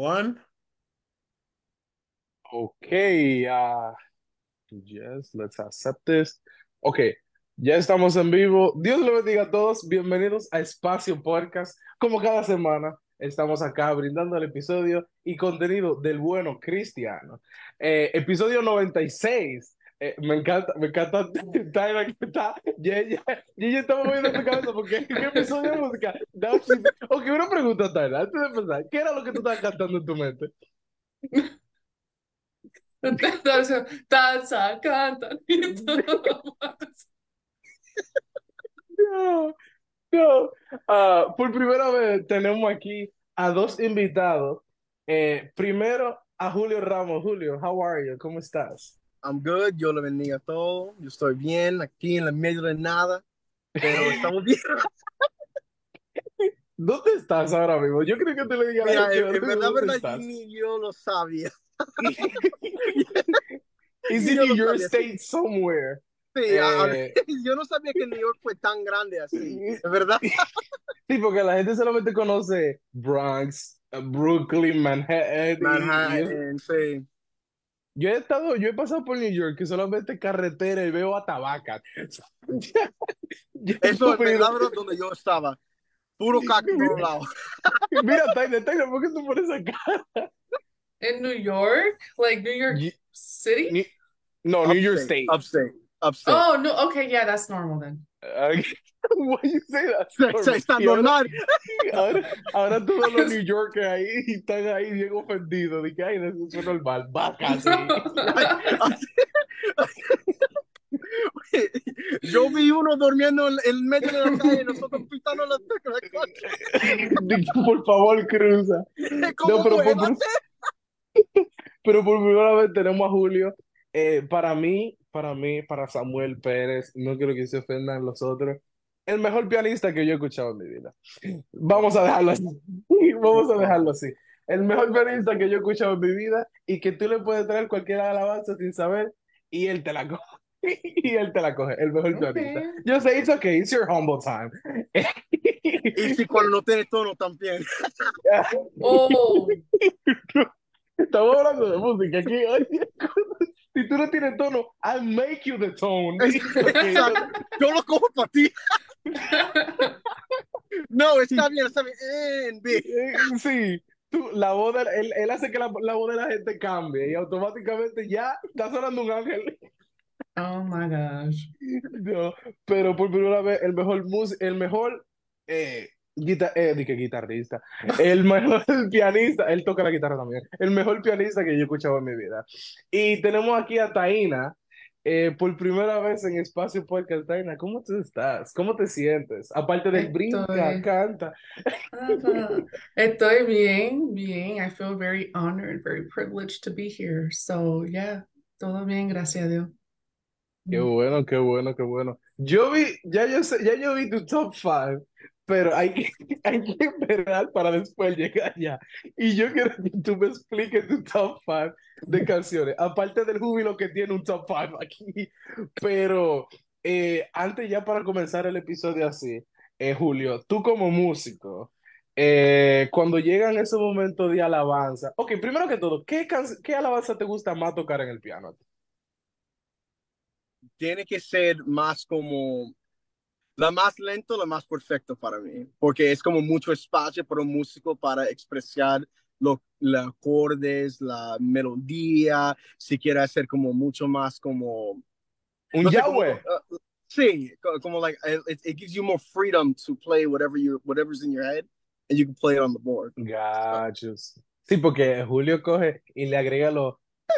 One. Okay, yes, let's accept this. Okay, ya estamos en vivo. Dios le bendiga a todos. Bienvenidos a Espacio Podcast. Como cada semana, estamos acá brindando el episodio y contenido del bueno cristiano. Episodio 96. Me encanta Tyler que está. Ya estaba moviendo tu cabeza porque ¿qué episodio de música? Ok, una pregunta, Tyler, antes de empezar. ¿Qué era lo que tú estabas cantando en tu mente? Danza, cantan y todo. No, no. Por primera vez tenemos aquí a dos invitados. Primero a Julio Ramos. Julio, how are you? ¿Cómo estás? I'm good, yo le bendiga a todo. Yo estoy bien aquí en el medio de nada, pero estamos bien. ¿Dónde estás ahora mismo? Yo creo que te le diga a la Mira, gente en dónde verdad, estás. ni yo lo sabía. Is Ni in yo New lo York sabía. Sí, State somewhere. sí, Eh, yo no sabía que New York fue tan grande así, es verdad. sí, porque la gente solamente conoce Bronx, Brooklyn, Manhattan Manhattan, sí. yo he pasado por New York que solamente carretera y veo a Tabacas. Yo Eso no he en venido- verdad, bro, donde yo estaba. Puro caca en todos lados. Mira, Tyler, ¿por qué tú pones acá? In New York, like New York Ye- City? Ni- no, New York Upstate, State. upstate, upstate. Oh, no, okay, yeah, that's normal then. Uh, why you say that's normal? Está Y normal. ahora, ahora todos los New Yorkers ahí están ahí bien ofendidos. De que, ay, eso es normal. Vaca, sí. Yo vi uno durmiendo en medio de la calle y nosotros pitando la coche. De que, por favor, cruza. No, ¿Cómo muévase? pero por primera vez tenemos a Julio. Para Samuel Pérez, no quiero que se ofendan los otros, el mejor pianista que yo he escuchado en mi vida. Vamos a dejarlo así. Vamos a dejarlo así. El mejor pianista que yo he escuchado en mi vida y que tú le puedes traer cualquier alabanza sin saber y él te la coge. Y él te la coge, el mejor pianista. Okay. Yo sé, it's okay, it's your humble time. Y si cuando no tiene tono también. Oh, Estamos hablando de música aquí. Oye, si tú no tienes tono, I'll make you the tone. Okay, Exacto. Yo lo cojo para ti. No, está bien, está bien. En B. sí, la voz él hace que la voz de la gente cambie y automáticamente ya está sonando un ángel. oh my gosh. No, pero por primera vez el mejor guitarrista, el mejor pianista, él toca la guitarra también, el mejor pianista que yo he escuchado en mi vida. Y tenemos aquí a Taina, por primera vez en Espacio Podcast. Taina, ¿cómo tú estás? ¿Cómo te sientes? Aparte del brinca, Estoy, canta. estoy bien, bien. I feel very honored, very privileged to be here. So, yeah, todo bien, gracias a Dios. Qué bueno, qué bueno, qué bueno. Ya yo vi tu top 5, pero hay que esperar para después llegar allá. Y yo quiero que tú me expliques tu top 5 de canciones, aparte del júbilo que tiene un top 5 aquí. Pero antes ya para comenzar el episodio así, Julio, tú como músico, cuando llegan esos momentos de alabanza, ok, primero que todo, ¿qué alabanza te gusta más tocar en el piano? Tiene que ser más como la más lento, la más perfecto para mí, porque es como mucho espacio para un músico para expresar los acordes, la melodía, si quiere hacer como mucho más como, Un no sé, como, Yahweh. sí, como like, it gives you more freedom to play whatever's in your head, and you can play it on the board. Gachos. Sí, porque Julio coge y le agrega los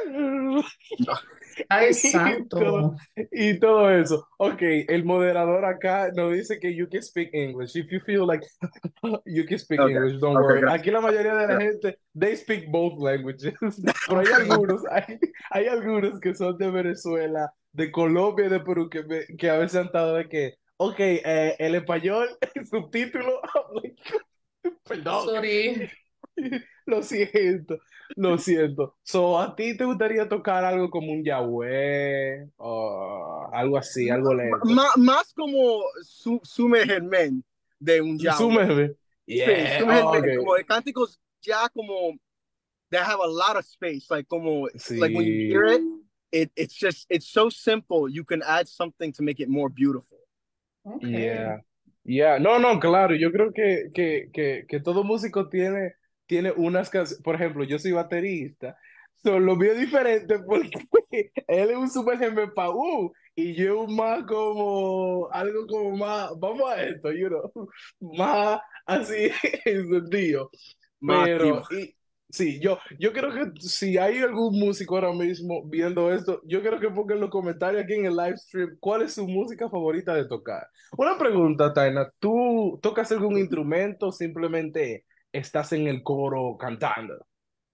Ay, y todo, santo. y todo eso. Ok, el moderador acá nos dice que you can speak English. If you feel like you can speak Okay, English, don't okay, worry. gracias. Aquí la mayoría de la Yeah. gente, they speak both languages. Pero Okay. hay algunos que son de Venezuela, de Colombia y de Perú que a veces han estado de que, ok, el español, el subtítulo, perdón. Sorry. Lo siento, lo siento. So, ¿a ti te gustaría tocar algo como un Yahweh o algo así, algo lento? Más como sumergerme de un Yahweh. Súmeme. Sí, Yeah, sumergerme, ok. como de cánticos ya como they have a lot of space. Like como like when you hear Sí. it, it's so simple. You can add something to make it more beautiful. Okay. Yeah, yeah, no, no, claro, yo creo que todo músico tiene unas canciones, por ejemplo, yo soy baterista, lo mío es diferente porque él es un super jefe y yo más como, algo como más, vamos a esto, más así encendido. Más activo. Pero, sí, yo creo que si hay algún músico ahora mismo viendo esto, yo creo que pongan en los comentarios aquí en el live stream cuál es su música favorita de tocar. Una pregunta, Taina, ¿tú tocas algún instrumento o simplemente estás en el coro cantando?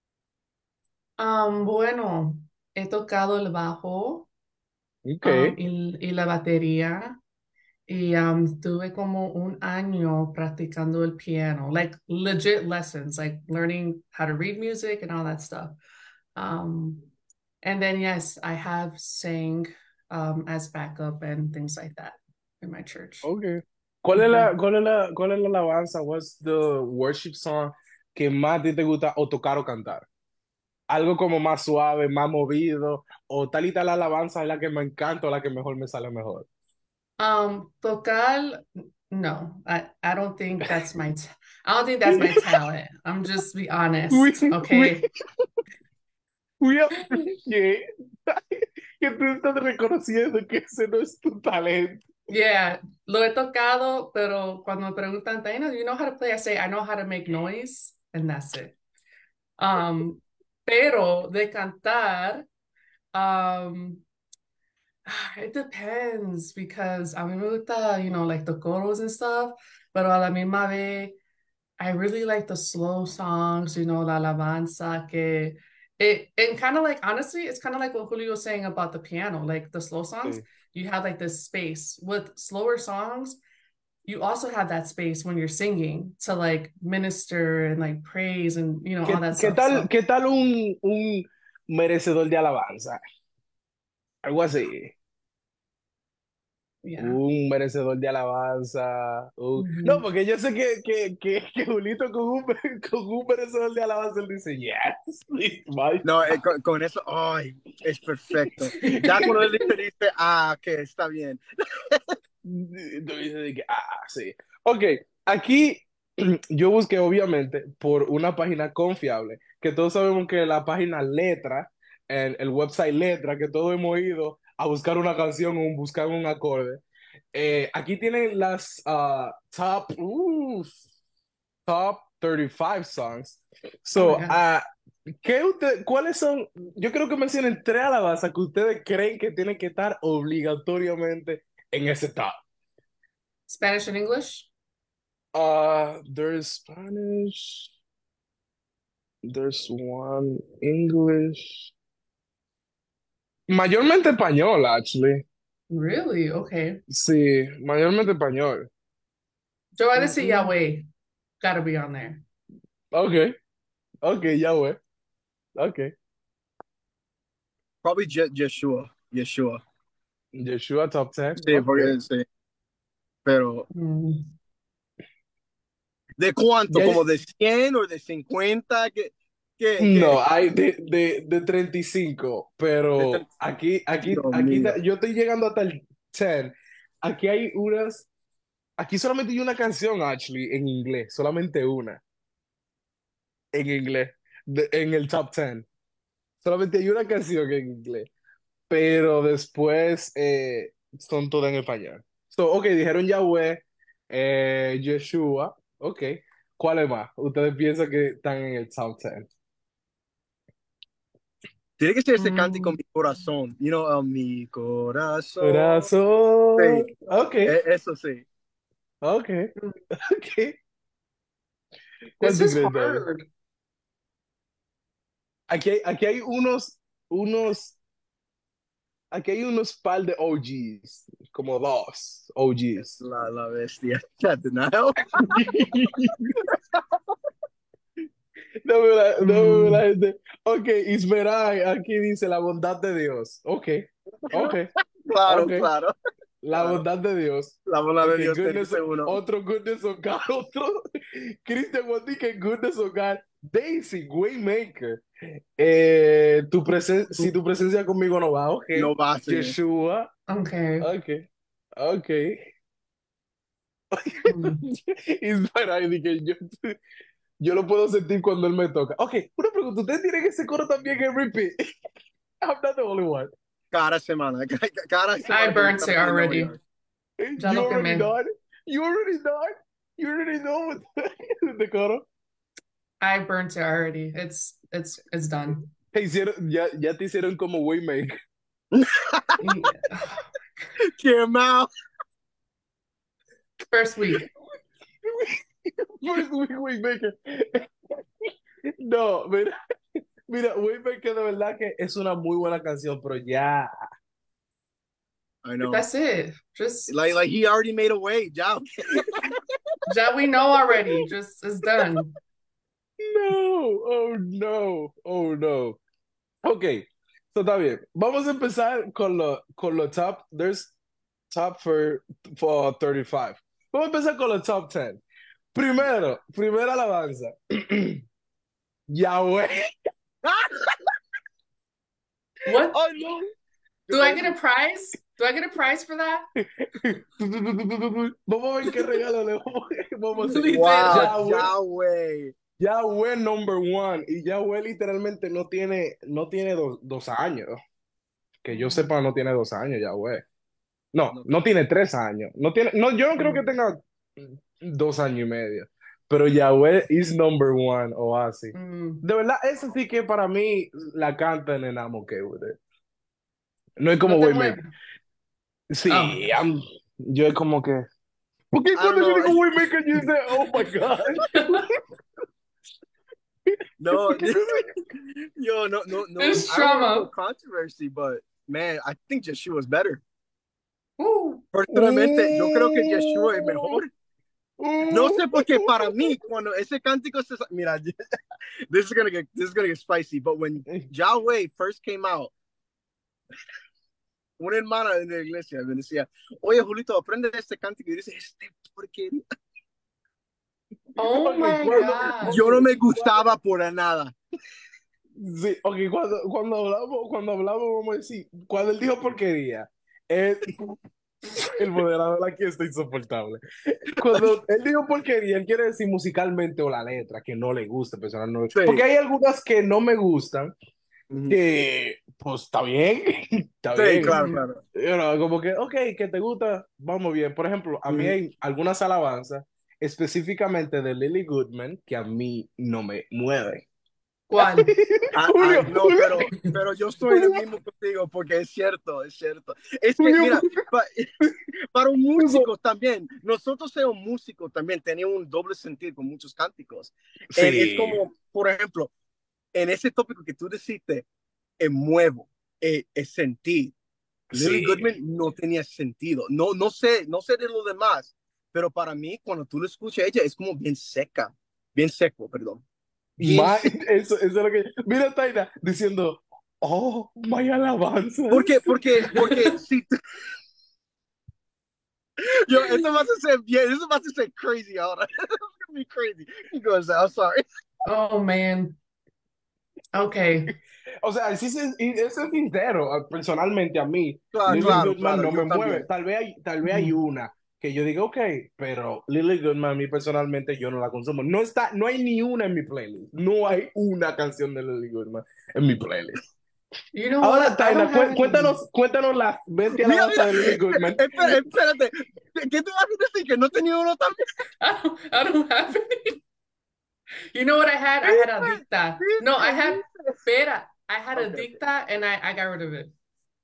Bueno, he tocado el bajo, Ok, y la batería. Y tuve como un año practicando el piano, like legit lessons, like learning how to read music and all that stuff. Um, and then, yes, I have sang as backup and things like that in my church. ok. Mhm. Cuál es la alabanza? What's the worship song que más a ti te gusta o tocar o cantar? Algo como más suave, más movido, o tal y tal alabanza es la que me encanta o la que mejor me sale mejor. Vocal, no, I don't think that's I don't think that's my talent. I'm just be We, honest, we, okay? we appreciate que tú estás reconociendo que ese no es tu talento. Yeah, lo he tocado, pero cuando me preguntan, Dana, do you know how to play? I say, I know how to make noise, and that's it. Um, pero de cantar, um, it depends because a mí me gusta, like the coros and stuff, pero a la misma vez, I really like the slow songs, la alabanza que and kind of like honestly, it's kind of like what Julio was saying about the piano, like the slow songs, Sí. you have like this space. With slower songs, you also have that space when you're singing to like minister and like praise and all that stuff. So Qué tal un merecedor de alabanza? Algo así. yeah. Un merecedor de alabanza. No, Mhm. porque yo sé que Julito con un merecedor de alabanza, él dice, yes, it's my No, con eso, ay, es perfecto. Ya cuando él dice, que está bien. Tú dices de que, sí. Ok, aquí yo busqué obviamente por una página confiable, que todos sabemos que la página Letra, el website Letra, que todos hemos ido a buscar una canción o buscar un acorde. Aquí tienen las top 35 songs. Oh my So, God. ¿cuáles son? Yo creo que mencionen tres alabanzas que ustedes creen que tienen que estar obligatoriamente en ese top. Spanish and English? There's Spanish, there's one English, mayormente español, actually. Really? Okay. Sí, mayormente español. Yo voy a decir Mm, Yahweh. Gotta be on there. Ok, ok, ya voy. Ok. Probably Yeshua. Yeshua. Joshua top 10. Sí, Ok. porque sí. Pero, Mm. ¿de cuánto? Ya, ¿Como de 100 o de 50? no, hay de 35, De pero 30? Dios aquí, mío. yo estoy llegando hasta el 10. Aquí hay aquí solamente hay una canción, actually, en inglés, solamente una, en inglés, en el top 10. Solamente hay una canción en inglés, pero después son todas en español. So, ok, dijeron Yahweh, Yeshua, ok. ¿Cuál es más? Ustedes piensan que están en el top 10. Tiene que ser ese cántico Mm. mi corazón. Mi corazón. Corazón. Sí, Ok, eso sí. ok, ok. ¿Cuál This tú is crees, Dani? hard. Aquí hay unos, aquí hay unos par de OGs, como dos OGs. La bestia. Denial. Dame la Mm. gente. Ok, Ismeray, aquí dice la bondad de Dios. Ok, ok, Claro, ok. claro, La claro. bondad de Dios. La bola de Ok, Dios te dice uno. otro goodness of God, otro. Christian Wandy, que goodness of God. Daisy, Waymaker. Si tu presencia conmigo no va, ok. No va a ser. Yeshua, Okay. ok. Ok. Mm. Y espera, y dije, yo lo puedo sentir cuando él me toca. Ok, una pregunta. ¿Ustedes tienen ese coro también en repeat? I'm not the only one. Cada semana. Cada I semana. burnt it already. Ya You lo already quemé. know it? You already know it? You already know the coro? I burnt it already. It's done. Ya te hicieron como Waymaker. Yeah. Qué mal. First week. First week Waymaker. No, mira, Waymaker de verdad que es una muy buena canción, pero ya. I know. That's it. Just Like he already made a way. Ya. that we know already. Just it's done. No, oh no, oh no. Ok, so está bien. Vamos a empezar con lo top. There's top for 35. Vamos a empezar con los top 10. Primera alabanza. Yahweh. What? Oh no. Do I get a prize? Do I get a prize for that? Vamos a ver qué regalo le vamos a hacer. Leave it. Wow. Yahweh. Yahweh. Yahweh number one. Y Yahweh literalmente no tiene dos años. Que yo sepa, no tiene 2 años, Yahweh. No tiene 3 años. Yo no creo que tenga 2 años y medio. Pero Yahweh is number one, Oasis. Mm. De verdad, eso sí que para mí la canta en I'm okay with it. No es como No te Waymaker. muevas. Sí, Oh. yo es como que. Porque I don't cuando yo know. digo Waymaker, yo digo, oh my God. No. Yo, no. There's I don't want trauma. no controversy, but man, I think Yeshua is better. Ooh. Personalmente, yo creo que Yeshua es mejor. No sé por qué para mí cuando ese cántico se mira, this is gonna get spicy, but when Yahweh first came out, una hermana en la iglesia me decía, oye Julito, aprende este cántico y dice, porquería. Oh Ok, my God. Yo no me gustaba por nada. Sí, ok, cuando hablamos, vamos a decir, cuando él dijo porquería, el moderador aquí está insoportable. Cuando él dijo porquería, él quiere decir musicalmente o la letra, que no le gusta personalmente. Sí. Porque hay algunas que no me gustan, Ujú. que pues está bien, está Sí, bien. claro. You know, como que, ok, que te gusta, vamos bien. Por ejemplo, a mí Ujú. hay algunas alabanzas, específicamente de Lily Goodman, que a mí no me mueven. ¿Cuál? Julio, No, Julio, pero yo estoy en el Julio, mismo contigo porque es cierto. Es que, Julio, mira, para un músico también, nosotros somos músicos también, tenemos un doble sentido con muchos cánticos. Es sí, como, por ejemplo, en ese tópico que tú deciste, muevo, es sentir. Lily sí. Goodman no tenía sentido. No sé de lo demás, pero para mí, cuando tú lo escuchas, ella es como bien seco, perdón. Bien seco. Eso es lo que. Mira, Taina diciendo, oh, my alabanzas. Porque si tú, yo, eso va a ser crazy ahora. It's gonna be crazy. He goes, I'm sorry. Oh man. Okay. O sea, sí, eso es sincero. Personalmente, a mí, Lily Claro, Goodman no yo me mueve. también. Tal vez hay una que yo digo, ok, pero Lily Goodman, a mí personalmente, yo no la consumo. No hay ni una en mi playlist. No hay una canción de Lily Goodman en mi playlist. You know Ahora, what? I Taina, don't have any. cuéntanos las 20 Mira, alabanzas de Lily Goodman. espérate. ¿Qué tú vas a decir? ¿Que no tenía uno también? I don't have any. You know what I had? I had Adicta. No, I had Pera. I had Okay. Adicta and I got rid of it.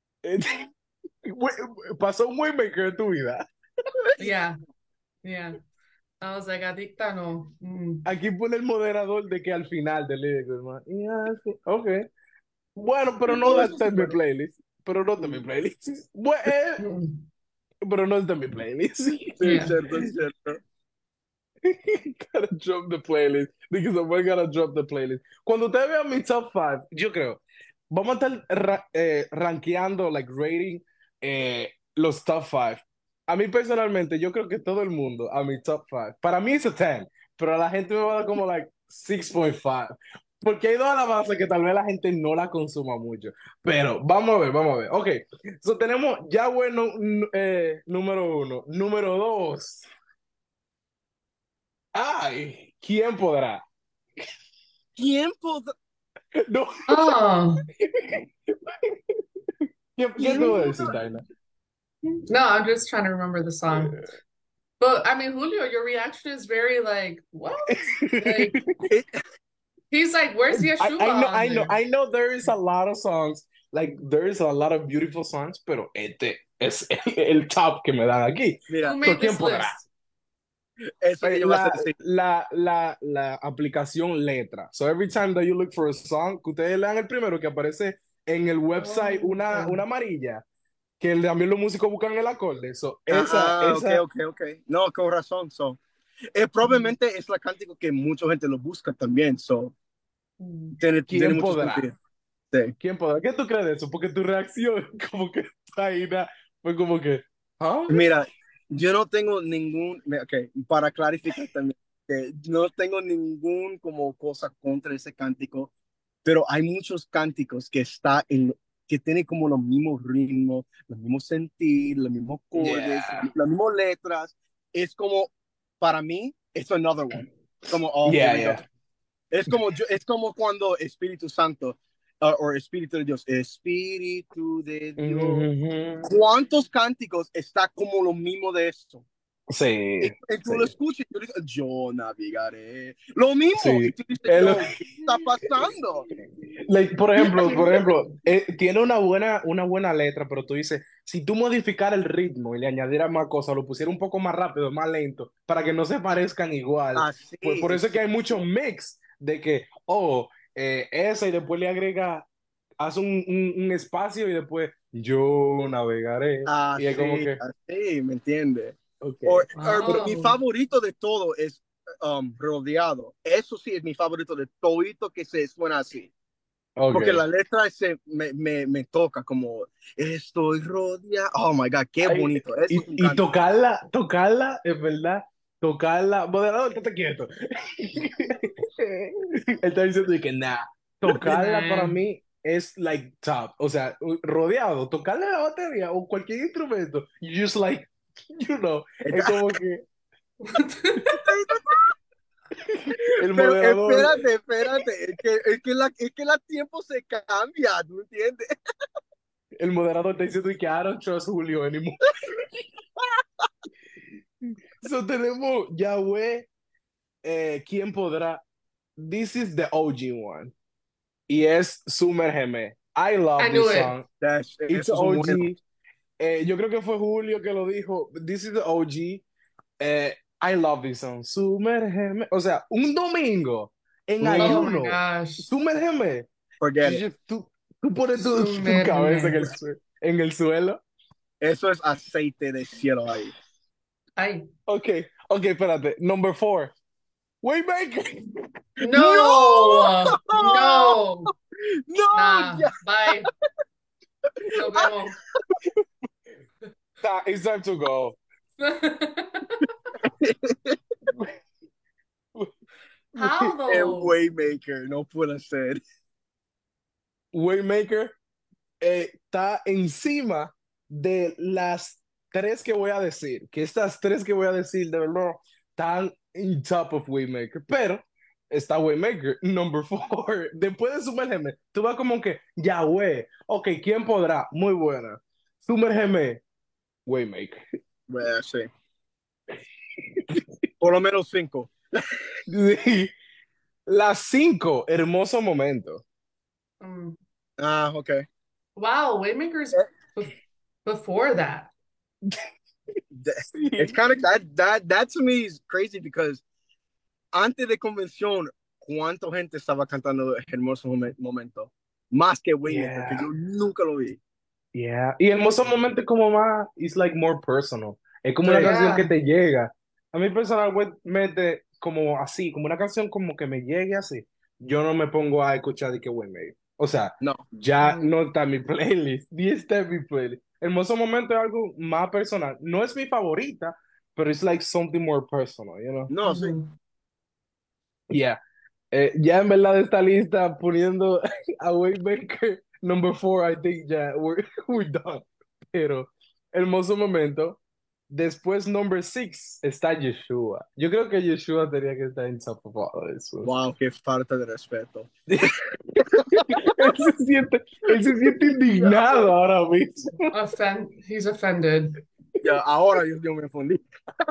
Pasó un Waymaker en tu vida. Yeah. Yeah. I was like, Adicta, no. Aquí pone el moderador de que al final de Lily Goodman. Sí, ok. Bueno, pero no No, eso está sí, en mi bueno. playlist. Pero no está en mi playlist. Bueno, pero no está en mi playlist. Sí, Yeah. es cierto. Gotta drop the playlist. Because we're gonna drop the playlist. Cuando ustedes vean mi top 5, yo creo, vamos a estar rankeando, like rating, los top 5. A mí personalmente, yo creo que todo el mundo, a mi top 5. Para mí es a 10, pero a la gente me va a dar como, like, 6.5. Porque hay dos alabanzas que tal vez la gente no la consuma mucho. Pero vamos a ver, vamos a ver. Ok, so tenemos Yahweh número uno. Número dos. Ay, ¿quién podrá? Tiempo, No, Oh, ¿qué tú vas a tiempo. decir, Daina? no, I'm just trying to remember the song. But I mean, Julio, your reaction is very like, what? Like, It, he's like, where's Yeshua I know, on I know, there? I know there is a lot of songs, like there is a lot of beautiful songs, pero este es el top que me dan aquí. Who mira, So, made ¿quién this podrá? list? eso que yo voy a decir. La aplicación letra. So every time that you look for a song, que ustedes lean el primero que aparece en el website Oh, okay. una amarilla, que también los músicos buscan el acorde. So Ok, esa, ok, ok. No, con razón. So. Probablemente es la cántico que mucha gente lo busca también. So, Mm. tiene ¿quién mucho podrá? sentido. Sí. ¿Quién podrá? ¿Qué tú crees de eso? Porque tu reacción, como que Taina, fue como que, ¿ah? Mira, yo no tengo ok, para clarificar también, que no tengo ningún como cosa contra ese cántico, pero hay muchos cánticos que tienen como los mismos ritmos, los mismos sentir, los mismos acordes, Yeah, las mismas letras. Es como, para mí, it's another one. Como, oh, here yeah, we go. yeah. Es como cuando Espíritu Santo, o Espíritu de Dios, Espíritu de Dios. Mhm. ¿Cuántos cánticos está como lo mismo de eso? Sí, Y tú sí, lo escuchas y tú dices, yo navegaré. Lo mismo. Y sí. tú dices, Él- yo, ¿qué está pasando? like, por ejemplo, tiene una buena letra, pero tú dices, si tú modificar el ritmo y le añadieras más cosas, lo pusiera un poco más rápido, más lento, para que no se parezcan igual, Así, pues por eso es que hay mucho mix de que, esa y después le agrega, haz un espacio y después yo navegaré. Y es como que, así, ¿me entiendes? ok, Pero mi Wow. favorito de todo es rodeado. Eso sí es mi favorito de todito que se suena así. Porque ok. la letra me toca como estoy rodeado. Oh my God, qué Ay, bonito. Eso es un y cántico. tocarla, es verdad, tocarla, moderador, estate quieto. Él está diciendo de que nada, tocarla para Nah. mí es like top, o sea, rodeado, tocarle la batería o cualquier instrumento, you just like, you know, es como que el Pero moderador, espérate, es que la tiempo se cambia, ¿tú entiendes? el moderador está diciendo de que I don't trust Julio anymore. So tenemos Yahweh, ¿quién podrá? This is the OG one. Y es Sumérgeme. I I love knew this it. song. It's Esos son buenos. OG. Yo creo que fue Julio que lo dijo. This is the OG. I love this song. Sumérgeme. O sea, un domingo en Oh Mhm. my ayuno. gosh. Sumérgeme. Forget it. Tú pones tu cabeza Sumérgeme. en el suelo. Eso es aceite de cielo ahí. Ay. Ok, ok, espérate. Number 4. Waymaker. ¡No! No. No. ¡No! Nah. Ya. Bye. Nos vemos. It's time to go. How El though? Waymaker, no puede ser. Waymaker está encima de las tres que voy a decir, que estas tres que voy a decir de verdad están en top of Waymaker, pero está Waymaker, number 4. Después de Sumérgeme, tú vas como que, Yahweh, ok, ¿quién podrá? Muy buena. Sumérgeme, Waymaker. Bueno, sí. Por lo menos 5. Sí. Las 5, hermoso momento. Um, Ah, ok. wow. Waymaker's before that. It's kind of that to me is crazy because antes de convención, ¿cuánta gente estaba cantando Hermoso Momento? Más que Waymaker, que Yeah. yo nunca lo vi. Yeah. Y Hermoso Momento es como más, it's like more personal. Es como una Sí. canción que Yeah. te llega. A mí personalmente, como así, como una canción como que me llegue así. Yo no me pongo a escuchar de que Waymaker. O sea, No. ya Mm. no está en mi playlist, ni está en mi playlist. Hermoso Momento es algo más personal. No es mi favorita, pero it's like something more personal, you know? No, sí. Mhm. Yeah. Ya en verdad de esta lista poniendo a Waymaker number 4, I think ya we're done. Pero hermoso momento. Después number 6 está Yeshua. Yo creo que Yeshua tenía que estar en top of all this one. Wow, qué falta de respeto. Él se siente indignado ahora mismo. He's offended. Ya, ahora yo me fundí.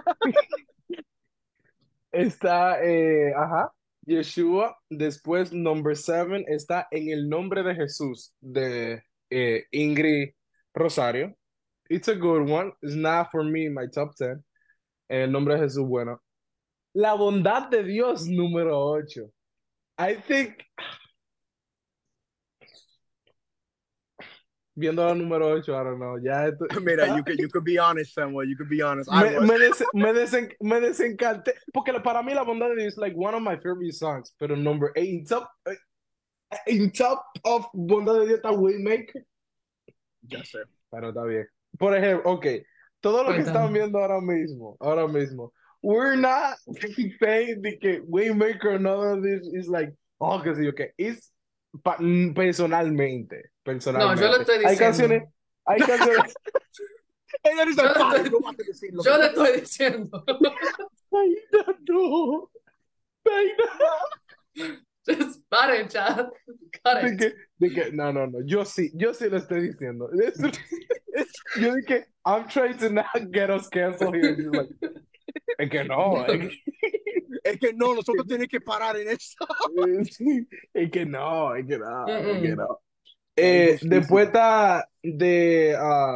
Está, ajá, Yeshua. Después, number 7 está En el nombre de Jesús, de Ingrid Rosario. It's a good one. It's not for me, my top 10. En el nombre de Jesús, bueno. La bondad de Dios, número 8. I think, viendo la número 8, I don't know. Ya esto, Mira, you could be honest, Samuel. You could be honest. I was. me desencanté. Porque para mí, la bondad de Dios es like one of my favorite songs. Pero number 8, in top of bondad de Dios está Waymaker. Ya sé. Pero está bien. Por ejemplo, ok, todo lo que están Cuéntame. viendo ahora mismo, we're not saying de que Waymaker, none of this is like, oh, que sí, ok, es personalmente, No, yo lo personalmente. estoy diciendo. Hay canciones, Ella dice, Yo le "Padre, estoy, no vas a decir lo que yo le tú estoy diciendo. Aida, no, Aida, Just paren, chat. Cut de it. que, no, yo sí lo estoy diciendo. Yo dije, I'm trying to not get us canceled here. She's like, es que no, Es que no, nosotros tenemos que parar en eso. es que no, es que no, es que Mm-mm. no. La Después injusticia. está de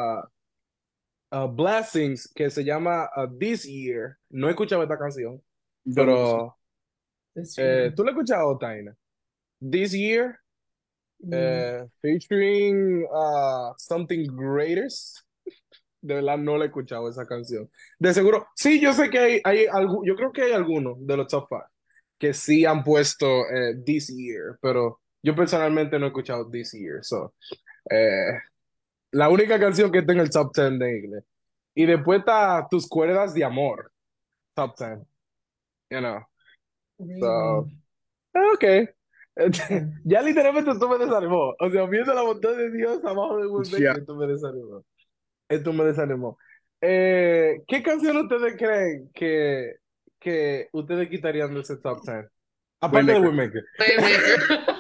Blessings, que se llama This Year. No he escuchado esta canción, Yo no lo sé. pero This year. ¿tú la has escuchado, Taina? This Year, Mm. featuring Something Greatest. De verdad no la he escuchado esa canción. De seguro, sí, yo sé que yo creo que hay algunos de los top 5 que sí han puesto This Year, pero yo personalmente no he escuchado This Year. So, eh, la única canción que está en el top 10 de inglés. Y después está Tus cuerdas de amor, top 10, you know. So, Really? okay. Okay. Ya literalmente esto me desanimó. O sea, viendo la bondad de Dios abajo de Ya. Woodbeck, esto me desanimó. Esto me desanimó. ¿Qué canción ustedes creen que ustedes quitarían de ese top 10? Aparte de Waymaker. Waymaker. Playmaker.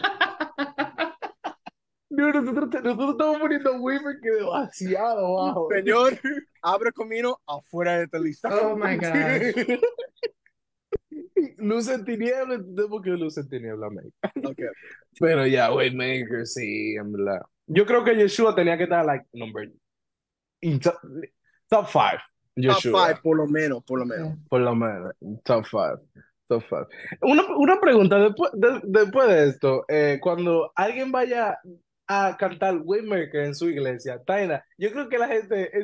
Dude, nosotros estamos poniendo Waymaker demasiado bajo. Señor, abre camino afuera de esta lista. Oh my gosh. Luz en tinieblas, tenemos que luz en tinieblas, mate. Okay. Pero ya, Waymaker, sí, en verdad. Yo creo que Yeshua tenía que estar, like, number, in top 5. Top Yeshua. 5, por lo menos, por lo Okay. menos. Por lo menos, top 5. Top 5. Una pregunta, después de esto, cuando alguien vaya a cantar Waymaker en su iglesia, Taina, yo creo que la gente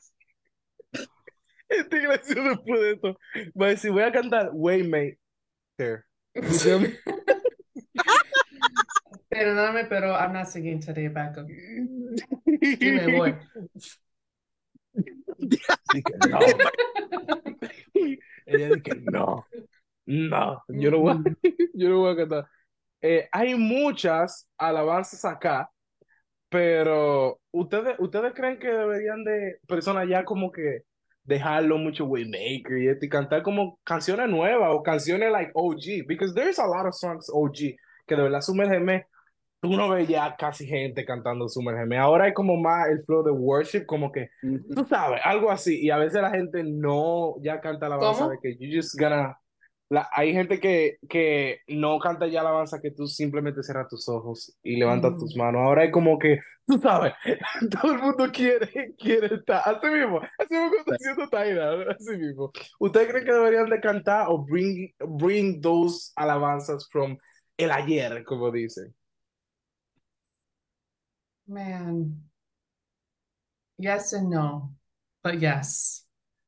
esta iglesia después de esto, va a decir, voy a cantar Waymaker. You feel me? Perdóname, pero I'm not singing today, backup. Y me voy. Dije, no. Ella dice, no, yo no voy, yo no voy a cantar. Hay muchas alabanzas acá, pero ¿ustedes creen que deberían de personas ya como que dejarlo mucho Waymaker y esto, y cantar como canciones nuevas o canciones like OG? Because there's a lot of songs OG que de verdad Sumérgeme, tú no ves ya casi gente cantando Sumérgeme. Ahora hay como más el flow de worship, como que, tú sabes, algo así. Y a veces la gente no ya canta alabanza de ¿Cómo? que you just gonna... hay gente que no canta ya alabanza, que tú simplemente cierras tus ojos y levantas tus Mm. manos. Ahora es como que, tú sabes, todo el mundo quiere estar. Así mismo como está haciendo Taira, así mismo. ¿Ustedes creen que deberían de cantar o bring those alabanzas from el ayer, como dicen? Man, yes and no, but yes.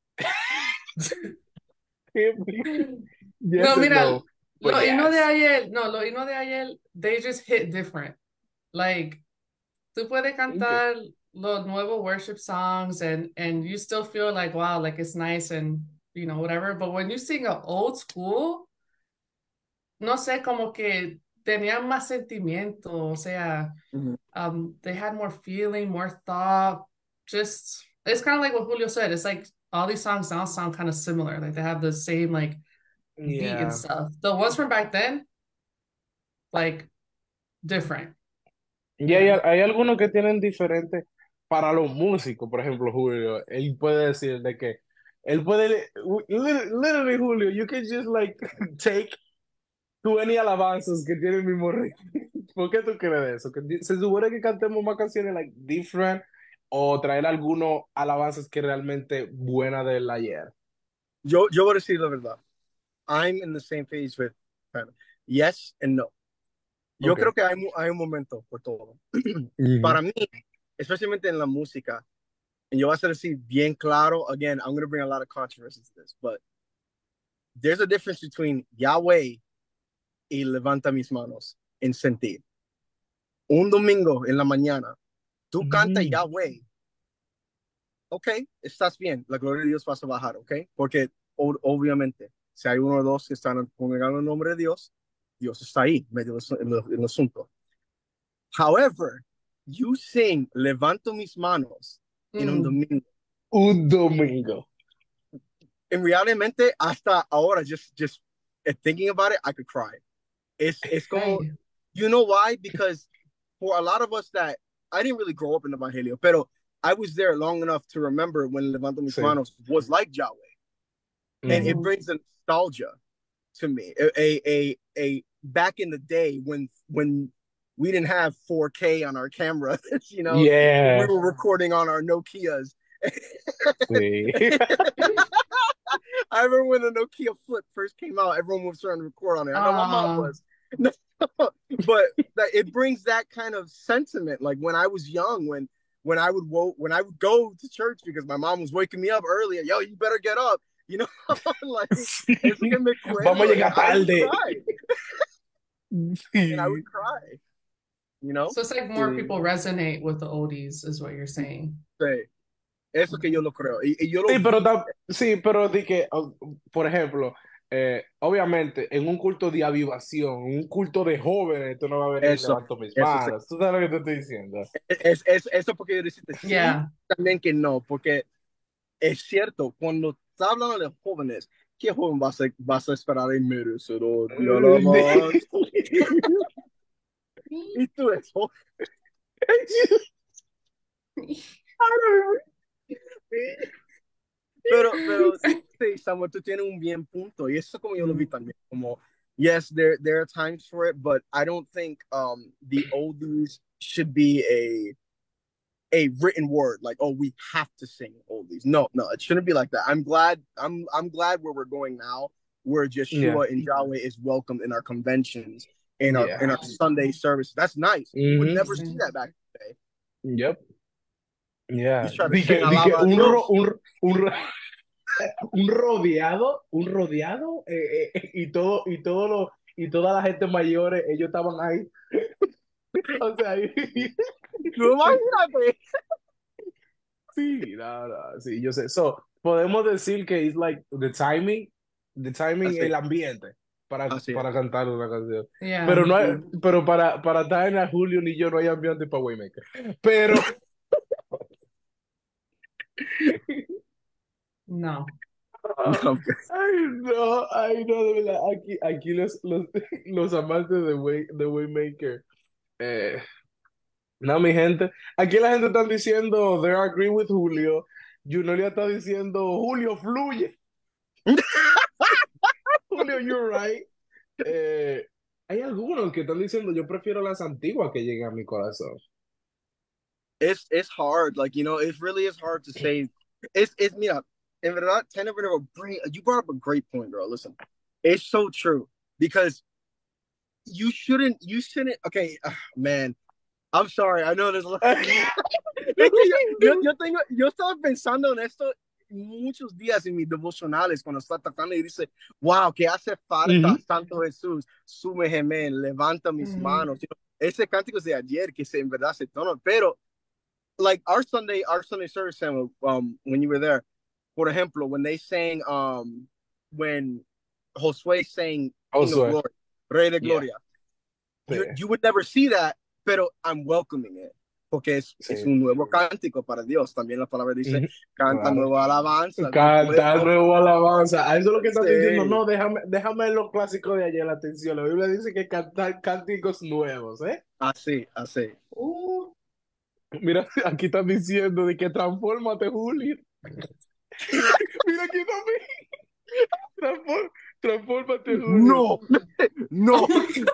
Yes No, and mira, no, but yes. los himnos de ayer, they just hit different. Like, tú puedes Okay. cantar los nuevos worship songs and you still feel like, wow, like it's nice and, whatever. But when you sing an old school, no sé, como que tenían más sentimiento, o sea, they had more feeling, more thought. Just it's kind of like what Julio said. It's like all these songs now sound kind of similar. Like they have the same like beat and Yeah. stuff. The ones from back then, like different, Y you know. hay algunos que tienen diferentes para los músicos, por ejemplo, Julio, él puede decir de que él puede, literally, Julio, you can just like take 20 alabanzas que tienen el mismo ritmo. ¿Por qué tú crees de eso? Que se supone que cantemos más canciones like different o traer algunos alabanzas que realmente buenas del ayer. Yo voy a decir la verdad. I'm in the same page with Hannah. Yes and no. Yo Okay. creo que hay un momento por todo. Mhm. Para mí, especialmente en la música, y yo voy a ser así bien claro, again, I'm going to bring a lot of controversy to this, but there's a difference between Yahweh y levanta mis manos en sentir. Un domingo en la mañana, tú cantas Mm. Yahweh, ok, estás bien, la gloria de Dios va a bajar, ok, porque obviamente, si hay uno o dos que están congregando el nombre de Dios, Dios está ahí, medio del asunto. However, you sing Levanto mis manos en un Mm. domingo. Un domingo. En realmente, hasta ahora, just thinking about it, I could cry. It's como, Hey. you know why? Because for a lot of us that, I didn't really grow up in the Evangelio, pero I was there long enough to remember when Levanto mis Sí. manos was like Yahweh. And it Mhm. brings a nostalgia to me. A back in the day when we didn't have 4K on our cameras, you know, we Yeah. were recording on our Nokias. Sí. I remember when the Nokia Flip first came out, everyone was trying to record on it. I know my mom Ah. was. But it brings that kind of sentiment. Like when I was young, when I would go to church because my mom was waking me up early. Yo, you better get up. You know, like eso que me Vamos a acuerdo, and llegar I would tarde. cry, and I Sí. would cry. You know, So it's like more Sí. people resonate with the oldies, is what you're saying. sí, eso que yo lo creo y yo lo Sí, vi. sí, pero di que, por ejemplo, obviamente, en un culto de avivación, un culto de jóvenes, tú no vas a venir y Eso, levanto mis eso sí. manos. ¿Tú sabes lo que te estoy diciendo? Eso porque yo decirte sí, Yeah. también que no, porque es cierto, cuando estás hablando de jóvenes, ¿qué joven vas a esperar en merecedor de alabanza? Y tú eso. Pero sí, Samuel, tú tienes un bien punto. Y eso como yo lo vi también. Como, yes, there are times for it, but I don't think the oldies should be a written word like, oh, we have to sing oldies. No, it shouldn't be like that. I'm glad where we're going now, where Yeah, Yeshua and Yahweh is welcomed in our conventions, in yeah. our Sunday service. That's nice. You would Mhm. never see that back in the day. Yep. You Yeah. try to sing Di que alaba a Dios. un rodeado, y toda la gente mayores, ellos estaban ahí. O sea, ahí. Tú imagínate. Sí, sí, yo sé. So, podemos decir que es like the timing, Así, el ambiente así es. para cantar una canción. Yeah. Pero no hay, pero para Diana, Julio ni yo no hay ambiente para Waymaker. Pero, No. No, ay, no, de verdad, aquí los amantes de Waymaker. Eh, no, mi gente, aquí la gente está diciendo, they agree with Julio. Junolia está diciendo, Julio, fluye. Julio, you're right. Hay algunos que están diciendo, yo prefiero las antiguas que lleguen a mi corazón. it's hard. Like, you know, it really is hard to say. It's mira, en verdad, you brought up a great point, girl. Listen, it's so true because you shouldn't. Okay, man, I'm sorry. I know there's a lot. Es que yo estaba pensando en esto muchos días en mis devocionales cuando estaba tratando y dice, wow, que hace falta, Ujú. Santo Jesús, súmeme, levanta mis Mhm. manos. You know, ese cántico es de ayer que en verdad se tono, pero like our Sunday service, Samuel, when you were there, por ejemplo, when they sang, when Josue sang King of Josué. Glory, Rey de Yeah, Gloria. sí, You would never see that, pero I'm welcoming it. Porque es sí. un nuevo cántico para Dios. También la palabra dice, Ujú, canta claro. nueva alabanza al del Cantar pueblo. nuevo alabanza. A eso es lo que estás diciendo. Sí, No, déjame los clásicos de ayer la atención. La Biblia dice que cantar cánticos nuevos, ¿eh? así, así. Uh, mira, aquí están diciendo de que transfórmate, Julio. Mira aquí también. Transfórmate, Julio. No, no.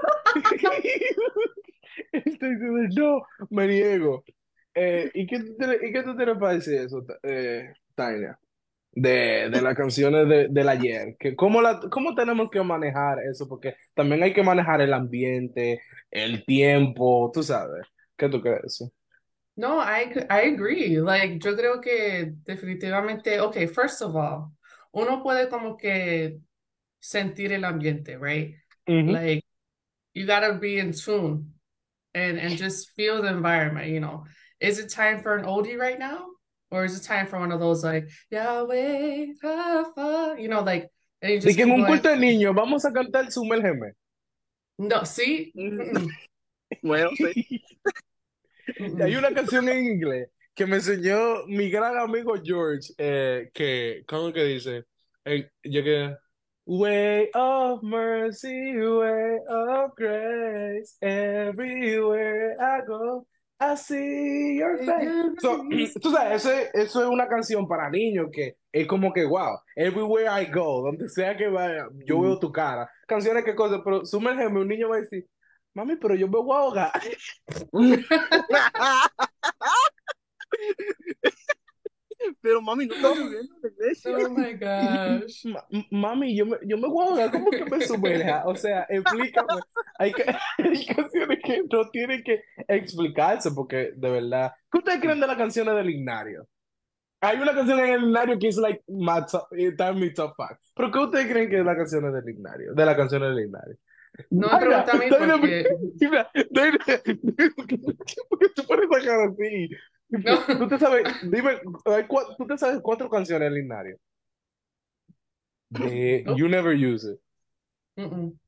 Estoy diciendo, no, me niego. ¿Y qué tú tienes para decir eso, Tania? De las canciones del ayer. ¿Cómo tenemos que manejar eso? Porque también hay que manejar el ambiente, el tiempo, tú sabes. ¿Qué tú crees de eso? No, I agree. Like, yo creo que definitivamente, okay, first of all, uno puede como que sentir el ambiente, right? Ujú. Like, you gotta be in tune and just feel the environment, you know. Is it time for an oldie right now? Or is it time for one of those like Yahweh, Rapha, you know, like, and you De just que en keep un going, culto de niños vamos a cantar Sumérgeme. no, see? Mm-mm, Bueno, sí. Hay mm-mm. una canción en inglés que me enseñó mi gran amigo George, ¿cómo que dice? Yo que, Way of mercy, way of grace, everywhere I go, I see your face. So, tú sabes, eso es una canción para niños que es como que, wow, everywhere I go, donde sea que vaya, yo veo tu cara. Canciones que cosas, pero sumérgeme, un niño va a decir, mami, pero yo me voy a ahogar. Pero mami, no está lloviendo en la iglesia. Oh my gosh. Mami, yo me voy a ahogar, ¿cómo que me sumerja? O sea, explícame. Hay canciones que no tienen que explicarse porque, de verdad. ¿Qué ustedes creen de las canciones del Ignario? Hay una canción en el Ignario que es like está en mi top 5. ¿Pero qué ustedes creen que es la canción del Ignario? De las canciones del Ignario. No me Daina, pregunta a mí Daina, porque mira, Daina, ¿por qué tú pones esa cara así? Tú no. te sabes, dime, tú te sabes 4 canciones del Ignario. De Nope. You Never Use It. Mm-mm.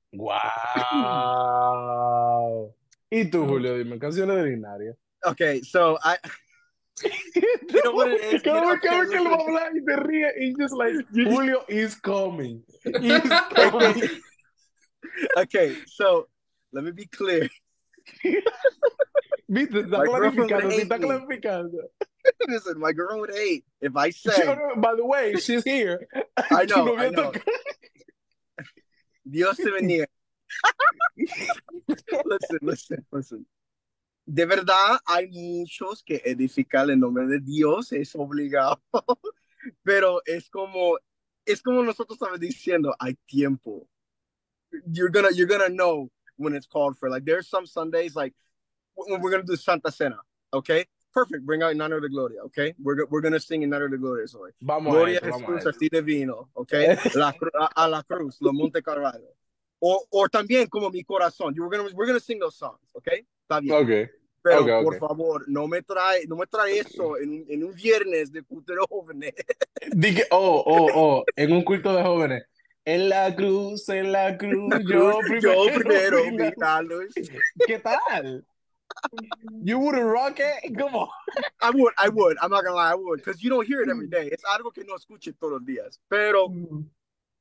Wow. ¿Y tú, Nope. Julio? Dime, canciones del Ignario. Okay, so you know what it is? Cada Okay, vez que él va a listen. hablar y se ríe, y just like, Julio is coming. He's coming. Okay, okay, so let me be clear. ¿Viste? Está My girlfriend would clarificando, sí, hate está me. clarificando. Listen, my girlfriend would hate if I said, By the way, she's here. I Tu know, I novia know. está... Dios te bendiga. Listen. De verdad, hay muchos que edificar el nombre de Dios es obligado, pero es como nosotros estamos diciendo, hay tiempo. You're gonna know when it's called for. Like there's some Sundays, like when we're gonna do Santa Cena, okay? Perfect. Bring out Nano de Gloria, okay? We're gonna sing in Nano de Gloria hoy. Vamos a Gloria a eso, vamos a Jesús, eso. así divino, okay? A la cruz, lo Monte Calvario. O también como mi corazón. We're gonna sing those songs, okay? Está bien. Ok, ok, Pero por ok. favor, no me trae eso en un viernes de culto de jóvenes. Dije, en un culto de jóvenes. En la cruz, La cruz, yo yo primero primero vi vi la... la luz. ¿Qué tal? You wouldn't rock it? Come on. I would. I'm not gonna lie, I would. Because you don't hear it every day. Es algo que no escuche todos los días. Pero, Mm.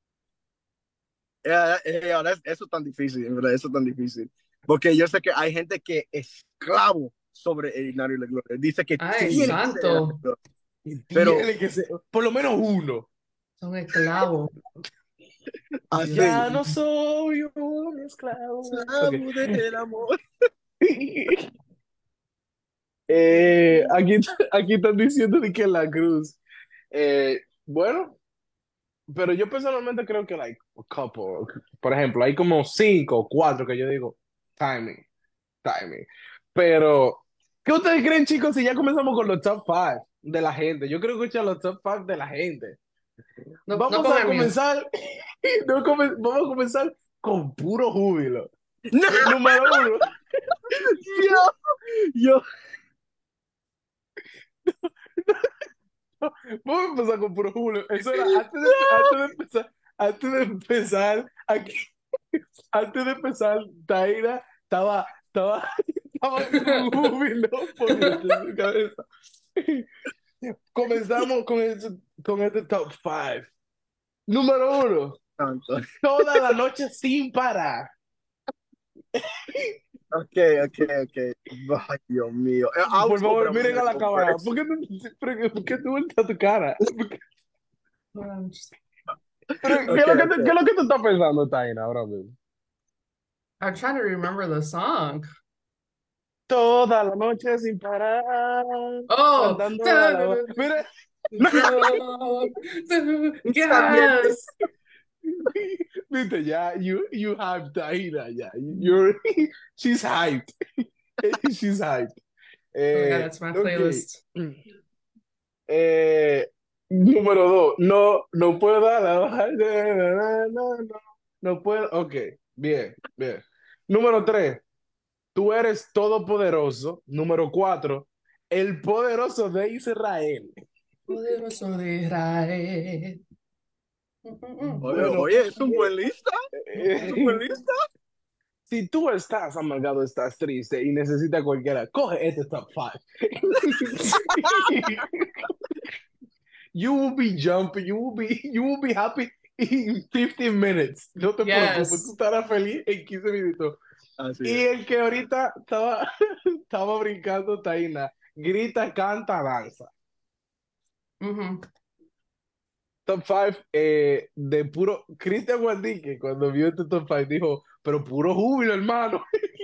eso es tan difícil, en verdad, eso es tan difícil. Porque yo sé que hay gente que es esclavo sobre el Ignario y la Gloria. Dice que Ay, tiene que ser el santo. Gloria. Pero, Tiene que ser, por lo menos uno. Son esclavos. Dios así, Ya no mío. soy un esclavo. Ok. esclavo del amor. Aquí están diciendo de que la cruz. Bueno, pero yo personalmente creo que like a couple. Por ejemplo, hay como 5 o 4 que yo digo timing, timing. Pero, ¿qué ustedes creen, chicos, si ya comenzamos con los top 5 de la gente? Yo creo que escuchar los top 5 de la gente. No, no Vamos a pongan mío. comenzar, vamos a comenzar con puro júbilo. No, Número uno, yo, vamos a empezar con puro júbilo. Eso era antes de empezar, aquí. antes de empezar, Taira estaba con un júbilo por dentro de su cabeza. Comenzamos con este top 5. Número 1, Tanto. toda la noche sin parar. Ok, ok, ok. Ay, Dios mío. I'll Por go, but favor, I'm miren gonna a la go cámara. first. ¿Por qué tú volteas tu cara? ¿Qué es Ok, lo que ok. qué es lo que tú estás pensando, Taina, ahora mismo? I'm trying to remember the song. Toda la noche sin parar, Oh, andando a la... Mira, También. yes. viste, ya, you hyped Taina, ya. You're, she's hyped. She's hyped. Oh my God, that's my Ok. playlist. Eh, Número 2, no puedo dar la baja, no puedo, ok, bien, bien. Número 3, tú eres todopoderoso. Número 4, el poderoso de Israel. Poderoso de Israel. Oye, Bueno, oye, es un buen lista. Es un buen eh, lista. si tú estás amargado, estás triste y necesitas cualquiera, coge este top 5. You will be jumping, you will be happy in 15 minutes. No te preocupes, tú Yes. estarás feliz en 15 minutos. Así Y es. el que ahorita estaba brincando, Taina, grita, canta, danza. Mhm. Top 5 de puro. Cristian Guandique, cuando vio este top 5, dijo, pero puro júbilo, hermano.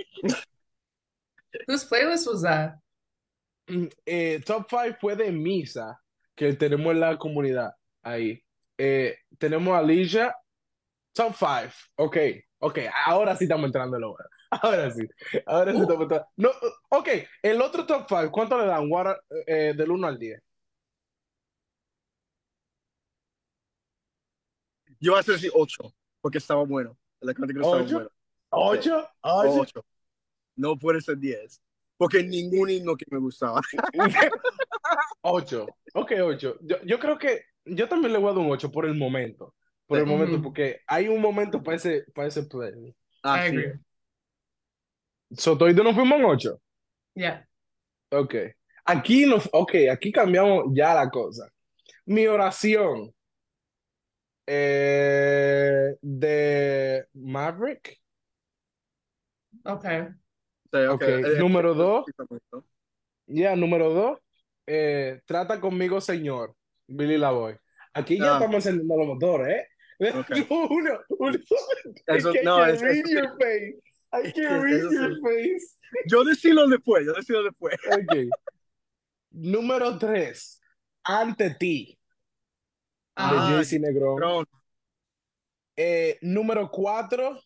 Whose playlist was that? Top 5 fue de Misa, que tenemos en la comunidad ahí. Tenemos a Alicia. Top 5. Ok, ok. Ahora sí estamos entrando en la hora. Ahora sí estamos Ooh, entrando. No, ok, el otro top 5, ¿cuánto le dan? Del 1 al 10. Yo voy a decir 8, porque estaba bueno. La crítica estaba 8, buena. Sí, 8, 8. 8. No puede ser 10. Porque ningún himno que me gustaba. 8. Ok, 8. Yo creo que yo también le voy a dar un 8 por el momento. Por el Sí, momento, mhm. porque hay un momento para ese play. I así agree. es. Sotoy nos fuimos en 8. Yeah. Ok. Aquí cambiamos ya la cosa. Mi oración. De Maverick. Okay. Sí, ok. Ok, número 2. ¿No? Ya, número 2. Trata conmigo, señor. Billy Lavoy. Aquí ya Ah, estamos encendiendo los motores, ¿eh? ok. Uno, es Eso, que I no, can read eso sí. your face. I can read Eso your sí. face. Yo decido después, yo decido después. Ok. Número 3. Ante ti, de Uh-huh. Ah, JC Negrón. Tron. Número 4.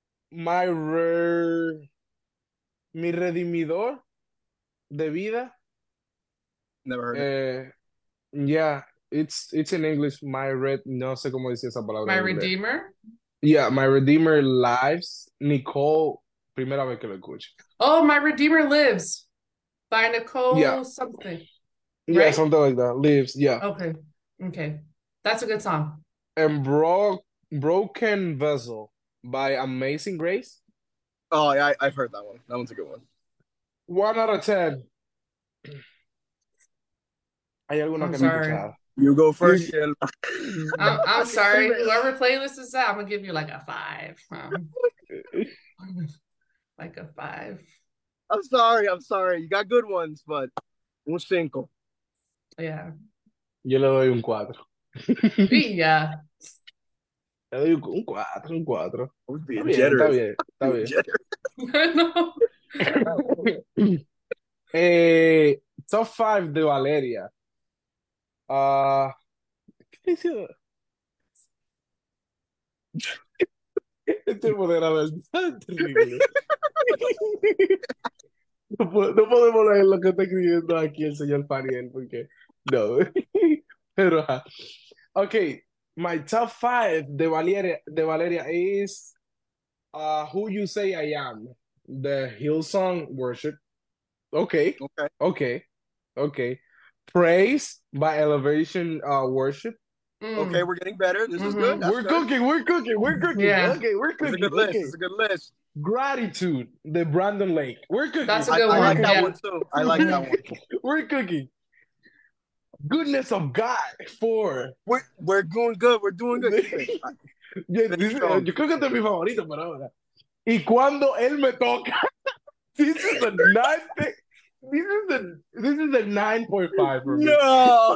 Mi redimidor de vida. Never heard it. Yeah, it's in English. No sé cómo decir esa palabra My en inglés. Redeemer. Yeah, My Redeemer Lives. Nicole, primera vez que lo escucho. Oh, My Redeemer Lives by Yeah, Nicole something, yeah, right? something like that. Lives, yeah. Okay. Okay. That's a good song. And Broken Vessel by Amazing Grace. Oh, yeah, I've heard that one. That one's a good one. 1 out of 10. Hay alguna I'm que no he sorry. escuchado. You go first, You- Shell. I'm sorry. Whoever playlist is that, I'm gonna give you like a 5. Like a 5. I'm sorry. You got good ones, but un cinco. Yeah. Yo le doy un 4. Yeah. Le doy un 4, un 4. I was Está being bien, está generous. bien, está Being bien. generous. No. Top 5 de Valeria. Ah, ¿qué dice? Este moderador es terrible. No podemos leer lo que está escribiendo aquí el señor Fariel, porque no. Pero, ajá. Ok, my top 5 de Valeria is Who You Say I Am, the Hillsong Worship. Okay, Okay. okay, okay. Praise by Elevation Worship. Okay, we're getting better. This is good. That's We're good. cooking, we're cooking, we're cooking. Yeah. Okay, we're This is a cooking. good list. Okay. This is a good list. Gratitude, the Brandon Lake. We're cooking. That's a I good one. like that Yeah. one too. I like that one. We're cooking. Goodness of God. 4. We're doing good. We're doing good. Keep it. Yo creo que este es mi favorito por ahora. Y cuando él me toca, this is a 9. This is a 9.5 for me. No.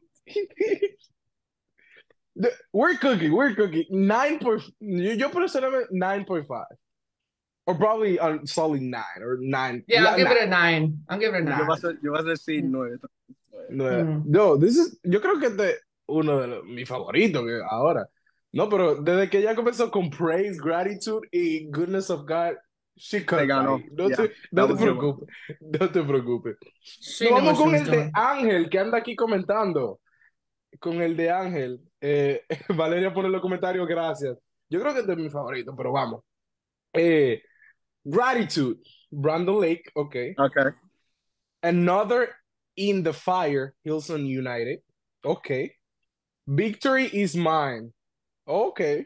We're cooking. 9. Yo personalmente 9.5. Or probably a solid 9 or 9. Yeah, I'll give it a 9. I'll give it a 9. Yo vas a decir 9. No, yo creo que este es uno de mis favoritos ahora. No, pero desde que ella comenzó con Praise, Gratitude y Goodness of God, she cut ganó. ahí. No Yeah, te preocupes. No te preocupes. She Nos knew vamos what she con was el de doing. Ángel, que anda aquí comentando. Con el de Ángel. Valeria pone en los comentarios, gracias. Yo creo que este es mi favorito, pero vamos. Gratitude, Brandon Lake, okay. Okay. Another in the Fire, Hillsong United, okay. Victory is Mine, okay.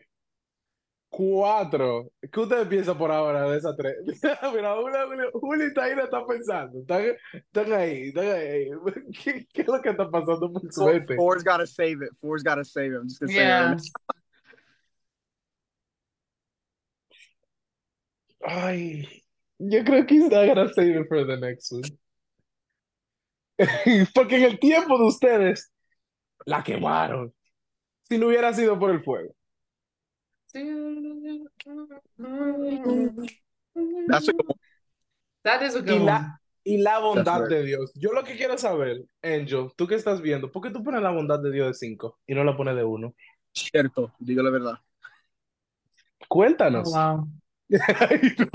4. ¿Qué usted piensa por ahora de esas 3? Mira, Juli está ahí, la está pensando. Están ahí. ¿Qué es lo que está pasando por su mente? Four's got to save it. I'm just going to say Yeah. right Ay, yo creo que he's not gonna save it for the next one. Porque en el tiempo de ustedes la quemaron. Si no hubiera sido por el fuego. That's a good one. That is a good Y one. la bondad That's right. de Dios. Yo lo que quiero saber, Angel, tú que estás viendo, ¿por qué tú pones la bondad de Dios de 5 y no la pones de 1? Cierto, digo la verdad. Cuéntanos. Oh, wow. Ay, no,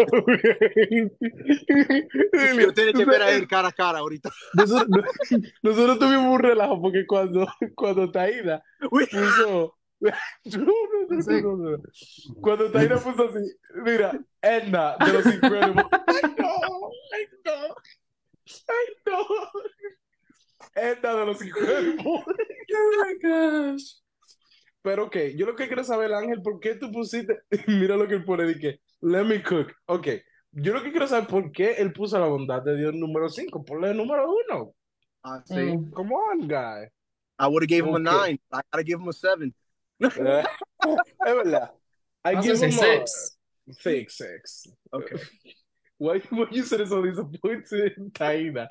Yo tengo que ver a él cara a cara ahorita. Nosotros tuvimos un relajo porque cuando Taída Uy. puso. No. Cuando Taída puso así, mira, Edna de los Incredibles. Ay, no. Edna de los Incredibles. Oh my gosh. Pero ok, yo lo que quiero saber, Ángel, ¿por qué tú pusiste? Mira lo que él pone, que let me cook. Ok, yo lo que quiero saber, ¿por qué él puso la bondad de Dios número 5? Ponle el número 1. Sí. Come on, guy. I would have gave him a Okay. 9. I gotta give him a 7. Es verdad. I was give gonna him say a 6. 6. Okay. Why you said so disappointed, Taina?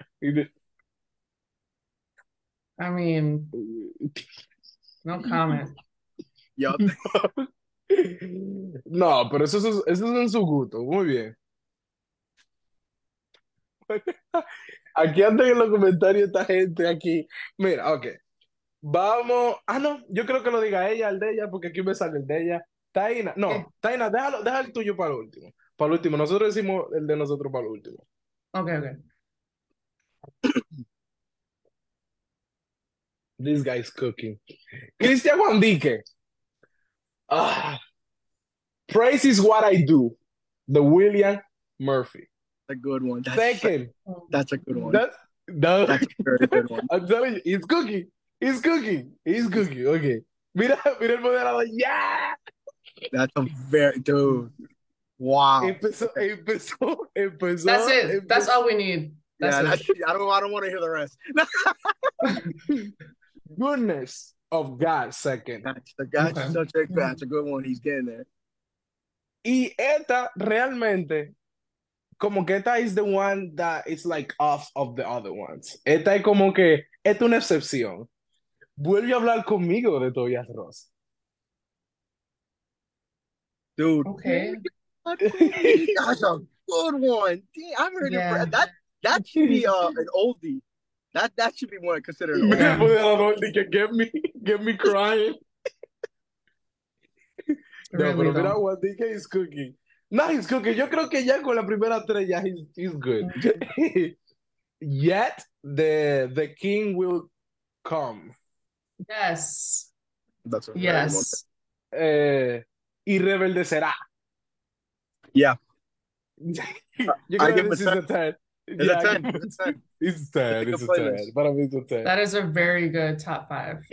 I mean, no comment. Yup. No, pero eso es en su gusto. Muy bien. Aquí andan en los comentarios esta gente aquí. Mira, ok. Vamos. Ah, no, yo creo que lo diga ella, el de ella, porque aquí me sale el de ella. Taina, no, ¿Qué? Taina, deja el tuyo para el último. Para el último. Nosotros decimos el de nosotros para el último. Okay. This guy's cooking. Cristian Juandique. Praise is what I do. The William Murphy. A good one. Second. That's a good one. That's a very good one. I'm telling you, he's cooking. Okay. Mira el moderador. Yeah. That's a very dude. Wow. Empezó. That's it. That's all we need. That's it. I don't want to hear the rest. Goodness of God, second. That's a good one. He's getting there. Y esta realmente, como que esta is the one that is like off of the other ones. Esta es como que, esta es una excepción. Vuelve a hablar conmigo de Tobias Ross. Dude. Okay. That's a good one. Damn, I've heard Yeah. it. That should be an oldie. That should be one considered an Mira el oldie. moderador de que get me crying. No, Really pero mira, don't. Juandique is cooking. No, he's cooking. Yo creo que ya con la primera 3 ya he's good. Yet the king will come. Yes. That's a very Yes. Y rebeldecerá. Yeah. Yo I creo give que this him is the 10. It's a Yeah, 10. It's a 10. it's It's a 10, good it's a 10. playlist. Para mí es un 10. That is a very good top five.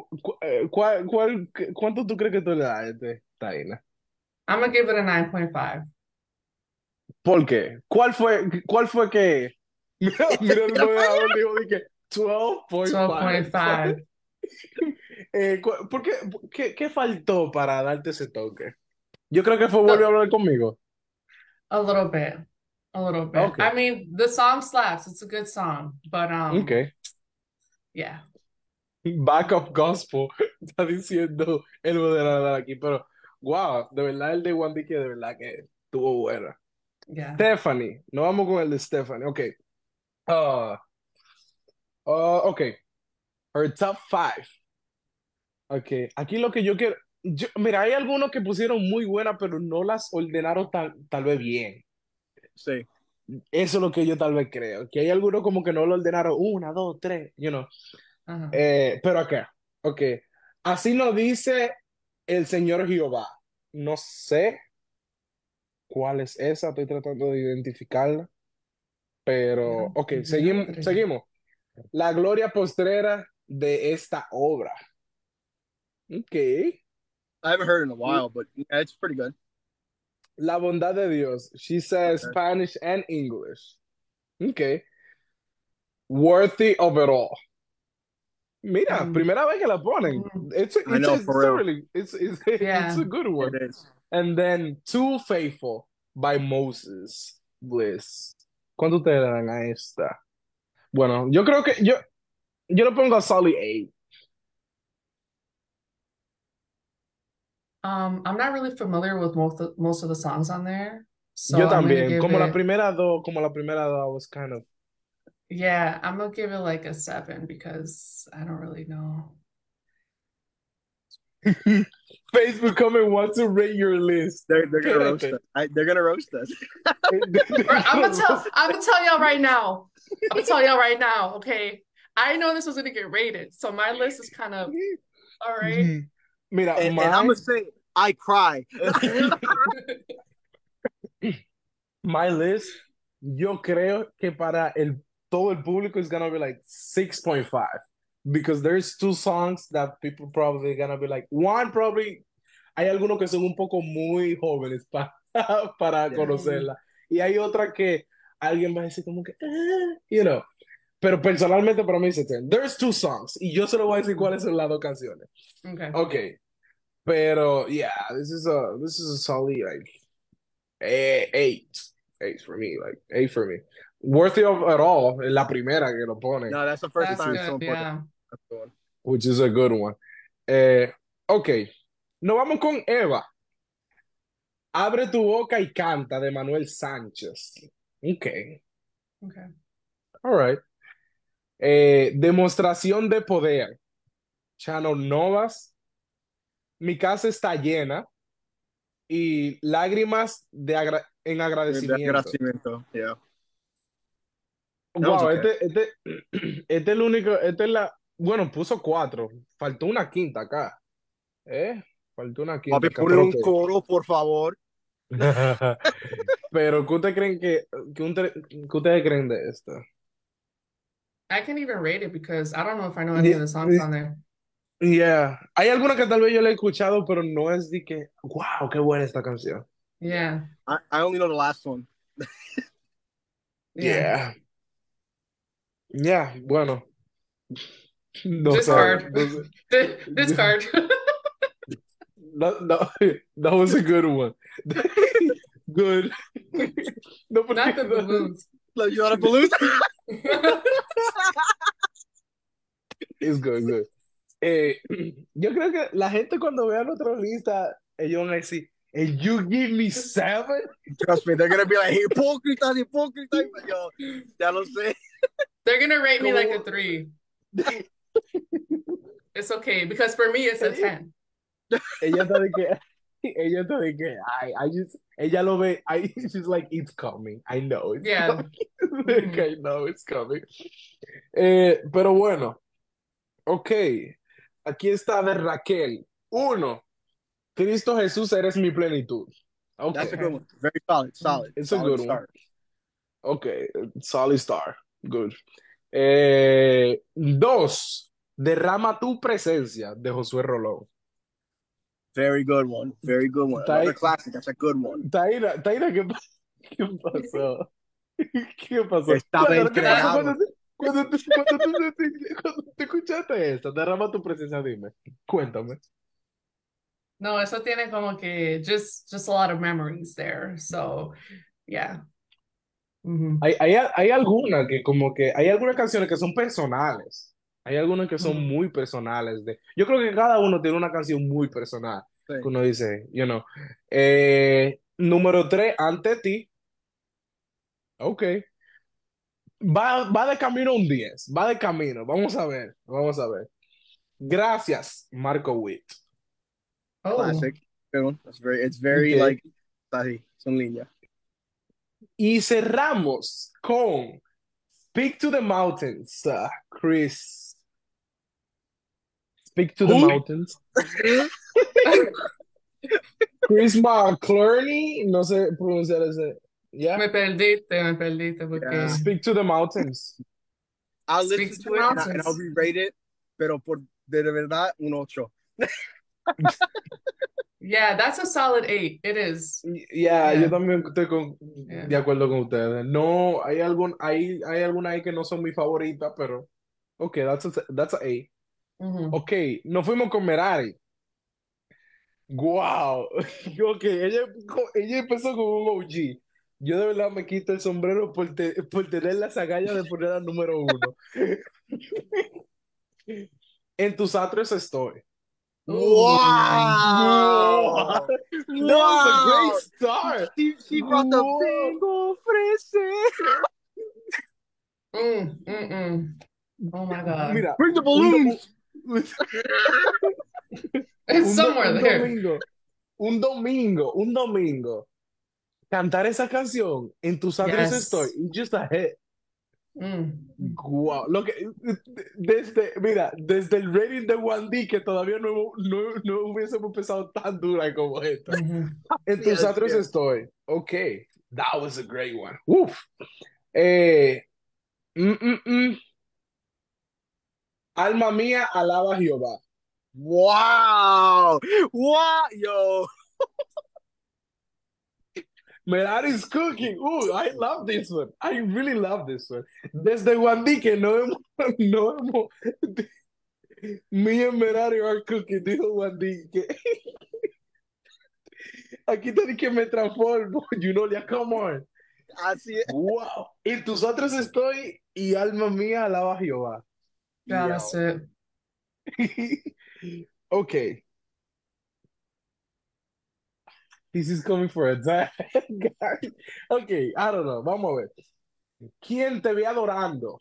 ¿Cuánto tú crees que tú le das a este, Taina? I'm gonna give it a 9.5. ¿Por qué? ¿Cuál fue que... Mira, el moderador dijo de que 12.5. 12.5. ¿Por qué, qué faltó para darte ese toque? Yo creo que fue volvió a The, hablar conmigo. a little bit. A little bit. Ok, I mean, the song slaps. It's a good song. But ok. yeah. Back of Gospel, está diciendo el moderador aquí, pero wow, de verdad el de Wandy que de verdad que estuvo buena. Yeah. Stephanie, no vamos con el de Stephanie, ok. Uh, ok, her top five. Ok, aquí lo que yo quiero, mira, hay algunos que pusieron muy buenas, pero no las ordenaron tal vez bien. Sí. Eso es lo que yo tal vez creo, que hay algunos como que no lo ordenaron una, dos, tres, Uh-huh. Pero acá, ok. Así nos dice el Señor Jehová. No sé cuál es esa, estoy tratando de identificarla, pero ok, seguimos, Diantre. seguimos. La gloria postrera de esta obra. Ok. I haven't heard it in a while, but yeah, it's pretty good. La bondad de Dios. She says Okay. Spanish and English. Ok. Worthy of it all. Mira, Mm, primera vez que la ponen. mm, I know, It's for a real. really, it's yeah. a good one. It is. And then Too Faithful by Moses Bliss. ¿Cuánto ustedes le dan a esta? Bueno, yo creo que yo le pongo a Solid 8. I'm not really familiar with most of the songs on there, Yo so I'm gonna también. give it. Como la primera dos, I was kind of. Yeah, I'm gonna give it like a 7 because I don't really know. Facebook comment wants to rate your list. They're gonna roast Espérate. us. They're gonna roast us. I'm gonna tell y'all right now. I'm gonna tell y'all right now, okay? I know this was gonna get rated, so my list is kind of all right. Mira, And I'm gonna say, I cry. my list, yo creo que para todo el público is gonna be like 6.5 because there's two songs that people probably gonna be like one probably hay algunos que son un poco muy jóvenes para Yeah. conocerla y hay otra que alguien va a decir como que pero personalmente para mí es 10. There's two songs y yo se lo voy a decir cuáles son las dos canciones. Okay. Okay, pero yeah, this is a solid like 8 for me, like 8 for me. Worthy of it all, la primera que lo pone, No, that's the first That's time good, someone put yeah. that's the one. which is a good one. Ok, nos vamos con Eva. Abre tu boca y canta de Manuel Sánchez. Ok, Okay. all right. Demostración de poder. Chano Novas. Mi casa está llena. Y lágrimas en The agradecimiento. agradecimiento. Yeah. That was Wow, okay. este es el único, bueno, puso 4, faltó una quinta acá, faltó una quinta Papi, acá, pone pero un ok. coro, por favor. Pero, ¿qué ustedes creen qué ustedes creen de esta? I can't even rate it because I don't know if I know any of the songs on there. Yeah, hay alguna que tal vez yo la he escuchado, pero no es de que, wow, qué buena esta canción. Yeah. I only know the last one. Yeah. Yeah, bueno, no Discard. sabe, no sé. Discard. That was a good one. Good. No, porque Not the balloons. Like, you want a balloon? It's good, good. Yo creo que la gente cuando vea nuestra lista, ellos van a decir, and you give me 7? Trust me, they're gonna be like, hipócritas, hipócritas. Yo, ya lo sé. They're gonna rate me like a 3. It's okay because for me it's a 10. Ella está de que, ella lo ve, she's like, it's coming, I know it's Yeah. coming. I know it's coming. Pero bueno, ok, aquí está de Raquel. 1, Cristo Jesús, eres mi plenitud. Okay. That's a good one. Very solid, solid. It's a Solid good one. start. Ok, solid star. Good. Dos, derrama tu presencia de Josué Rolón. Very good one. Very good one. Another Tai- classic. That's a good one. Taira, ¿qué pasó? ¿Qué pasó? Estaba ¿Qué pasó That, entregado. cuando te escuchaste esto? Derrama tu presencia, dime. Cuéntame. no, eso tiene como que just a lot of memories there. So, yeah. Mhm. Hay algunas que como que hay algunas canciones que son personales. Hay algunas que son Mhm. muy personales. Yo creo que cada uno tiene una canción muy personal. Sí. Que uno dice, número tres, ante ti. Ok. Va de camino a un 10. Va de camino. Vamos a ver. Vamos a ver. Gracias, Marco Witt. Oh, Classic. Good one. It's Ok. very like, ahí, son líneas. Y cerramos con Speak to the Mountains, Chris. Speak to the Who? Mountains. Chris McClurney, no sé pronunciar ese. ¿Ya? me perdiste Yeah. porque Speak to the Mountains. I'll Speak listen to the to it and I'll mountains. re-rate it, pero de verdad, un ocho. Yeah, that's a solid 8. It is. Ya, yo Yeah, también estoy yeah. de acuerdo con ustedes. No, hay algunas ahí que no son mi favorita, pero ok, that's a A. Mhm. Ok, nos fuimos con Merari. Wow. Ok, ella empezó con un OG. Yo de verdad me quito el sombrero por tener las agallas de poner al número uno. En tus atros estoy. Ooh. Wow. Wow! That was a great Wow! start. She brought the Wow. bingo ofrece. Mm. Oh my God. Mira, Bring the un, do- balloons. It's somewhere un there. domingo, un domingo, cantar esa canción en tus atros estoy, Yes. it's just a hit. Mm. Wow, desde el rating de 1D que todavía no hubiésemos empezado tan dura como esta. Mhm. En tus Yes, atros yes. estoy. Ok, that was a great one. Uf. Eh, mm, mm, mm. Alma mía, alaba a Jehová. Wow! Wow! Yo! Merari's cooking. Ooh, I love this one. I really love this one. Desde 1D que no hemos, me and Merari are cooking, dijo 1D. Aquí te que me transformo, Junolia, come on. Así es. Wow. En tus otros estoy y alma mía alaba a Jehová. Yeah, that's Yo. it. Ok. This is coming for a time. Ok, I don't know. Vamos a ver. ¿Quién te ve adorando?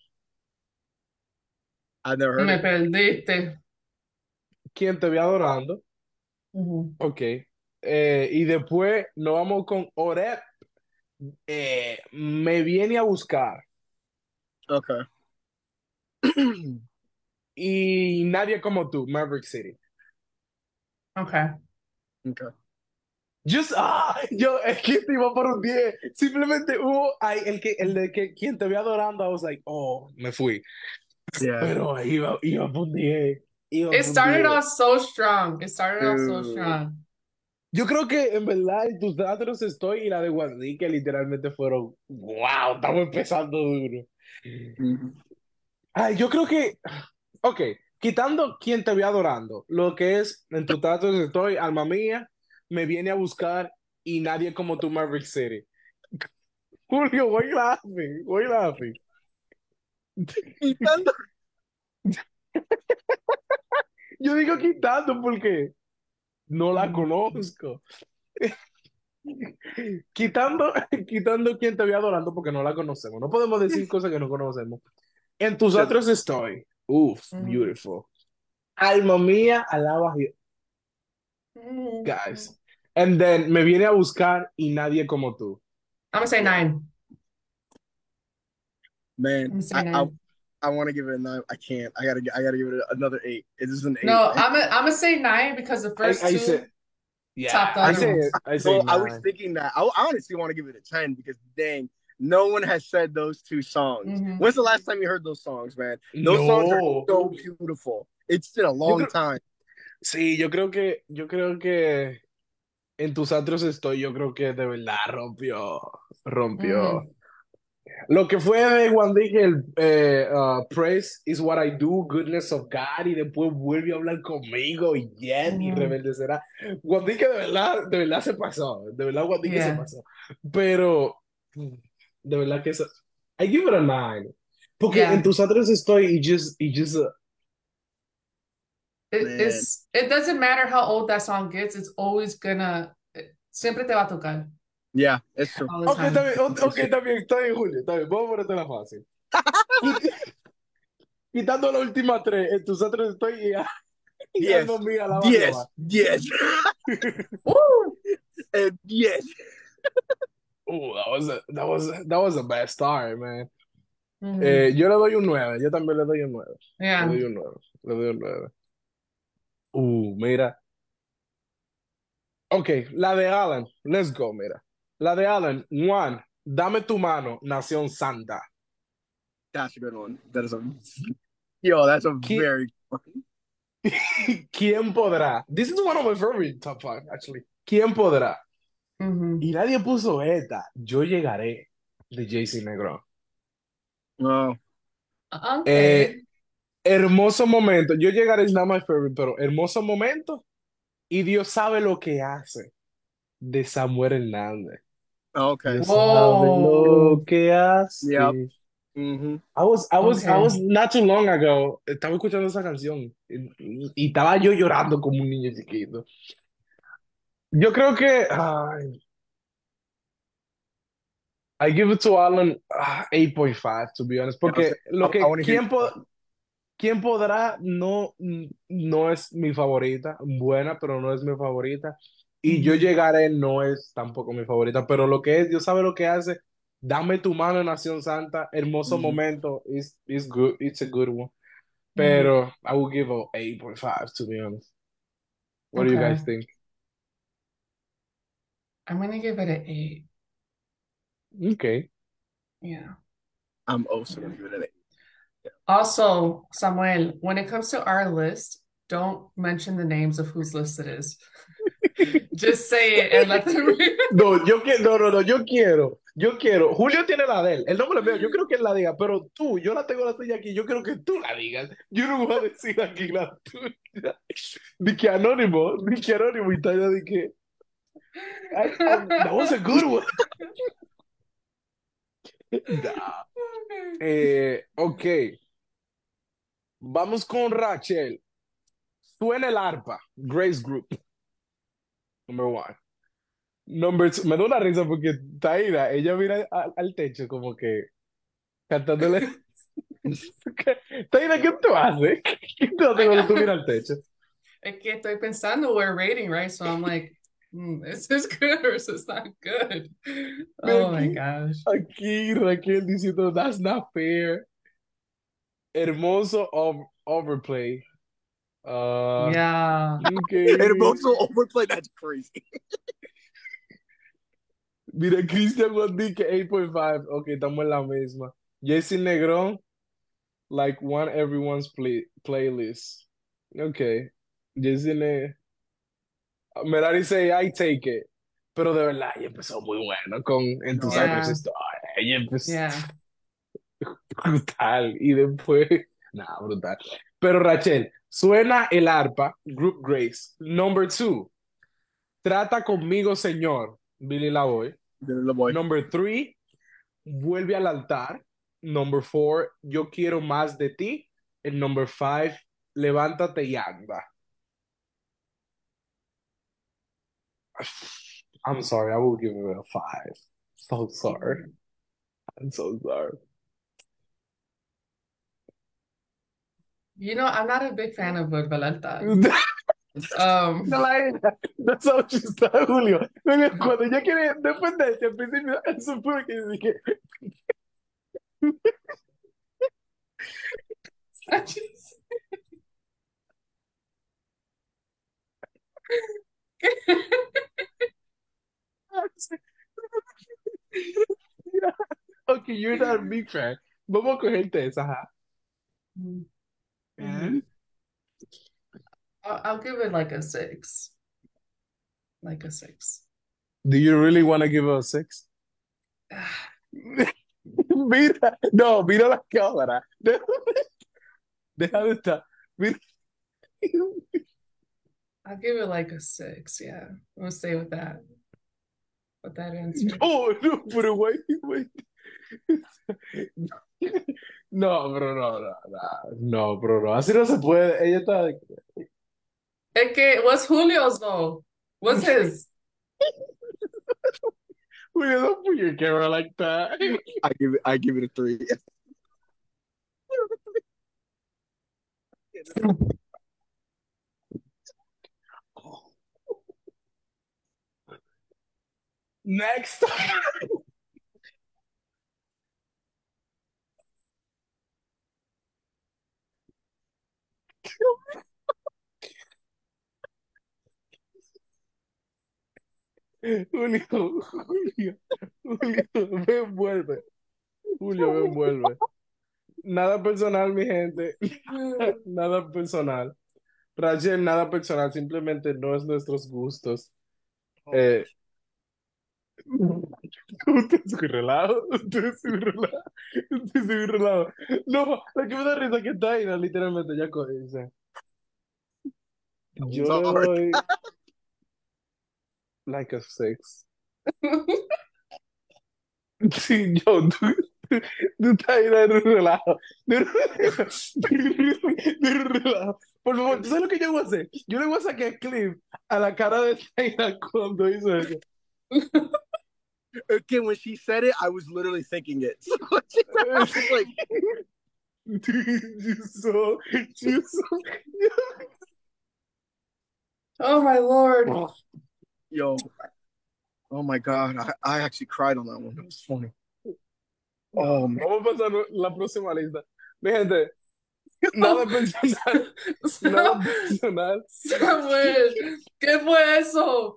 I've never heard Me it. perdiste. ¿Quién te ve adorando? Mhm. Ok. Y después nos vamos con Oreb. Me viene a buscar. Okay. Y nadie como tú, Maverick City. Okay. Okay. Es que te iba por un 10. Simplemente el de que quien te ve adorando, I was like, oh, me fui. Yeah. Pero iba por un 10. Iba It por un started 10. off so strong. It started off so Dude. strong. Yo creo que en verdad en tus datos estoy y la de Guadalí que literalmente fueron, wow, estamos empezando duro. Mhm. Ay, yo creo que, ok, quitando quien te ve adorando, lo que es en tus datos estoy, alma mía, me viene a buscar y nadie como tú, Maverick City. Julio, why you laughing? Why you laughing? Quitando. Yo digo quitando porque no la Mhm. conozco. Quitando, quitando quien te ve adorando porque no la conocemos. No podemos decir cosas que no conocemos. En tus Shit. otros estoy. Uf, Mhm. beautiful. Alma mía, alaba a Dios. Mhm. Guys. And then me viene a buscar y nadie como tú. I'm gonna say Yeah. 9. Man, I'm gonna say 9. I want to give it a 9. I can't. I gotta give it another 8. It is an 8, No, man. I'm gonna say 9 because the first I say, two yeah, top the other ones. I say No, I was 9. thinking that. I honestly want to give it a 10 because dang, No one has said those two songs. Mhm. When's the last time you heard those songs, man? Those songs are No. so beautiful. It's been a Yo long creo, time. sí, yo creo que en tus atros estoy, yo creo que de verdad rompió. Mhm. Lo que fue de Juan Dije, el Praise is what I do, goodness of God, y después vuelve a hablar conmigo y Yet y Mhm. Rebelde será. Juan Dije de verdad se pasó, de verdad Juan Dije se Yeah. pasó. Pero, de verdad que eso, I give it a 9. Porque en Yeah. tus atros estoy y just, Man. It doesn't matter how old that song gets, it's always gonna siempre te va a tocar Yeah, it's true. all the ok, time. está bien, Julio, está bien, vamos a ponerte la fácil. Quitando la última tres, en tus atros estoy y Yes, alma mía, alaba a yes, Jehová. yes, Woo! and yes. Ooh, that was a bad start, man. Mhm. Yo le doy un 9, yo también le doy un 9. Le Yeah. doy un 9, le doy un 9. Mira. Ok, la de Alan, let's go, mira. La de Alan, Juan, dame tu mano, Nación Santa. That's a good one. That is a yo. That's a ¿Qui- very good one. ¿Quién podrá? This is one of my favorite top 5, actually. ¿Quién podrá? Mhm. Y nadie puso esta. Yo llegaré de JC Negrón. Oh, Eh, Okay. hermoso momento. Yo llegaré is not my favorite, pero hermoso momento. Y Dios sabe lo que hace de Samuel Hernández. okay. Dios sabe lo Whoa. que Yep. hace. Mm-hmm. I was Okay. not too long ago. Estaba escuchando esa canción y estaba yo llorando como un niño chiquito. Yo creo que I give it to Alan 8.5, to be honest, Yeah, porque lo I que want to hear. quién podrá no es mi favorita, buena, pero no es mi favorita. Y yo Mhm. llegaré no es tampoco mi favorita, pero lo que es, Dios sabe lo que hace. Dame tu mano, Nación Santa. Hermoso Mhm. momento. Is good. It's a good one. Mhm. Pero I will give a 8.5, to be honest. What do you Okay. guys think? I'm gonna give it an 8. Okay. Yeah. I'm also gonna give it an 8. Also, Samuel, when it comes to our list, don't mention the names of whose list it is. Just say it and let them read. No, no, yo quiero. Julio tiene la de él. Él no me la veo. Yo creo que él la diga, pero tú, yo la tengo la tuya aquí. Yo quiero que tú la digas. Yo no voy a decir aquí la tuya. Di que anónimo y tal, de que. That was a good one. Nah. Ok, vamos con Rachel. Suena el arpa. Grace Group. Number one. Number two. Me da una risa porque Taira, ella mira al techo como que cantándole. Taira, ¿qué tú haces? ¿Qué tú haces I cuando tú got, miras al techo? es que estoy pensando we're rating, right? So I'm like, is this good or is this not good? Ve Oh my aquí, gosh. aquí Raquel diciendo, that's not fair. Hermoso overplay. Yeah. Ok. Hermoso overplay. That's crazy. Mira, Christian Wandy que 8.5. Ok, estamos en la misma. Jesse Negrón, like one everyone's playlist. Ok. Jesse Ne... Merari dice, I take it. Pero de verdad, ella empezó muy bueno con En tus No, I otros Yeah. stories. Ella empezó Yeah. brutal. Y después, nada, brutal. Pero Rachel, suena el arpa, Group Grace. Number 2, Trata conmigo, Señor, Billy Lavoy. little boy. Number 3, Vuelve al altar. Number 4, Yo quiero más de ti. And number 5, Levántate y anda. I'm sorry, I will give it a 5. So sorry. I'm so sorry. You know, I'm not a big fan of Valenta. No la era. No sabes chistar, Julio. Julio, cuando ella quiere defenderse, al principio, eso fue que dije, I just Okay, you're not a big fan. Vamos a cogerte esa, ajá. Mhm. I'll give it like a 6. Like a 6. Do you really want to give it a 6? Mira, no, mira la cámara. Deja de estar. Mira. I'll give it like a 6. Yeah. I'm gonna stay with that. With that answer. No, no, pero wait. No, bro, no, bro, no. Así no se puede. Ella está. Es que, what's Julio's though? What's his? Julio, don't put your camera like that. I give it a 3. Next. Julio, me envuelve. Julio, me envuelve. Nada personal, mi gente. Nada personal. Rachel, nada personal. Simplemente no es nuestros gustos. Usted es un relajo. Usted es un relajo. Usted es un relajo. No, lo que me da risa que está ahí, literalmente, ya dice. Yo le doy like a 6. Sí, tú estás ahí de un relajo. De un relajo. Por favor, ¿tú sabes lo que yo voy a hacer? Yo le voy a sacar clip a la cara de Taylor cuando hizo eso. Okay, when she said it, I was literally thinking it. So I was like, You so. Oh my Lord. yo, oh my God, I actually cried on that one. It was funny. Oh, man. Vamos a pasar la próxima lista. Mi gente, nada personal. Nada personal. Samuel, ¿qué fue eso?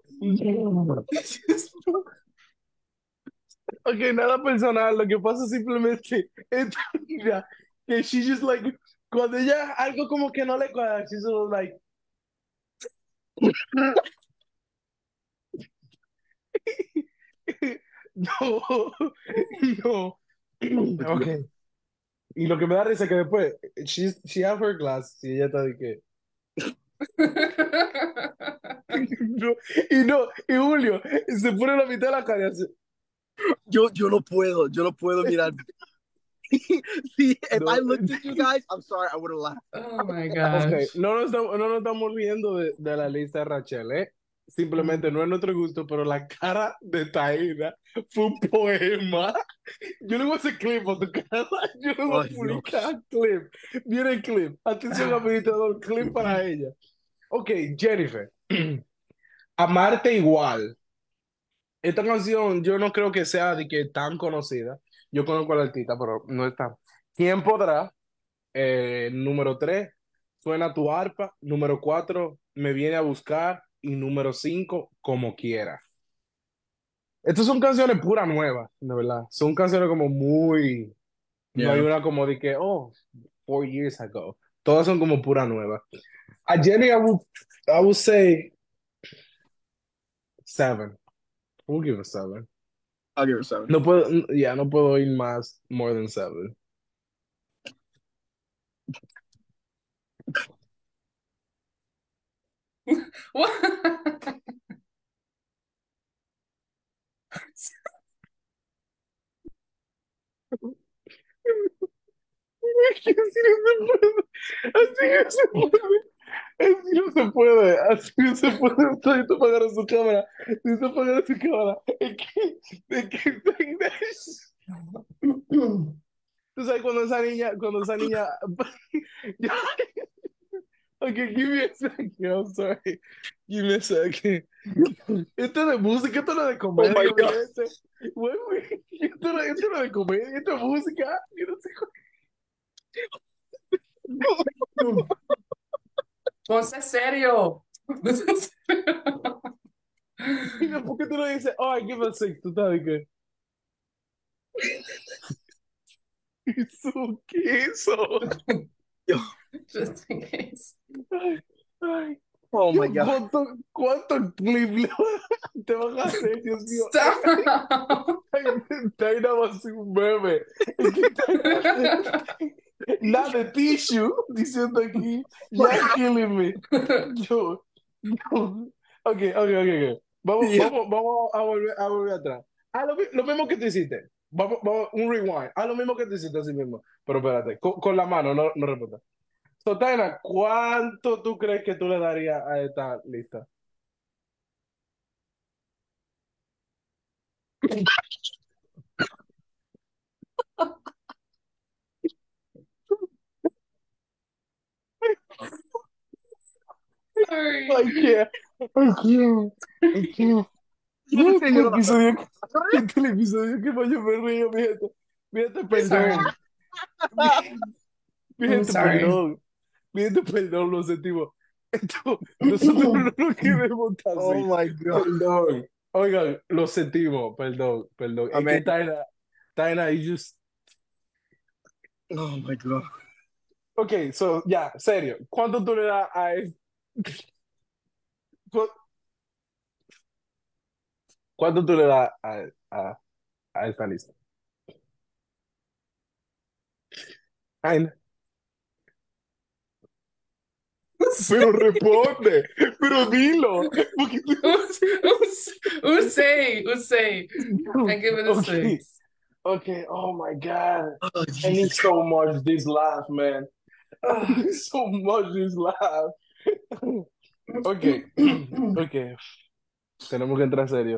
Ok, nada personal. Lo que pasa simplemente es mira, que she just like, cuando ella algo como que no le cuadra, she's sort of like, no, no. Ok. Y lo que me da risa es que después, she have her glass, y ella está de que, no, y Julio se pone la mitad de la cara y hace, yo no puedo mirar. See, if no. I looked at you guys, I'm sorry, I would have laughed. Oh my Ok, gosh. no nos estamos riendo de la lista de Rachel, ¿eh? Simplemente no es nuestro gusto, pero la cara de Taina fue un poema. Yo le voy a hacer clip a tu cara. Yo le voy a Ay, publicar clip. Viene el clip. Atención, administrador, clip para ella. Ok, Jennifer. Amarte igual. Esta canción yo no creo que sea de que tan conocida. Yo conozco a la artista, pero no está. ¿Quién podrá? Número 3, suena tu arpa. Número 4, me viene a buscar. Y número 5, como quiera. Estas son canciones pura nuevas, de verdad. Son canciones como muy. No hay Yeah, una como de que, oh, 4 years ago. Todas son como pura nueva. A Jenny, I would say 7. We'll give it 7. I'll give her 7. No puedo, ya, no puedo ir más, more than 7. What? Así no se puede. Así no se puede. Así no se puede. Necesito apagar su cámara. Necesito apagar su cámara. Tú sabes cuando esa niña. Okay, give me a second. I'm sorry. Give me a second. Esto de música, esto no es de Oh my comedia, mi God. gente. Esto no es de comedia, esto es música. Yo no sé Ponse serio. ¿por qué tú no dices, oh, I give a 6? Tú estás de que. eso? ¿Qué es eso? Yo, Just in case. Ay, ay. oh my Dios, God. ¿cuánto clip te van a hacer, Dios mío? Stop. Taina va a ser un meme. Es que Taina hace nada de tissue diciendo aquí, you're killing me. Yo, yo. Ok, ok, ok, ok. Yeah. Vamos a volver atrás. Lo mismo que tú hiciste. Vamos, un rewind. Lo mismo que tú hiciste así mismo. Pero espérate, con la mano, no respondas. So, Taina, ¿cuánto tú crees que tú le darías a esta lista? Sorry. I can't. I can't. I can't. Yo no sé, Este yo no la episodio, este es el episodio que más yo me río, mi gente. Mi gente, Sorry. perdón. Mi, mi I'm gente, sorry. perdón. Mi gente, perdón, lo sentimos. Nosotros no lo queremos Oh así. my God. Perdón. Oigan, lo sentimos. Perdón, perdón. I Es que mean, Taina, you just... oh my God. Ok, so, ya, serio. ¿Cuánto tú le das cu- ¿Cuánto tú le das a esta lista? Taina, pero responde, pero dilo. Porque Usay. I give it a Okay, 6. okay. Oh my God. Oh I need Jesus. so much this laugh, man. I Ah. need so much this laugh. Okay, okay. Tenemos que entrar serio.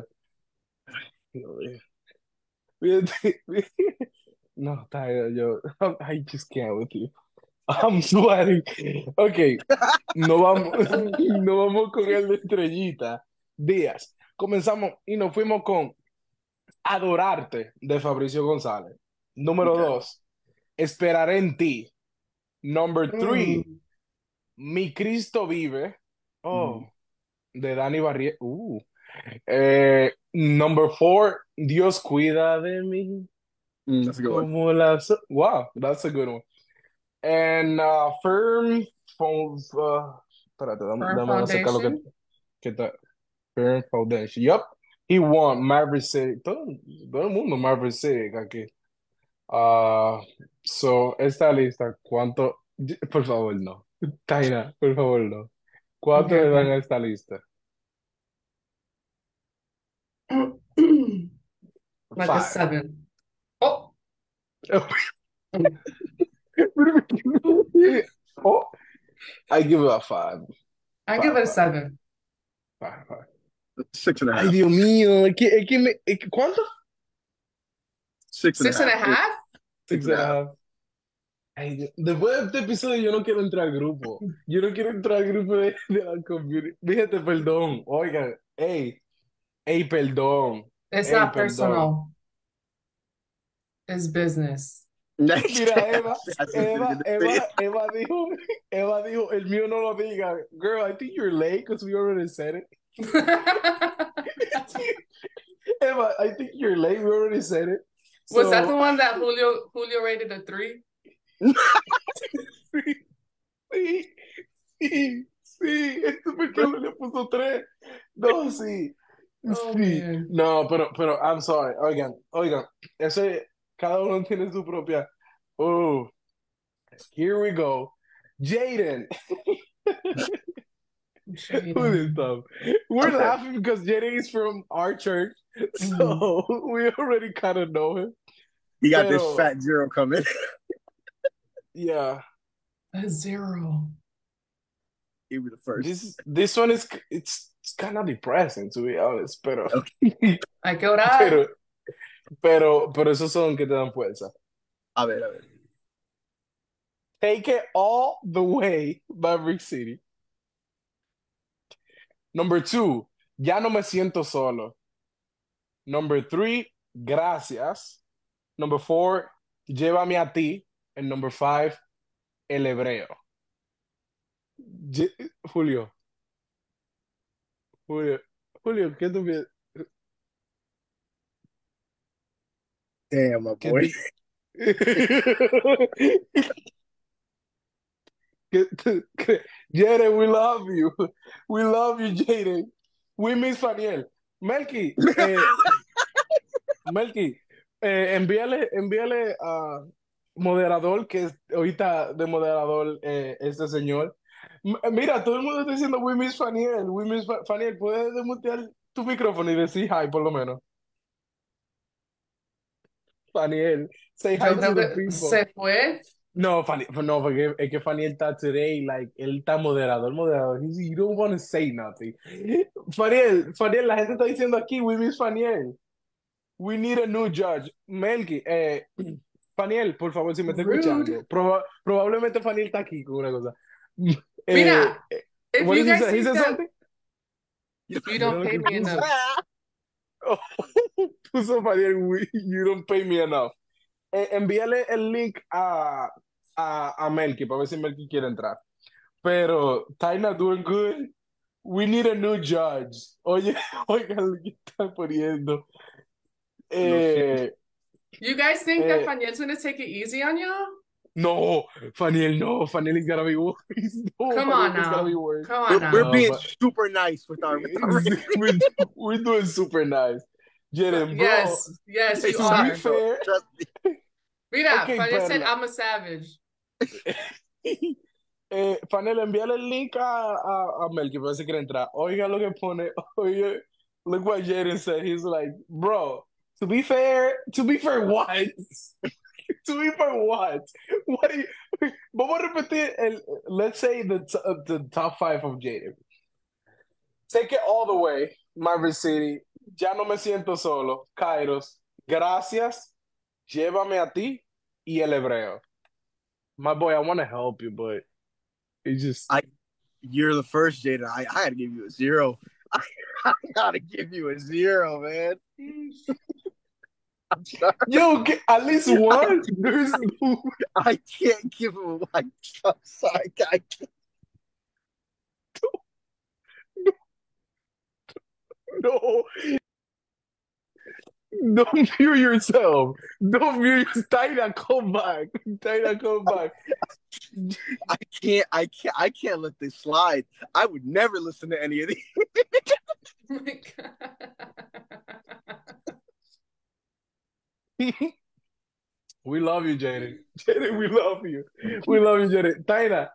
Fíjate, no, Tyler, yo, I just can't with you. I'm sweating. Okay, no vamos, no vamos con el de Estrellita. Díaz. Comenzamos y nos fuimos con Adorarte de Fabricio González. Número Okay. 2, Esperaré en ti. Number 3, Mm. Mi Cristo vive. Mhm. Oh, de Dani Barrié. Number 4, Dios cuida de mí. That's a good one. Como wow, that's a good one. And espérate, Firm dame sacar lo foundation. que está. Firm Foundation. Yup. He won Maverick City. Todo el mundo Maverick City aquí. Ah, so, esta lista, ¿cuánto? Por favor, no. Taina, por favor, no. ¿Cuánto Okay, le dan okay. a esta lista? Like a 5. 7. Oh. Oh, I give it a 5. I give 5, it a 5, 7. 5, 5. Six and a Ay, half. Dios mío, ¿cuánto? Six and a Six and half. a half? Six Six and a and a half. half. Ay, después de este episodio yo no quiero entrar al grupo. Yo no quiero entrar al grupo de la community. Fíjate, perdón. Oigan, hey, perdón. It's Hey, not perdón. personal. It's business. Next. Mira, Eva, Así tiene Eva, que decir. Eva, Eva dijo, Eva dijo, el mío no lo diga. Girl, I think you're late because we already said it. Eva, I think you're late. We already said it. Was that So, the one that Julio rated a 3? sí, sí, sí. Este pequeño le puso 3. No, sí. Oh Sí, man. no, pero, I'm sorry. Oigan, eso cada uno tiene su propia. Oh, here we go. Jaden, who this Jaden. stuff? We're Okay. laughing because Jaden is from our church, Mhm. so we already kind of know him. He got this Pero, fat zero coming. yeah, A 0. He be the first. this one it's kind of depressing to be honest, pero, Okay. Hay que orar. pero, pero esos son que te dan fuerza. A ver. Take it all the way, Maverick City. Number 2, ya no me siento solo. Number 3, gracias. Number 4, llévame a ti. And number 5, el hebreo. Ye- Julio, Julio, Julio, ¿qué tú piensas? Damn, my ¿Qué boy. Jaden, we love you. We love you, Jaden. We miss Faniel. Melky, Melky, envíale a moderador, que es ahorita de moderador este señor. Mira, todo el mundo está diciendo we miss Faniel, we miss Faniel. ¿Puedes desmutear tu micrófono y decir hi por lo menos? Faniel, say hi Yo to creo the que people. se fue. No, no, porque es que Faniel está today, like, él está moderador, moderador. You don't want to say nothing. Faniel, la gente está diciendo aquí, we miss Faniel. We need a new judge. Melky, Faniel, por favor, si me está Rude. escuchando, probablemente Faniel está aquí con una cosa. Mira, if What you does he guys say? He think said that something? you Mira don't lo pay que me puso. enough. Oh, puso Faniel, you don't pay me enough. Envíale el link a Melky para ver si Melky quiere entrar. Pero Taina doing good. We need a new judge. Oye, oiga lo que está poniendo. Lo siento. Eh, You guys think that eh, Faniel's gonna take it easy on y'all? no, Faniel, no. Faniel is gonna be worse. No, Come Faniel on is gonna be now. worse. Come on We're now. No, being but super nice with our rating. we're, we're doing super nice. Jaden, bro, Yes, yes, you It's to be nice are. though. fair, Trust me. Mira, okay, Faniel said Perla. I'm a savage. Fanel, envíale el link a Mel, que parece que quiere entrar. Oiga lo que pone. Oye, look what Jaden said. He's like, bro, to be fair, what? To be fair, what? What do you, vamos a repetir let's say the top five of Jaden. Take it all the way, Marvel City. Ya no me siento solo. Kairos, gracias. Llévame a ti y el hebreo. My boy, I want to help you, but it's just. You're the first, Jaden. I had to give you a zero. I gotta give you a zero, man. I'm sorry. Yo, at least one. There's no. I can't give him a I'm sorry. I can't. No, don't mute yourself. Don't mute. Taina, come back. Taina, come back. I can't let this slide. I would never listen to any of these. Oh my God. We love you, Jaden. Jaden, we love you. We love you, Jaden. Taina,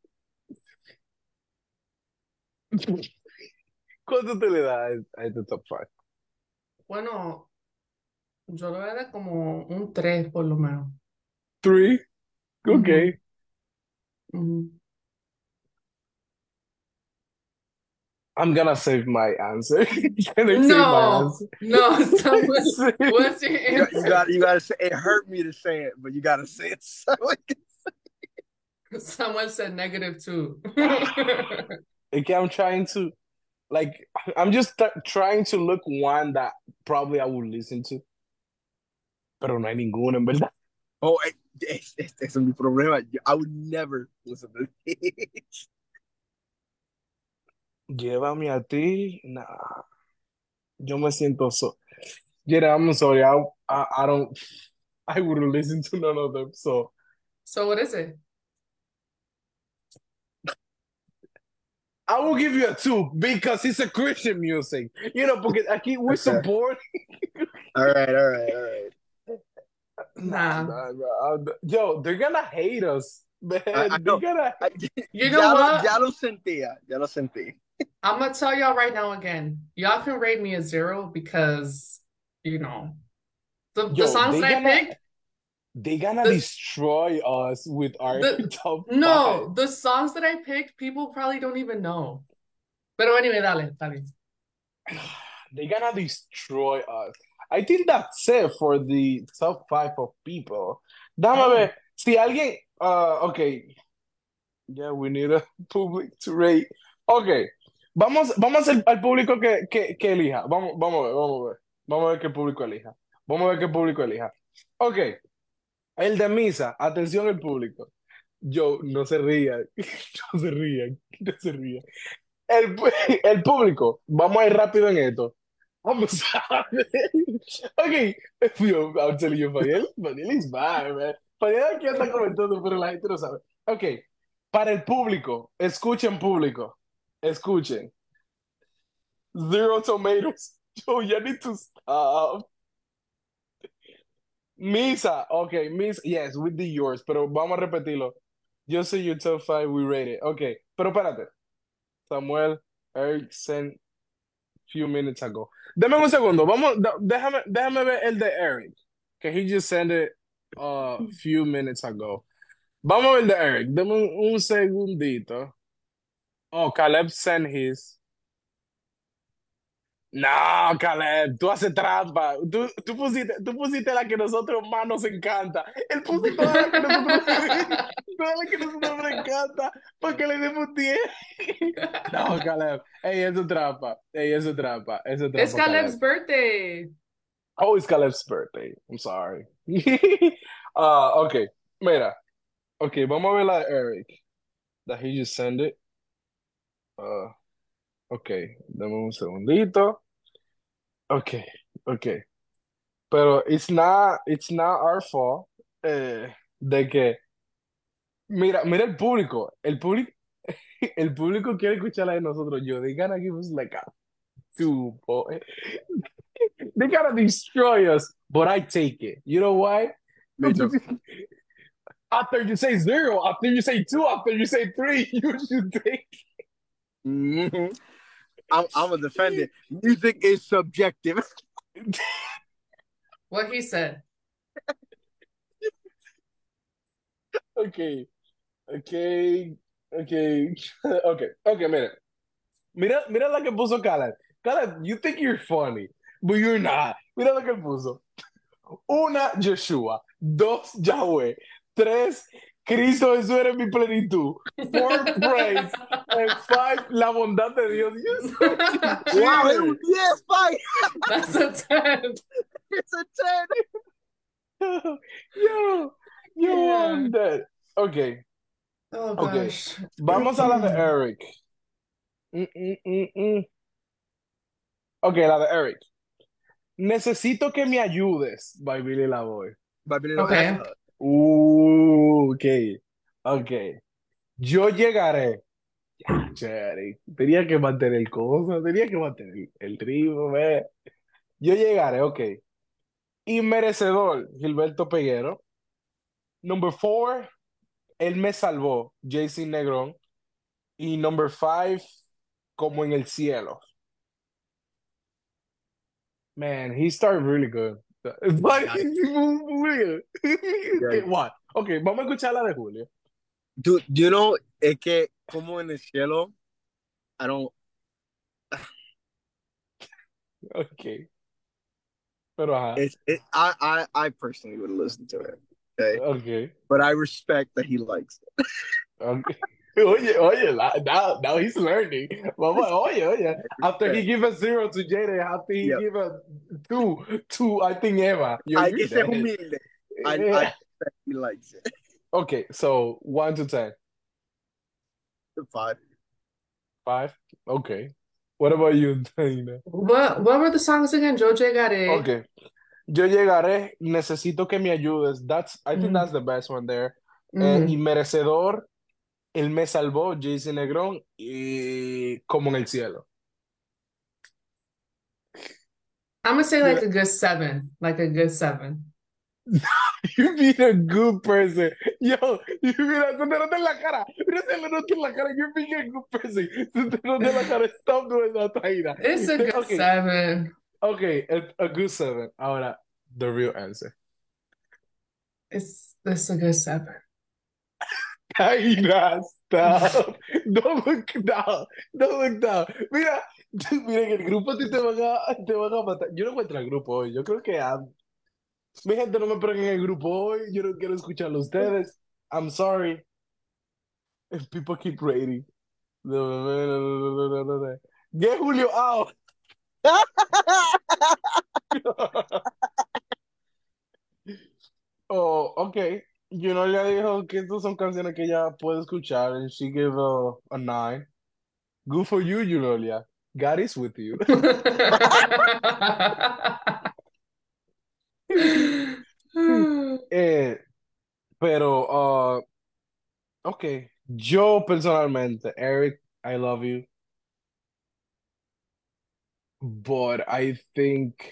¿cuánto te le das a este top 5? Bueno, yo lo voy a dar como un 3 por lo menos. 3? Ujú, Okay. ujú. I'm gonna save my answer. Can I save my No, answer? no, Samuel, what's your You answer? gotta say it hurt me to say it, but you gotta say it. So Someone said -2. Okay, I'm trying to, like, I'm just trying to look one that probably I would listen to. Pero no hay ninguno, en verdad. oh, ese es mi problema. I would never listen to this. Llévame a ti. Nah, yo me siento so. Yeah, I'm sorry. I don't. I wouldn't listen to none of them. So So what is it? I will give you a 2 because it's a Christian music. You know, porque aquí we Okay. support. All right. Nah, Nah. bro. Yo, they're gonna hate us, man. I They're know. gonna. You know what? Ya lo sentí. I'm gonna tell y'all right now again. Y'all can rate me a 0 because, you know, the Yo, songs that I picked, they gonna the- destroy us with our the top 5. no, the songs that I picked, people probably don't even know. Pero anyway, dale. They're gonna destroy us. I think that's it for the top 5 of people. Dame Oh. ver. Si alguien. Okay. Yeah, we need a public to rate. Okay. Vamos al público que elija. Vamos a ver. Vamos a ver qué público elija. Ok. El de misa. Atención el público. Yo, no se rían. No se rían. El público. Vamos a ir rápido en esto. I'm sorry. Okay, yo, I'm telling you, Fadiel is bad, man. Fadiel aquí anda comentando, pero la gente no sabe. Ok, para el público, escuchen público, escuchen. Zero tomatoes. Yo, you need to stop. Misa, ok, Misa, yes, with the yours, pero vamos a repetirlo. Yo soy your top five, we rate it. Ok, pero espérate. Samuel Erickson, few minutes ago. Deme un segundo, déjame ver el de Eric, que he just sent it a few minutes ago. Vamos a ver el de Eric, deme un segundito. Oh, Caleb sent his. No, Caleb, tú haces trampa. Tú pusiste la que nosotros más nos encanta. Él puso toda la que nosotros, toda la que nosotros nos encanta para que le demos 10. No, Caleb. Ey, eso es trampa. Ey, eso es trampa. Eso es It's trampa, Caleb's Caleb. birthday. Oh, it's Caleb's birthday. I'm sorry. Okay. Mira. Okay, vamos a ver la de Eric. That he just sent it. Okay, dame un segundito. Okay, okay. Pero it's not our fault de que mira el público el público quiere escuchar la de nosotros. Yo, they gotta give us like a two, boy. They gotta destroy us, but I take it. You know why? Me too. After you say zero, after you say two, after you say three, you should take. Mhm. I'm a defender. Music is subjective. What he said. Okay, okay, okay, okay, mira la que puso Caleb. Caleb, you think you're funny, but you're not. Mira la que puso. Una, Joshua. Dos, Yahweh. Tres, Cristo Jesús eres mi plenitud. Four, praise. And five, la bondad de Dios. You're such a Wow, it cheater. was, yes, fine. That's a 10. It's a 10. Yo, you Yeah. won that. Okay, Oh okay. gosh. Vamos a la de Eric. Okay, la de Eric. Necesito que me ayudes, by Billy Lavoy. Okay. Okay, okay. Yo llegaré. Ya, Cherry. Tenía que mantener el coso, tenía que mantener el ritmo, ve. Yo llegaré, ok. Inmerecedor, Gilberto Peguero. Number 4, él me salvó, Jason Negrón. Y number 5, como en el cielo. Man, he started really good. But he's weird. Okay, what? Ok, vamos a escuchar la de Julio. Do you know, es que como en el cielo, I don't, Ok. Pero ajá. I personally would listen to it. Okay. Ok. But I respect that he likes it. Okay. Oye, now he's learning. Vamos, oye. After he give a 0 to Jada, after he Yep. give a 2 to, I think, Eva. Hay You're que ser dead. humilde. I Yeah. respect he likes it. Okay, so 1 to 10. 5. 5? Okay. What about you, Dana? What were the songs again? Yo llegaré. Okay. Yo llegaré, necesito que me ayudes. I think that's the best one there. Mhm. Inmerecedor, él me salvó, Jason Negrón, y como en el cielo. I'm gonna say like a good 7. Like a good 7. You're being a good person. Yo, mira, se te nota en la cara. Mira, se le nota en la cara. You're being a good person. Se te nota en la cara. Stop doing that, Taina. It's a good Okay, 7. okay, a good 7. Ahora, the real answer. It's a good 7. Taina, stop. Don't look down. Don't look down. Mira, mira, en el grupo a ti te van a matar. Yo no encuentro el grupo hoy. Yo creo que mi gente no me ponen en el grupo hoy. Yo no quiero escucharlo a ustedes. I'm sorry. If people keep rating. Get Julio out. Oh, okay. Le dijo que estas son canciones que ella puede escuchar and she gave a 9. Good for you, Junolia. God is with you. Eh, pero, ok, yo personalmente, Eric, I love you, but I think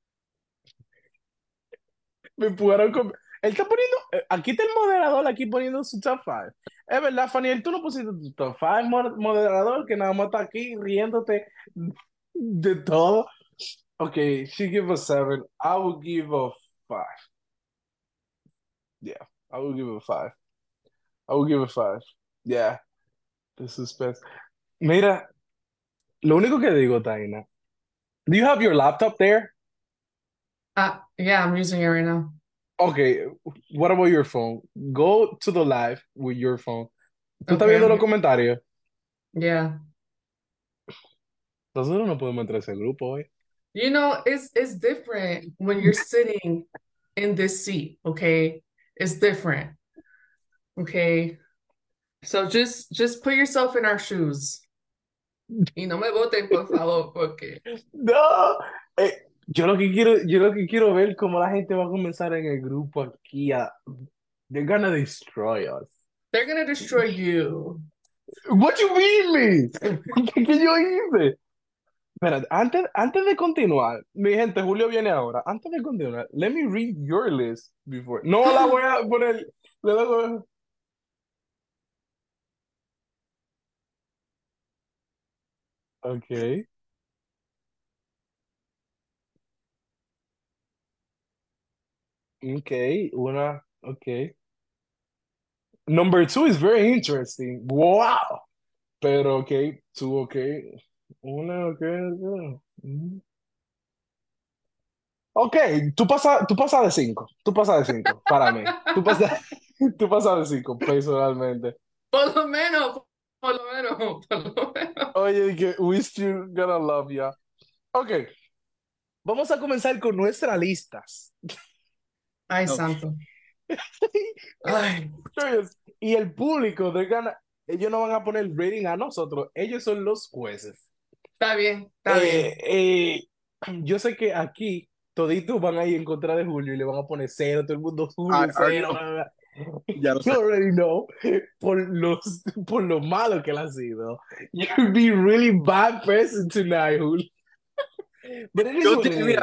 me pudieron él está poniendo, aquí está el moderador aquí poniendo su top 5. Es verdad, Faniel, tú no pusiste tu top 5 moderador que nada más está aquí riéndote de todo. Ok, she give a 7. I will give a 5. Yeah, I will give a 5. I will give a 5. Yeah, the suspense. Mira, lo único que digo, Taina, do you have your laptop there? Yeah, I'm using it right now. Okay, what about your phone? Go to the live with your phone. ¿Tú estás Okay, viendo I'm los here. comentarios? Yeah. Nosotros no podemos entrar a ese grupo hoy. You know, it's different when you're sitting in this seat, okay? It's different. Okay. So just put yourself in our shoes. Y no me voten, por favor, porque No, yo lo que quiero ver cómo la gente va a comenzar en el grupo aquí they're gonna destroy us. they're gonna destroy you. What you mean me? ¿Qué yo hice? Espera, antes de continuar, mi gente, Julio viene ahora. Antes de continuar, let me read your list before. No la voy a poner. Ok, ok, ok. Number two is very interesting. Wow. Pero ok, two, ok. Una, ok, ok. Ok, tú pasas de cinco. Tú pasas de cinco, para mí. Tú pasas de cinco, personalmente. Por lo menos, por lo menos, por lo menos. Oye, que we still gonna love ya. Ok, vamos a comenzar con nuestras listas. Ay, Ok. santo. Ay, Serious. Y el público de gana, ellos no van a poner rating a nosotros, ellos son los jueces. está bien, está Eh, bien. eh, yo sé que aquí toditos van a ir en contra de Julio y le van a poner cero, todo el mundo I Julio already cero. know. Bla, bla. Ya lo You sé. already know por lo malo que él ha sido. You'll be really bad person tonight, Julio. But it is what it Mira, is.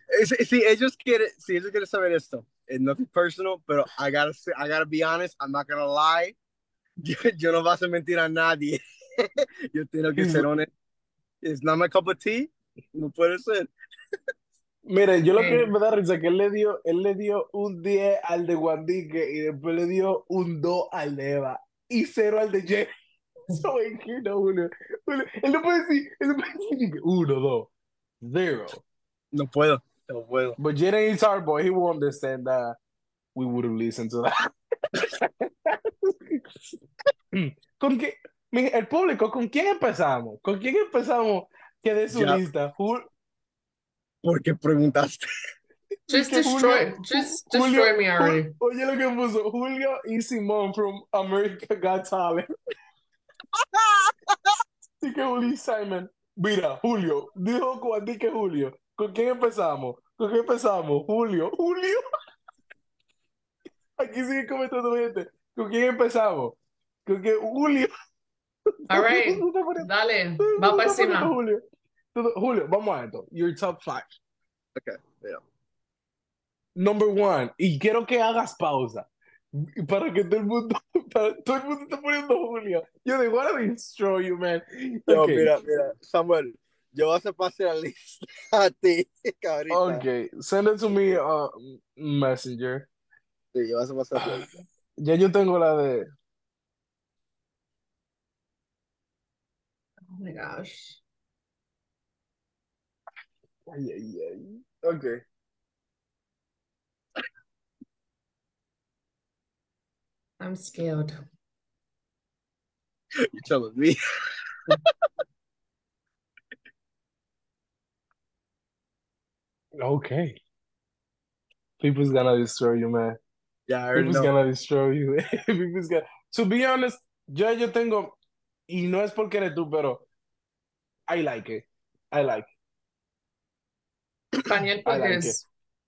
si ellos quieren saber esto, it's nothing personal, pero I gotta be honest, I'm not gonna lie. Yo no vas a mentir a nadie. Yo tengo que He's- ser honesto. It's not my cup of tea. No puede ser. Mire, yo lo que Okay. me da risa es que él le dio un 10 al de Guandique y después le dio un 2 al de Eva y cero al de Jay. So, you know, Julio, él no puede decir que 1, 2, 0. No puedo. No puedo. But Jaden is our boy. He won't understand that we would have listened to that. ¿Con qué? El público, ¿con quién empezamos? ¿Con quién empezamos que de su Ya, lista? ¿por qué preguntaste? Just Que Julio, Julio, destroy me already. oye lo que puso, Julio y Simón from America Got Talent. Así que Julio y Simon, mira, Julio, dijo Juan que Julio, ¿con quién empezamos? ¿Con quién empezamos? Julio, aquí sigue comentando gente, ¿con quién empezamos? ¿Con quién? Julio, All todo el right, mundo está poniendo, dale, todo el va mundo para está poniendo encima. Julio. Julio, vamos a esto, your top 5. Okay, yeah. Number 1, y quiero que hagas pausa. Para que todo el mundo, todo el mundo está poniendo Julio. Yo de what I destroy you, man. Yo, Ok, mira, Samuel, yo vas a pasar la lista a ti, ahorita. ok, send it to me, Messenger. Sí, yo vas a pasar la Ah, lista. ya yo tengo la de. Oh my gosh, Ay, ay, ay. Ok. I'm scared. You're telling me. Okay. People's gonna destroy you, man. Yeah, I already People's know. gonna destroy you. To be honest, yo tengo, y no es porque eres tú, pero I like it. I like Faniel I like it. Pujés.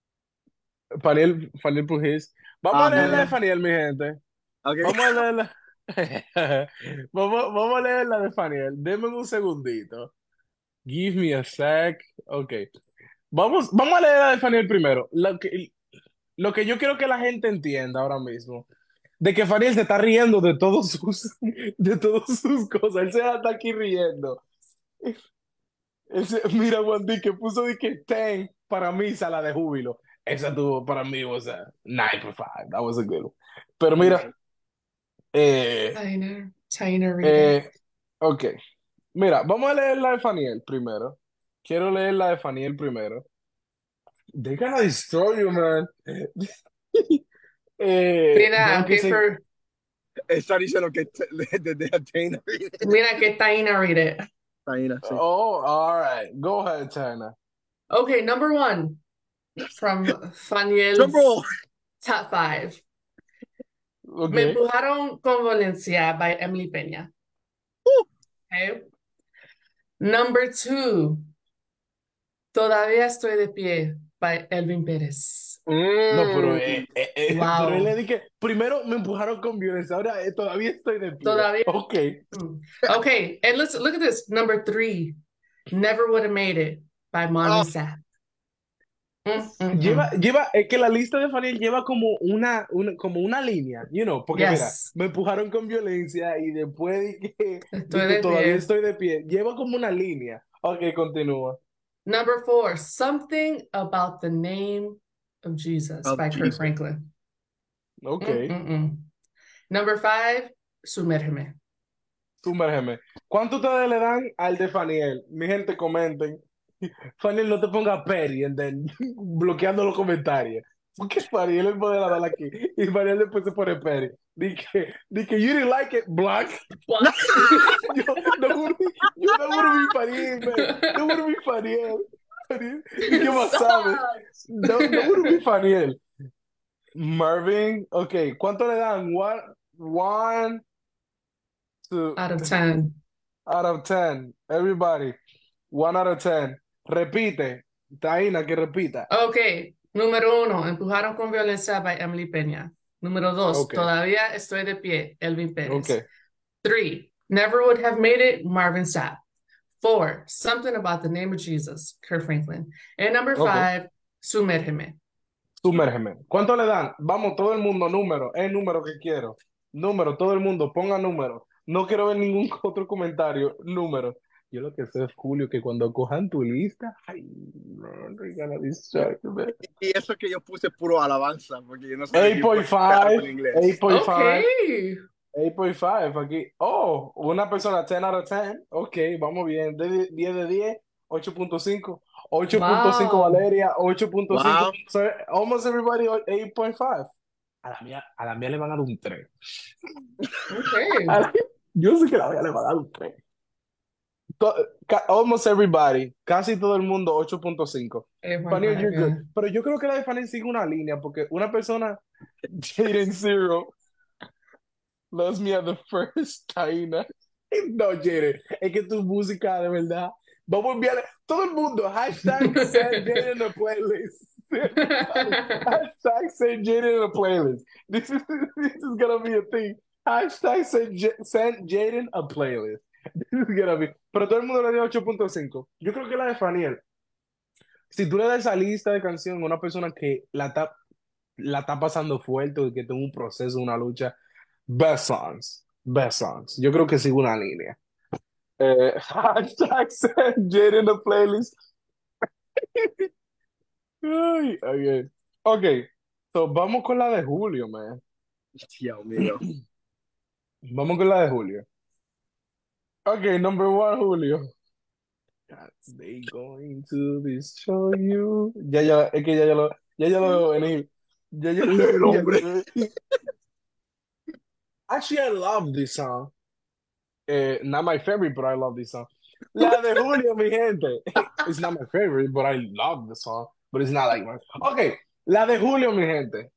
Faniel Pujís. Vamos a leer la de Ujú. Faniel, mi gente. Okay. Vamos a leer la... vamos a leer la de Faniel. Denme un segundito. Give me a sec. Ok. Vamos a leer la de Faniel primero. Lo que yo quiero que la gente entienda ahora mismo, de que Faniel se está riendo de todas sus cosas. Él se está aquí riendo. Mira, Wandy, que puso de que 10 para mí, sala de júbilo. Esa tuvo para mí, o sea, 9.5. That was a good one. Pero mira, eh, Tainer Rita. eh, ok. Mira, vamos a leer la de Faniel primero. Quiero leer la de Faniel primero. They're gonna destroy you, man. Mira, Veo que se. Está diciendo que de Athena. mira que Taina read it. Taina, sí. Oh, all right. Go ahead, China. Okay, number 1 from Drum Faniel's roll. top 5. Me Okay. empujaron con violencia by Emily Peña. Woo. Okay. Number 2, todavía estoy de pie by Elvin Pérez. No, pero, Mm. pero él Wow. le dije, primero me empujaron con violencia, ahora todavía estoy de pie. Todavía. Ok. Okay, and let's look at this. Number 3, Never Would Have Made It by Marvin Oh, Sapp. Es que la lista de Faniel lleva como como una línea, porque mira, Yes, me empujaron con violencia y después estoy di que de todavía pie. estoy de pie. Lleva como una línea. Ok, continúa. Number 4, Something About the Name of Jesus of by Kirk Jesus. Franklin. Ok, Number 5, Sumérgeme. sumérgeme. ¿Cuánto ustedes le dan al de Faniel? Mi gente, comenten. Faniel, no te ponga Perry and then bloqueando los comentarios. Porque Faniel es moderador aquí. Y Faniel después se pone Perry. Di que you didn't like it, black. What? Yo no wanna be Faniel, man. No wanna be Faniel. Di que más sabes. Sucks. No wanna be Faniel. Marvin, ok. ¿Cuánto le dan? One, two, Out of 10. out of 10. Everybody. 1 out of 10. Repite. Taina, que repita. Okay, número 1, Empujaron con violencia by Emily Peña. Número 2, Ok, Todavía estoy de pie, Elvin ok, Pérez. 3, Never Would Have Made It, Marvin Sapp. 4, Something About the Name of Jesus, Kirk Franklin. And number ok. 5, Sumérgeme. Sumérgeme. ¿Cuánto le dan? Vamos, todo el mundo, número. Es el número que quiero. Número, todo el mundo, ponga número. No quiero ver ningún otro comentario. Número. Yo lo que sé es, Julio, que cuando cojan tu lista, ay, no, they're gonna distract me. Y eso que yo puse puro alabanza, porque yo no sabía que yo podía hacer 8.5, algo en inglés. 8.5, Okay. 8.5 aquí. Oh, una persona 10 out of 10. Ok, vamos bien. 10 de 10, 8.5. 8.5 Wow. Valeria, 8.5. Wow. So, almost everybody 8.5. A la mía le van a dar un 3. Okay. Yo sé que la mía le va a dar un 3. Almost everybody, casi todo el mundo 8.5. Fanny, 8.5, you're good. yeah. Pero yo creo que la de Fanny sigue una línea, porque una persona, Jaden Zero, loves me at the first, Taina. No, Jaden, es que tu música, de verdad. Vamos a enviarle todo el mundo. Hashtag send Jaden in a playlist. Hashtag send Jaden in a playlist. This is gonna be a thing. Hashtag send Jaden a playlist. This is gonna be. Pero todo el mundo le dio 8.5. Yo creo que la de Faniel. Si tú le das esa lista de canciones a una persona que la está pasando fuerte o que tiene un proceso, una lucha, best songs. Best songs. Yo creo que sigue una línea. Hashtag send Jaden in the playlist. Ay, okay. Ok, so vamos con la de Julio, man. Dios mío. Vamos con la de Julio. Ok, number 1, Julio. God, they going to destroy you. Es que ya lo veo venir. El hombre. Actually, I love this song. Not my favorite, but I love this song. La de Julio, mi gente. It's not my favorite, but I love the song. But it's not like my... Ok, la de Julio, mi gente.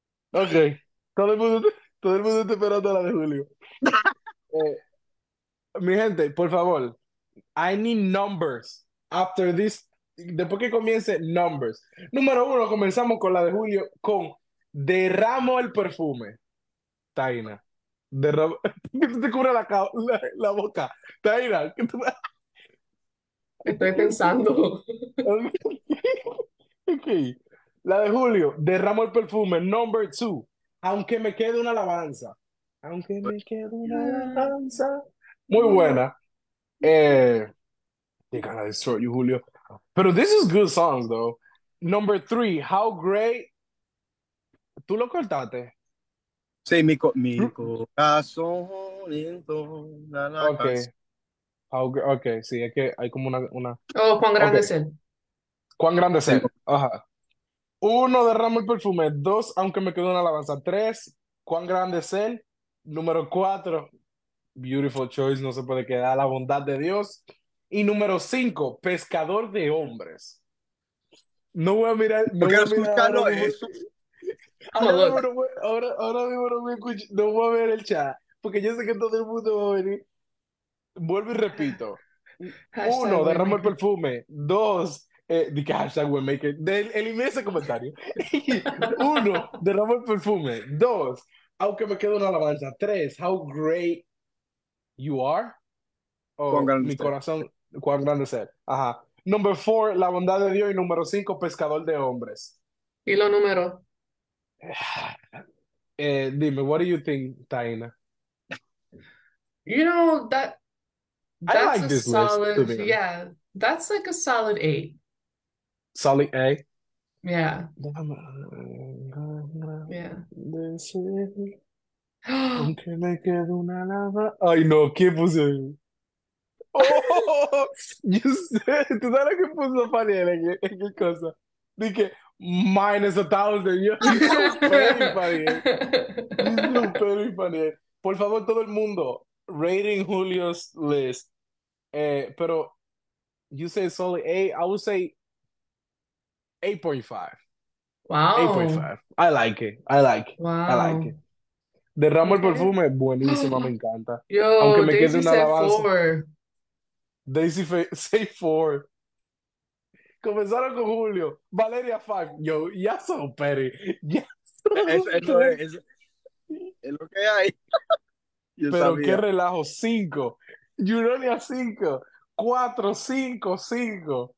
Ok, todo el mundo está esperando la de Julio. Eh, Mi gente, por favor, I need numbers after this. Después que comience, numbers. Número uno, comenzamos con la de Julio, con Derramo el perfume. Taina. Derramo. ¿Qué te cubre la boca? Taina. Estoy pensando. Ok. La de Julio, Derramo el perfume. Number two, aunque me quede una alabanza. Aunque me quede una alabanza. Muy buena. They're gonna destroy you, Julio. Pero this is good songs, though. Number three, How Great. ¿Tú lo cortaste? Sí, mi corazón entona la Ok. canción. Ok, sí, es que hay como una... Oh, cuán Ok. grande es él. ¿Cuán grande es Tengo, él? Ajá. Uno, Derramo el perfume. Dos, aunque me quedó una alabanza. Tres, ¿cuán grande es él? Número cuatro, Beautiful Choice, no se puede quedar, la bondad de Dios. Y número cinco, Pescador de hombres. No voy a mirar, yo no voy quiero a mirar ahora escucharlo mismo. eso. I'm a Ahora mismo look. no voy, ahora mismo no voy a ver el chat, porque yo sé que todo el mundo va a venir. Vuelvo y repito. Hashtag Uno, Derramo el Waymaker. perfume. Dos, di que hashtag Waymaker. Elimina ese comentario. Uno, Derramo el perfume. Dos, aunque me quede una alabanza. Tres, How great you are. Cuán O grande mi usted. corazón, cuán grande es él. Ajá. Number four, la bondad de Dios. Y número cinco, pescador de hombres. Y los números. Dime, what do you think, Taina? You know, I that's like a this list, to solid, be honest. yeah, that's like a solid 8. Solid A. Yeah, yeah. Aunque me quede una lava. Ay, no, ¿qué puse? Oh, yo sé, ¿tú sabes lo que puso Faniel en qué cosa? Dije, minus 1,000. Yo, you're so petty, Faniel. You're so petty, Faniel. Por favor, todo el mundo, rating Julio's list. Pero, you say solid 8, I would say 8.5. Wow, 8.5. I like it. I like it. I like wow. it. Derramo el Okay. perfume, buenísima, me encanta. Aunque Yo, me quede Daisy una said alabanza. 4. Say four. Comenzaron con Julio. Valeria 5. Yo, ya son petty. Ya son Eso petty. es lo que hay. Yo Pero qué sabía. relajo. 5. Juronia 5. 4, 5, 5.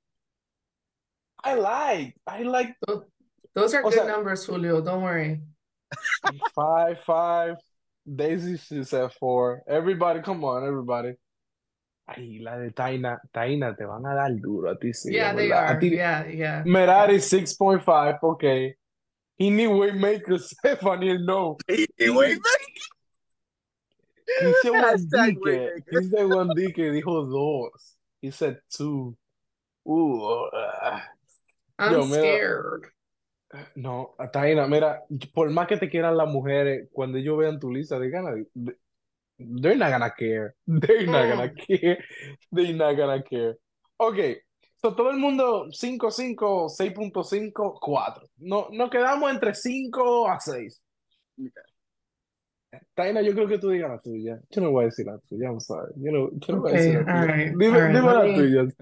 I like. Tho- Those are O good sea, numbers, Julio. Don't worry. 5, 5. Daisy she said 4. Everybody, come on, everybody. Ay, la de Taina. Taina, te van a dar duro a ti, sí, Yeah, en they verdad. A are. ti, Yeah, yeah, yeah. Merari 6.5, okay. He need Waymaker, Stephanie, no. Y Y Waymaker. Christian Hashtag Wandike, Waymaker. Christian Wandike dijo dos. He said two. I'm Yo, mira, scared. no, Taina, mira, por más que te quieran las mujeres, cuando ellos vean tu lista, they're not gonna care. They're not gonna Mm. care. They're not gonna care. Ok, so todo el mundo 5.5, 6.5, 4. No, nos quedamos entre 5 a 6. Taina, yo creo que tú digas la tuya. Yo no voy a decir la tuya, I'm sorry. Yo no voy a decir Okay, la all tuya. right, all Dime, right. dime Let la me. tuya.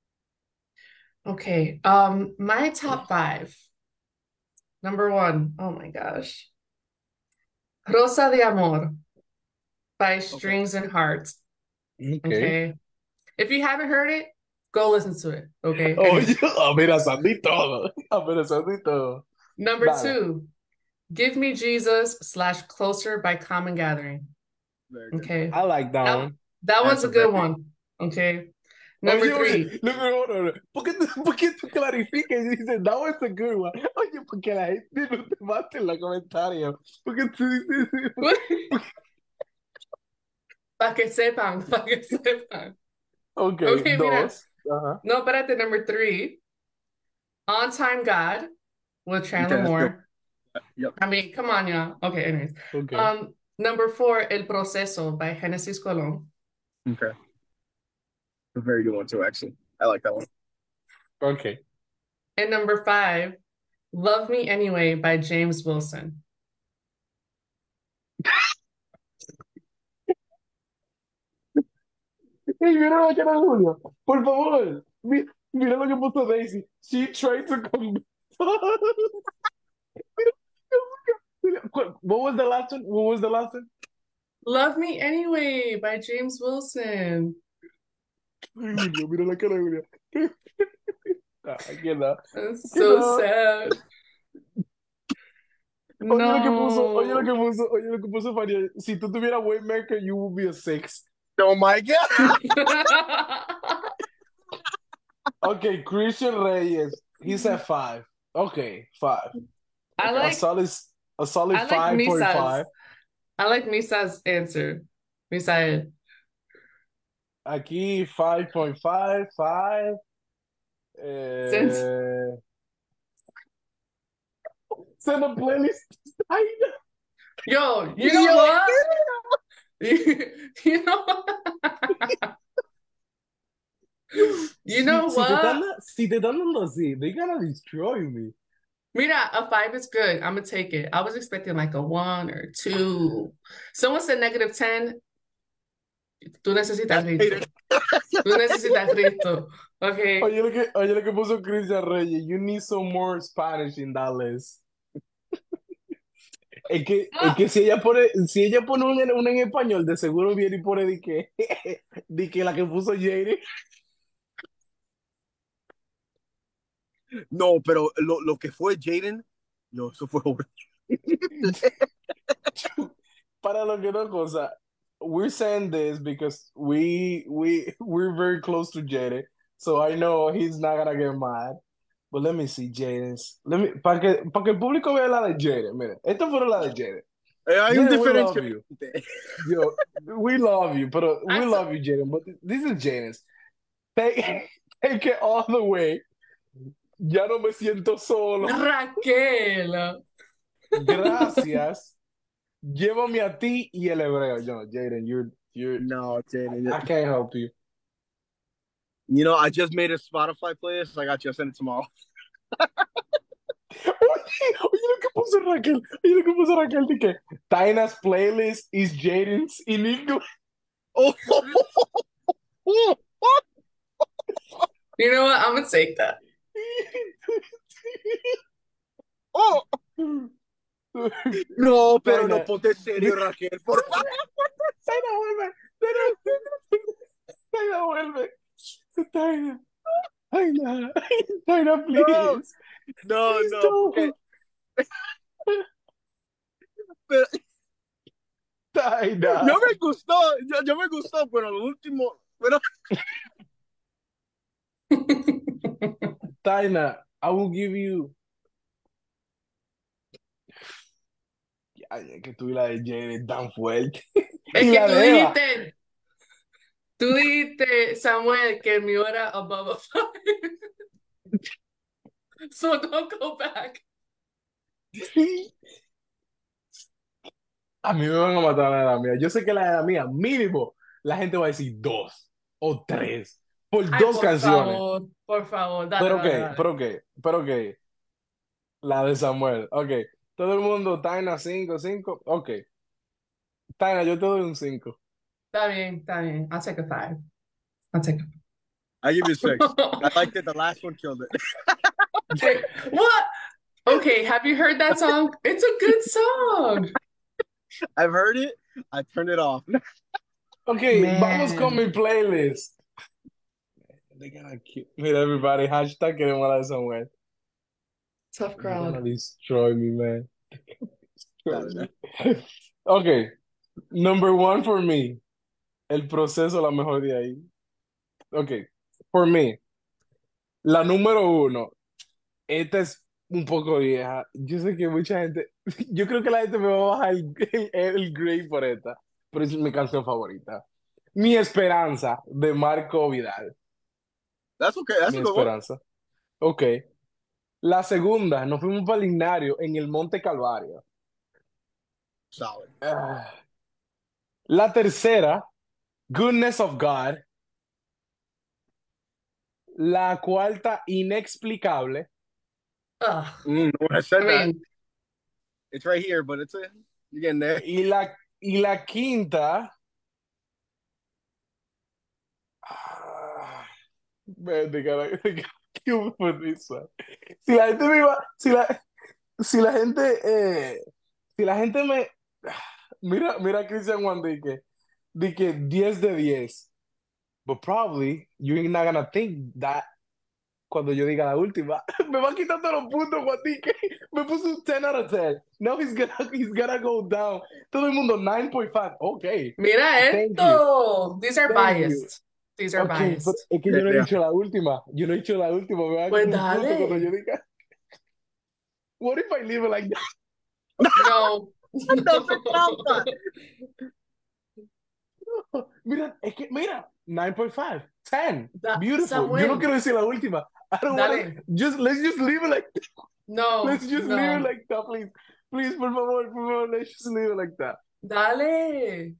Okay. My top five. Number one. Oh my gosh. Rosa de Amor by Okay. Strings and Hearts. Ok. Okay. If you haven't heard it, go listen to it. Okay. Oye, Anyways. amenazando y todo. Amenazando y todo. Number Dale. two, Give Me Jesus slash Closer by Common Gathering. Very good. Okay. I like that That one. that one's That's a a good very one. Okay. Number Oye, oye, three. look, no. ¿Por qué tú clarificas y dices, that was a good one? Oye, porque la gente no te mate en los comentarios. Porque tú dices, Para que sepan, para que sepan. ok, Okay, mira. dos. Ajá. No, espérate, number three. On Time God with Chandler okay. That's good. Moore. Yep. I mean, come on, y'all. Okay, anyways. Ok. Number four, El Proceso by Genesis Colón. Okay. A very good one too, actually. I like that one. Ok. And number five, Love Me Anyway by James Wilson. Ey, mira la cara de Julio. Por favor. Mira lo que puso Daisy. She tried to come. What was the last one? What was the last one? Love Me Anyway by James Wilson. Ay, Julio, mira la cara de Julio. Aquí no. That's Que so no. sad. No. Oye lo que puso Faria. Si tú tuvieras Waymaker, you would be a six. Oh my God. Okay, Christian Reyes. He's at five. Okay, five. I Okay, like a solid I like Misa's 5.5. I like Misa's answer. Misa, Aquí 5.5, 5. since Send a playlist. yo, you know Yo, what? You know you know what? Si te están dando así, they gonna destroy me. Mira, a 5 is good. I'm gonna take it. I was expecting like a 1 or 2. Someone said -10. Tú necesitas Cristo. Tú necesitas Cristo. Okay. Oye lo que puso Christian Reyes. You need some more Spanish in that list. Es que si ella pone una en español, de seguro viene y pone de que la que puso Jade. no, pero lo que fue Jaden, no, eso fue horrible. Para lo que no cosa, we're saying this because we're very close to Jade, so I know he's not gonna get mad. But let me see Jaden's. Para que el público vea la de Jade. Miren, esta fue la de Jade. Hay un Jaden, we love diferencia. you. Yo, we love you, but we I love you, Jaden. But this is Jaden's. Take it all the way. Ya no me siento solo. Raquel. Gracias. Llévame a ti y el hebreo. Yo, Jaden, you're. No, Jaden. I can't help you. You know, I just made a Spotify playlist. I got you. I'll send it tomorrow. Oye, lo que puso Raquel. Oye, lo que puso Raquel. De que Taina's playlist is Jaden's in English. Oh, You know what? I'm gonna take that. oh. No, pero Taina. no ponte serio, Raquel, por favor. Taina, vuelve. Taina, vuelve. Taina. Taina. Taina, please. No, Please no, don't. porque, pero, Taina. yo me gustó, pero lo último, pero Taina, I will give you. Ay, que tú y la de Jade tan fuerte. Es Y que la de Eva. tú dijiste, Samuel, que el mío era above a 5. So don't go back. A mí me van a matar la edad mía. Yo sé que la edad mía, mínimo, la gente va a decir 2 o 3 por Ay, dos canciones. por favor, dale, Pero dale, qué, dale. pero qué, pero qué. La de Samuel. Ok. Todo el mundo, Taina 5, 5. Ok. Taina, yo te doy un 5. Está bien, está bien. I'll take a 5. I'll take a I give you 6. I liked it. The last one killed it. What? Okay, have you heard that song? It's a good song. I've heard it. I turned it off. Ok, Man. vamos con mi playlist. They're gonna kill. Mira, everybody, hashtag queremos la de Samuel. Tough They're gonna crowd. destroy me, man. Dale, Ok. Number 1 for me. El proceso, la mejor de ahí. Ok. For me. La número 1. Esta es un poco vieja. Yo sé que mucha gente. Yo creo que la gente me va a bajar el grade por esta. Pero es mi canción favorita. Mi Esperanza, de Marco Vidal. That's okay. That's Mi a good one. Esperanza. Ok. La segunda, nos fuimos para el Ignario en el Monte Calvario. Solid. La tercera, Goodness of God. La cuarta, Inexplicable. Ugh. No one has said I that. mean, It's right here, but you're getting there. Y la quinta, Man, qué risa. Si la gente me iba, si la gente, si la gente me, mira a Christian Juan di que 10 de 10, but probably you're not gonna think that cuando yo diga la última. Me va quitando los puntos, Juan Dique. Me puso un 10 out of 10. Now he's gonna go down. Todo el mundo 9.5. Ok, Mira thank you, esto. These are thank you. biased. These are Ok, pero biased. es que Yeah, yo no he yeah. dicho la última. Yo no he dicho la última. Me va a Pues quitar un punto cuando yo dale. diga. What if I leave it like that? No. No se trampa. Mira, es que, mira, 9.5, 10. Beautiful. Yo no Samuel, quiero decir la última. I don't want to. dale. Let's just leave it like that. No, Let's just leave it no. like that, please. Please, por favor, let's just leave it like that. Dale.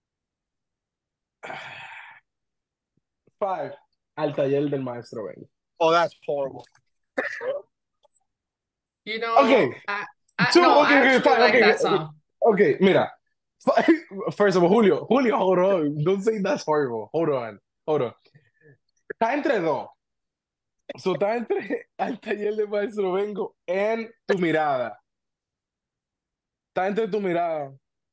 5, al taller del maestro Ben. Oh, that's horrible. You know, Okay, two, no, okay, I okay, actually fine, like okay, that okay, song. okay, mira. First of all, Julio, hold on. Don't say that's horrible. Hold on. Está entre dos. So, está entre al taller del maestro Vengo en tu mirada. Está entre tu mirada.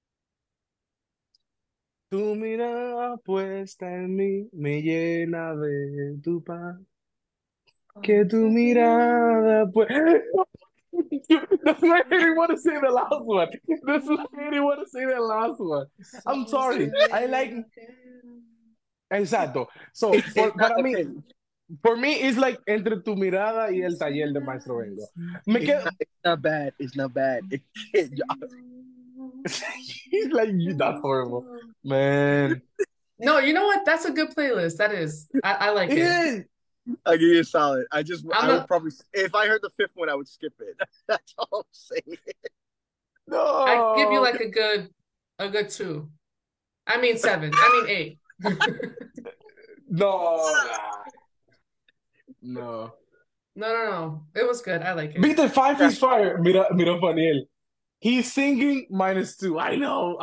Tu mirada puesta en mí me llena de tu paz. Que tu mirada pues. That's why I didn't want to say the last one. That's why I didn't want to say the last one. I'm sorry. I like. Exacto. So, It's not para mí, okay. for me, it's like entre tu mirada y el taller de Maestro Vengo. Me quedo. It's not bad. It's not bad. He's like, that's horrible, man. No, you know what? That's a good playlist. That is. I like It it. is. I give you a solid. I I'm would a, probably, if I heard the fifth one, I would skip it. That's all I'm saying. I give you No, like a good 2. I mean 7. I mean 8. no, no. No. It was good. I like it. Viste, 5 is fire. Mira, Paniel. He's singing -2. I know.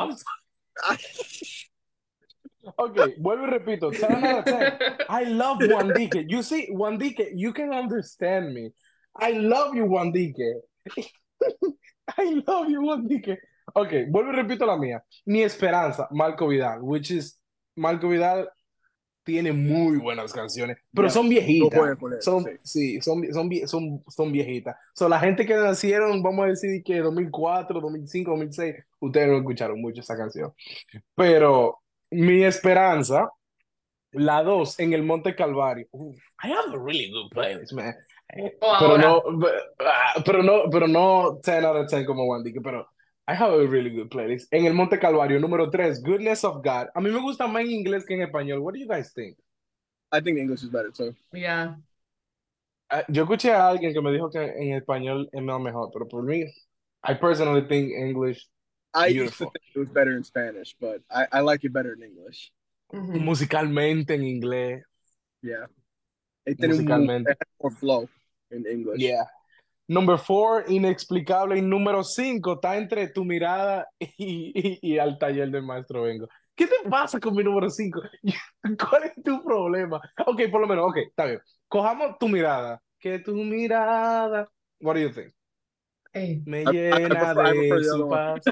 Okay, vuelvo y repito. 10 out of 10. I love Wandique. You see, Wandique, you can understand me. I love you, Wandique. I love you, Wandique. Okay, vuelvo y repito la mía. Mi esperanza, Marco Vidal, which is Marco Vidal tiene muy buenas canciones, pero Yeah. son No viejitas. juegue con él, Son, sí. sí, son viejitas. So, la gente que nacieron, vamos a decir que 2004, 2005, 2006, ustedes no escucharon mucho esa canción. Pero mi esperanza, la 2 en el Monte Calvario. Uf, I have a really good playlist, man. Oh, Pero no, ahora. pero no 10 out of 10 como Wandy, pero I have a really good playlist. En el Monte Calvario, número 3, Goodness of God. A mí me gusta más en inglés que en español. What do you guys think? I think English is better too. Yeah. Yo escuché a alguien que me dijo que en español es más mejor, pero por mí, I personally think English, I used to beautiful. think it was better in Spanish, but I like it better in English. Mhm. Musicalmente en inglés, Yeah. It musicalmente. had more flow in English. Yeah. Number 4, inexplicable. Y número 5, está entre tu mirada y al taller del maestro Vengo. ¿Qué te pasa con mi número 5? ¿Cuál es tu problema? Ok, por lo menos, ok, está bien. Cojamos tu mirada. Que tu mirada. What do you think? Hey. Me I llena prefer de the other su one. paz.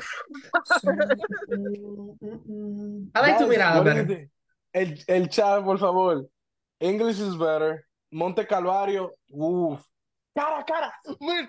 I like tu Guys, mirada what do you better. think? El chat, por favor. English is better. Monte Calvario, uff. Cara. Man,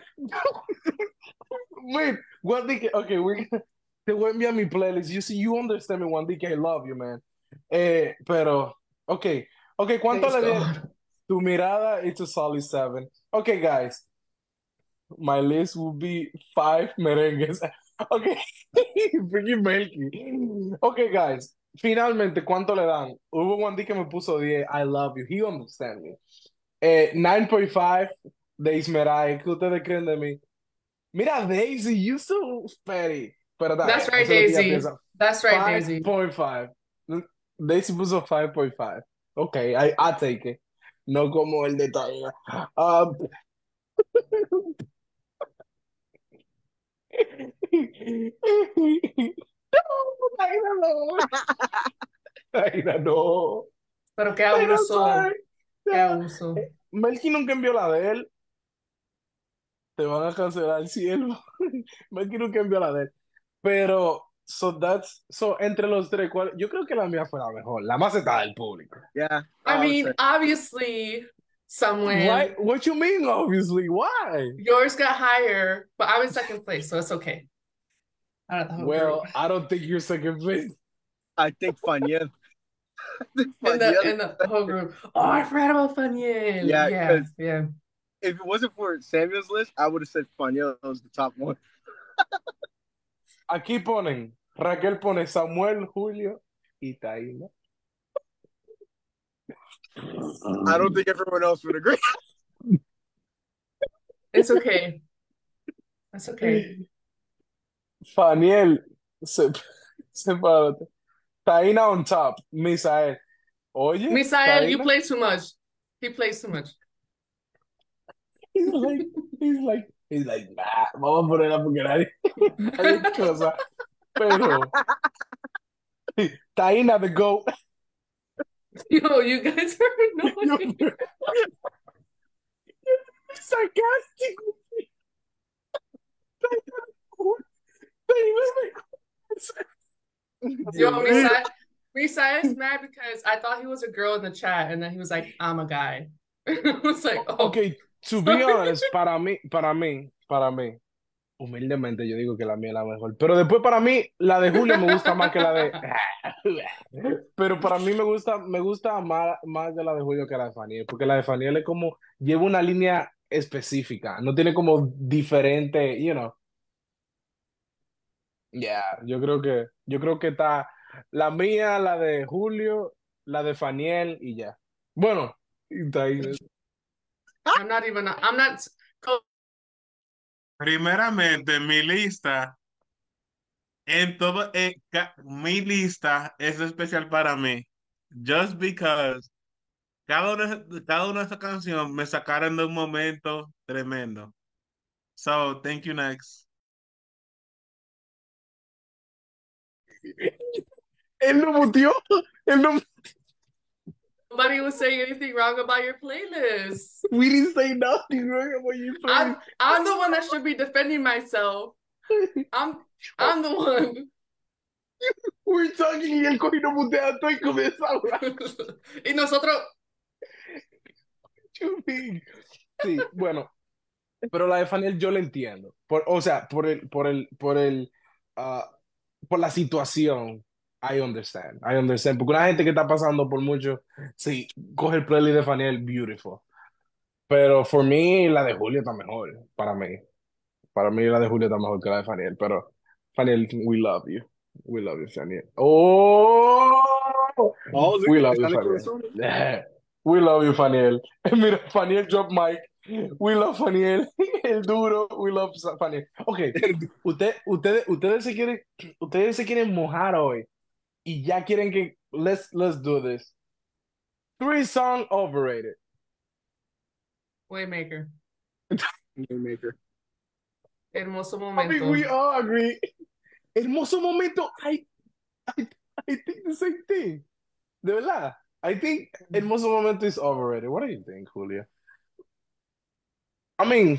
man, Wandique, okay, te voy a enviar mi playlist. You see, you understand me, Wandique, I love you, man. Pero, okay, ¿cuánto Thanks le dieron? God. Tu mirada, it's a solid 7. Okay, guys, my list will be 5 merengues. Okay, freaking Melky. Okay, guys, finalmente, ¿cuánto le dan? Hubo Wandique que me puso 10. I love you. He understand me. 9.5 de Ismeray. ¿Qué ustedes creen de mí? Mira, Daisy, you so petty. Pero está That's bien, right, eso es lo que ella Daisy. piensa. That's right, Daisy. 5.5. Daisy puso 5.5. Ok, I take it. No como el detalle. Aida, no. Pero qué Aida, abuso. sorry. Qué abuso. Melqui nunca envió la de él. Te van a cancelar el cielo. Melqui nunca envió la de él. Pero, so entre los tres, yo creo que la mía fue la mejor, la más aceptada del público. Yeah, I I would mean, say. obviously, Why? someone What you mean, obviously? Why? yours got higher, but I was second place, so it's okay. Out of the whole group. Well, I don't think you're second place. I think Faniel. In the whole group. Oh, I forgot about Faniel. Yeah, Yeah, because yeah. if it wasn't for Samuel's list, I would have said Faniel was the top one. Aquí ponen, Raquel pone Samuel, Julio y Taina. I don't think everyone else would agree. It's okay. That's okay. Faniel, sepárate. Taina on top, Misael. Oye, Misael, you Taina. play too much. He plays too much. He's like, nah, vamos a ponerla porque nadie cosa. Pero, Taina the GOAT. Yo, you guys are annoying. Sarcastic. Yo, Misael's mad because I thought he was a girl in the chat, and then he was like, I'm a guy. I was like, oh. Okay, to be honest, para mí, humildemente yo digo que la mía es la mejor. Pero después para mí, la de Julio me gusta más que la de... Pero para mí me gusta más de la de Julio que la de Faniel, porque la de Faniel es como, lleva una línea específica, no tiene como diferente, you know. Yeah, yo creo que está la mía, la de Julio, la de Faniel y ya. Bueno, y está ahí. I'm not. Primeramente, mi lista, mi lista es especial para mí. Just because cada una de esas canciones me sacaron de un momento tremendo. So, thank you, next. Él lo muteó, él no, Nobody was saying anything wrong about your playlist. we didn't say nothing wrong about you playing. I'm the one that should be defending myself. I'm the one. We're talking y el coge no mutea todo y comienza a hablar. Y nosotros. Sí, bueno, pero la de Faniel yo la entiendo. O sea, por la situación. I understand. Porque una gente que está pasando por mucho, sí, coge el playlist de Faniel, beautiful. Pero for me, la de Julio está mejor, para mí. Para mí la de Julio está mejor que la de Faniel, pero Faniel, we love you. We love you, Faniel. Oh, Oh, we look, love you, está en el Faniel. corazón. Yeah. We love you, Faniel. Mira, Faniel drop mic. We love Faniel. El duro. We love Faniel. Ok, ustedes se quieren mojar hoy y ya quieren que let's do this. 3 song overrated. Waymaker. Maker. Hermoso I momento. mean, we all agree. Hermoso momento. I think the same thing. De verdad. I think Hermoso momento is overrated. What do you think, Julia? I mean,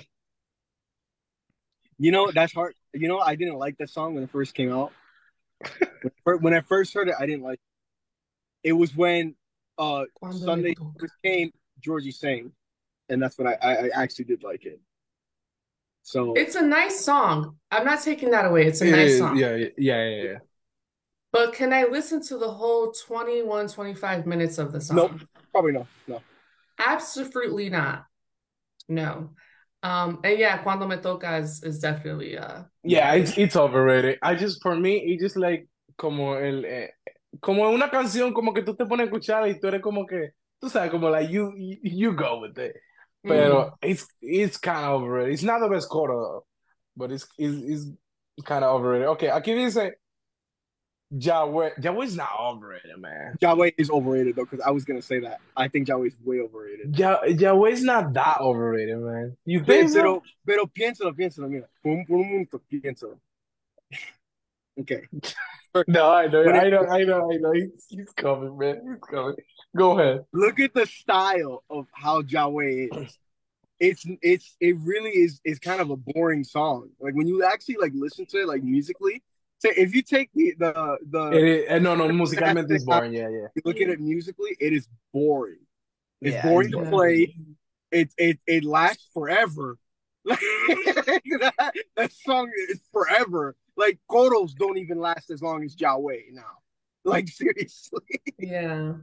You know, that's hard. You know, I didn't like that song when it first came out. When I first heard it, I didn't like it. It was when Cuando Sunday me toca. first came, Georgie sang. And that's when I actually did like it. So It's a nice song. I'm not taking that away. It's a it nice is. song. Yeah. But can I listen to the whole 21, 25 minutes of the song? nope, probably no. Absolutely not. No. And yeah, Cuando Me Toca is definitely Yeah, it's overrated. For me, it's just like como como una canción como que tú te pones a escuchar y tú eres como que tú sabes como like you go with it. Pero it's kind of overrated. It's not the best quarter, but it's kind of overrated. Okay, aquí dice Yahweh. Yahweh is not overrated, man. Yahweh is overrated though, because I was gonna say that. I think Yahweh is way overrated. Yahweh is not that overrated, man. You think so? Pero piénsalo, mira. Por un momento, piénsalo. Okay. No, But I know. He's coming, man. He's coming. Go ahead. look at the style of how Jawe is. It really is kind of a boring song. Like when you actually like listen to it like musically. So if you take the It is, no, no, musicalmente it's boring. Yeah, yeah. you look at it musically, it is boring. It's Yeah, it's boring to boring. Yeah. play. It lasts forever. Like that song is forever. Like Koros don't even last as long as Jawe now. Like seriously. Yeah.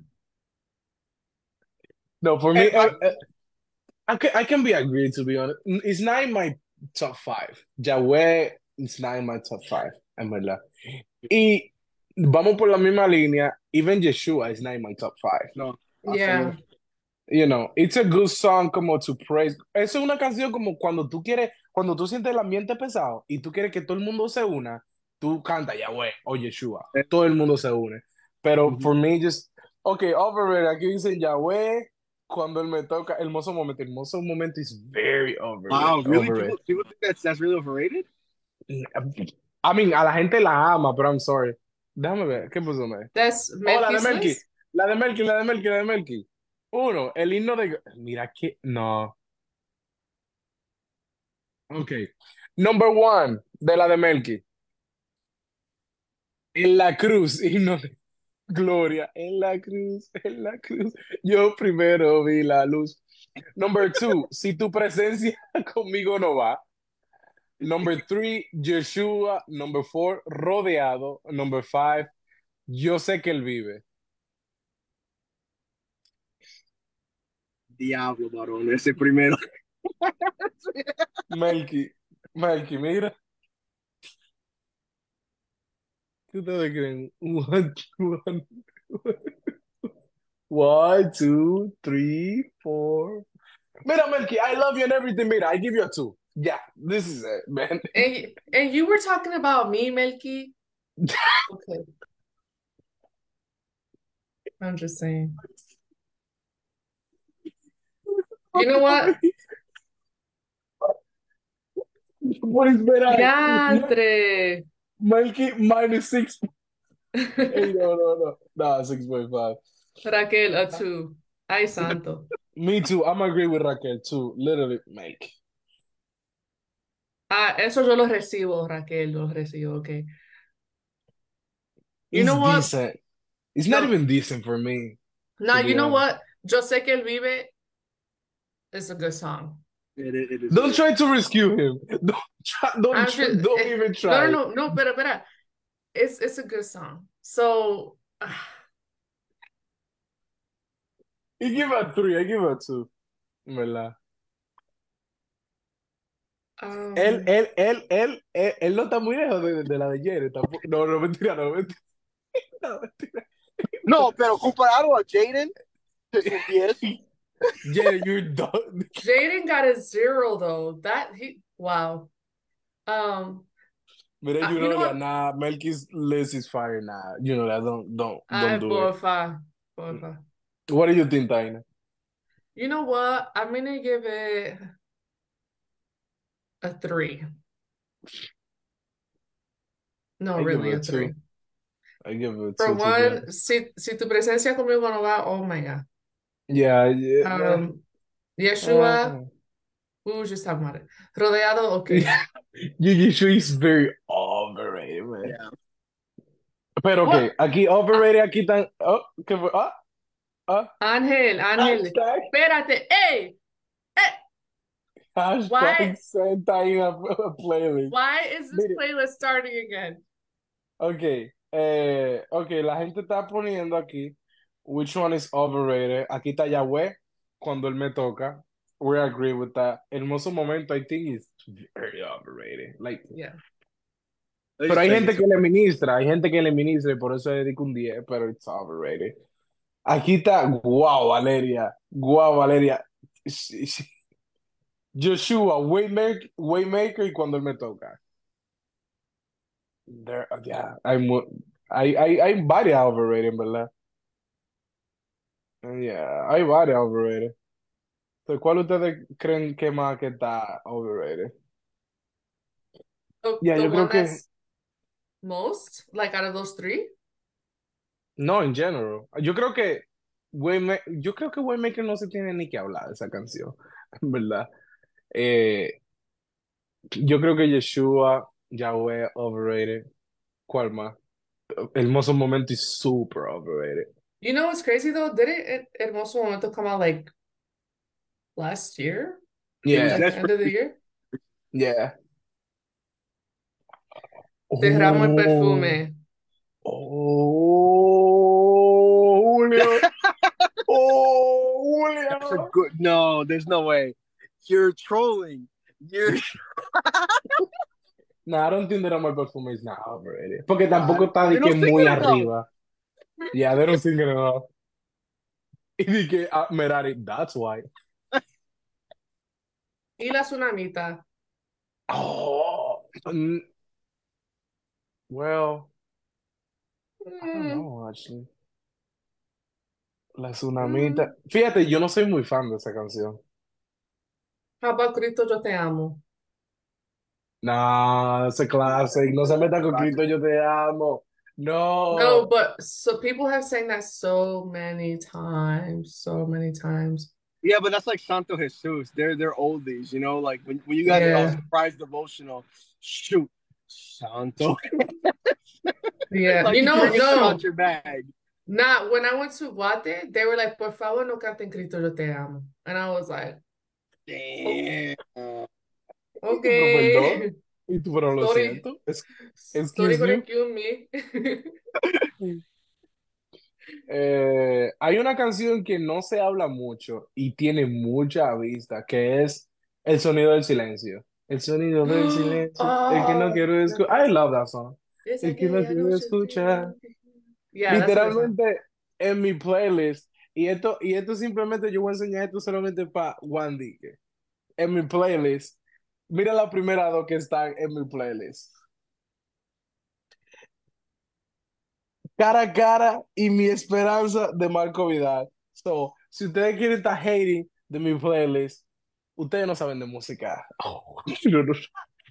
No, for And me, I can be agreed to be honest. It's not in my top five. Yahweh it's not in my top five, en verdad. Y vamos por la misma línea. Even Yeshua is not in my top five. no, Yeah. You know, it's a good song como to praise. Eso es una canción como cuando tú quieres, cuando tú sientes el ambiente pesado y tú quieres que todo el mundo se una, tú canta Yahweh o Yeshua. Todo el mundo se une. Pero Mhm. for me, just, okay, overrated. Aquí dicen Yahweh cuando él me toca. Hermoso momento. Hermoso momento is very overrated. Wow, really? Overrated. People think that's really overrated? I mean, a la gente la ama, pero I'm sorry. Déjame ver, ¿qué puso, me? That's Oh, la de Melky's Melky. list? La de Melky, la de Melky, la de Melky. Uno, el himno de... Mira que... No. Ok. Number one, de la de Melky. En la cruz, himno de gloria. En la cruz, en la cruz. Yo primero vi la luz. Number two, si tu presencia conmigo no va. Number three, Yeshua. Number four, rodeado. Number five, yo sé que él vive. Diablo, varón, ese primero. Melky, Melky, mira. ¿Qué ustedes creen? One, two, three, four. Mira, Melky, I love you and everything. Mira, I give you a two. Yeah, this is it, man. And you were talking about me, Melky? Okay. I'm just saying. You know what? What is better? Diantre. Melky minus six. Hey, no, no, no. Nah, 6.5. Raquel, a two. Ay, santo. Me too. I'm agree with Raquel too. Literally, make. Ah, eso yo lo recibo, Raquel, lo recibo, okay. You It's know what? decent. It's not No, even decent for me, no, to you be know honest. what? Yo sé que él vive is a good song. It is. Don't try to rescue him. Don't try, I'm just don't even no, no, try. no, no, pero. It's a good song. So I give it a three. I give it a two. En verdad. um, Él no está muy lejos de la de Jared tampoco. No, no, mentira, no, mentira. No, mentira. No, pero comparado a Jaden, es un 10. Jared, you're done. Jaden got a 0 though. That he wow. Mira, you You know know that, what? nah, Melky's list is fire now. You know that, don't Ay, do it. porfa, porfa. What do you think, Taina? You know what? I'm gonna give it a 3. No, I give really, it a a 3. two. I give it a For two, to be one, honest. si tu presencia conmigo no va, oh my God. Yeah, yeah. Yeshua, we were just talking about it. Rodeado, okay. Gigi Shui is very overrated, man. Yeah. Pero What? okay, aquí overrated, aquí tan. Oh, ¿qué fue? Ángel, Hashtag, espérate, ey, hashtag why, send Taina a playlist. why is this Mire, playlist starting again? okay, okay, la gente está poniendo aquí which one is overrated. Aquí está Yahweh cuando él me toca. We agree with that. Hermoso momento, I think is very overrated. Like, Yeah. pero hay gente que le ministra y por eso le dedico un 10, pero it's overrated. Aquí está, wow, Valeria. Joshua, Waymaker y cuando él me toca. Yeah, hay varias overrated, ¿verdad? Yeah, hay varias overrated. So, ¿cuál ustedes creen que más que está overrated? The, Yeah, the yo creo one que that's Most, like out of those three? No, en general. Yo creo que Waymaker no se tiene ni que hablar de esa canción, en verdad. Eh, yo creo que Yeshua, Yahweh, overrated. ¿Cuál más? Hermoso Momento y super overrated. You know what's crazy though? Didn't Hermoso Momento come out like last year? It was Yeah, Like the end desperate. of the year? yeah. Derramo el Oh, perfume. oh, Julio. Oh, That's a Julio. good. No, there's no way. You're trolling. You're. No, I don't think that my perfume is not overrated. Porque tampoco está de They que don't sing muy it enough. arriba. Yeah, they don't sing it enough. Y de que, Merari, that's why. Y la tsunamita. Oh, well, I don't Mm, know, actually. La mm. Tsunamita. Fíjate, yo no soy muy fan de esa canción. How about Cristo, yo te amo? No, ese classic. No se meta con Cristo, yo te amo. No, No. but so people have sang that so many times, so many times. Yeah, but that's like Santo Jesus. They're oldies, you know. Like when you guys Yeah, surprise devotional, shoot, Santo. yeah. Like You you know, can't get them out no, your bag. not when I went to Guate, they were like, por favor, no canten Cristo, yo te amo. And I was like, Damn. Y tú, pero perdón. okay. Y tú, pero lo Sorry, siento. sorry Excuse for you. excuse me. Hay una canción que no se habla mucho y tiene mucha vista, que es El sonido del silencio. El sonido del silencio. El que no Oh, quiero escuchar. I love that song. es El que no aquella quiero noche escuchar. Yeah, that's a good song. Literalmente en mi playlist. Y esto simplemente yo voy a enseñar esto solamente para Wandy. En mi playlist. Mira la primera dos que están en mi playlist. Cara a cara y Mi Esperanza de Marco Vidal. So, si ustedes quieren estar hating de mi playlist, ustedes no saben de música. Oh, no, no.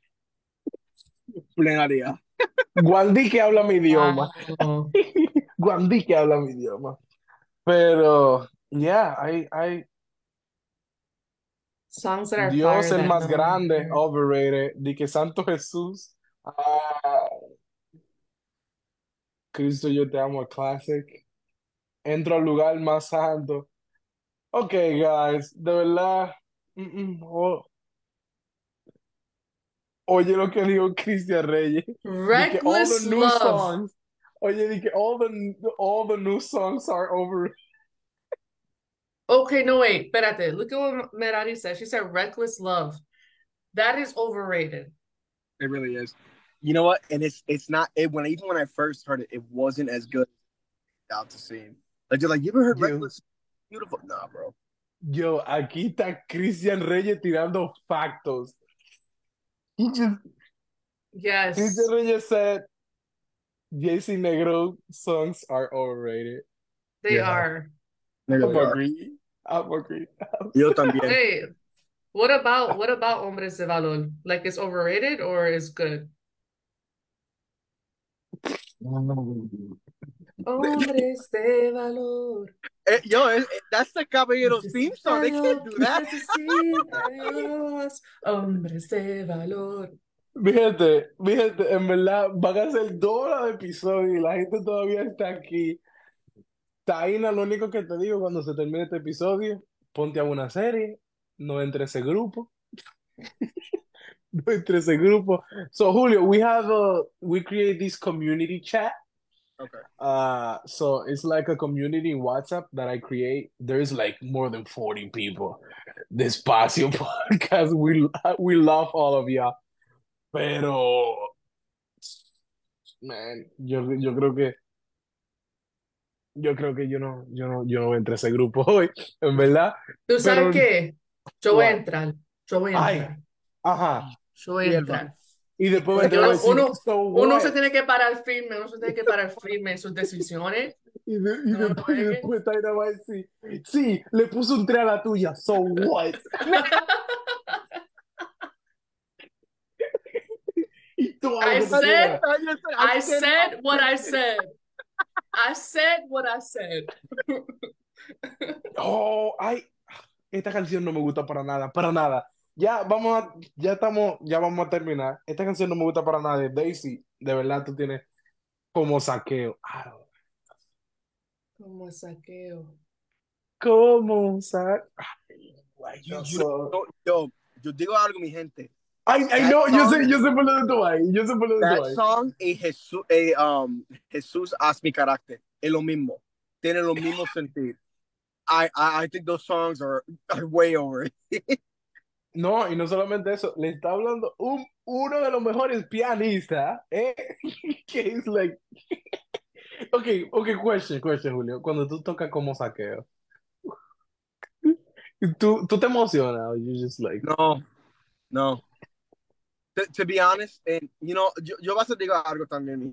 Plenaria. Guandí que habla mi idioma. Wow. Guandí que habla mi idioma. Pero, yeah, Songs that are Dios fire el that más no one grande, heard. overrated. Di que Santo Jesús. Cristo, yo te amo, classic. Entro al lugar más santo. Ok, guys, de verdad. Oye lo que dijo Cristian Reyes. Di que all the Reckless new Love. songs. Oye, di que all the new songs are over. Okay, no, wait, espérate. Look at what Merari said. She said Reckless Love. That is overrated. It really is. You know what? And it's not it when even when I first heard it, it wasn't as good out to see. Like you're like, you ever heard Yo, Reckless? Beautiful. Nah, bro. yo, aquí está Cristian Reyes tirando factos. Cristian Yes, Reyes said JC Negro songs are overrated. they Yeah, are. They I'm really are. agree. I'm agree. Yo también. Hey, what about Hombres de Valor? Like it's overrated or is good? Hombres de Valor. That's the Caballeros theme song. They can't do that. Necesita Dios. Hombres de Valor. Mi gente, en verdad van a ser 2 horas de episodio y la gente todavía está aquí. Taina, lo único que te digo cuando se termine este episodio, ponte a una serie, no entre ese grupo, no entre ese grupo. So Julio, we create this community chat. Okay. So it's like a community WhatsApp that I create. There's like more than 40 people. Despacio podcast. We love all of y'all. Pero, man, yo creo que yo no entré a ese grupo hoy, en verdad. ¿Tú sabes Pero, qué? Yo voy a what? entrar. Yo voy a Ay, entrar. ajá. Yo voy a Y el entrar. Y después me Porque te voy a decir, so uno se what? tiene que parar firme, uno se tiene que parar firme en sus decisiones. Y No lo después, juegue. después Taina va a decir, sí, le puse un 3 a la tuya, so what? Tú I algo que tú said, quieras. I said what I said. I said what I said. Oh, ay, esta canción no me gusta para nada, para nada. Ya vamos a terminar. Esta canción no me gusta para nada. Daisy, de verdad tú tienes como saqueo. Ah, Como saqueo. como saqueo. Ay, You, no you, sé. yo digo algo, mi gente. Ay, That no, song, yo sé por lo de tu ahí. Yo sé por lo de tu that ahí. song y Jesús haz mi carácter. Es lo mismo. Tiene lo mismo sentido. I think those songs are way over it. No, y no solamente eso, le está hablando uno de los mejores pianistas, que es like, question, Julio. Cuando tú tocas como saqueo, tú te emocionas, or you just like, No, no. To be honest, and yo vas a decir algo también.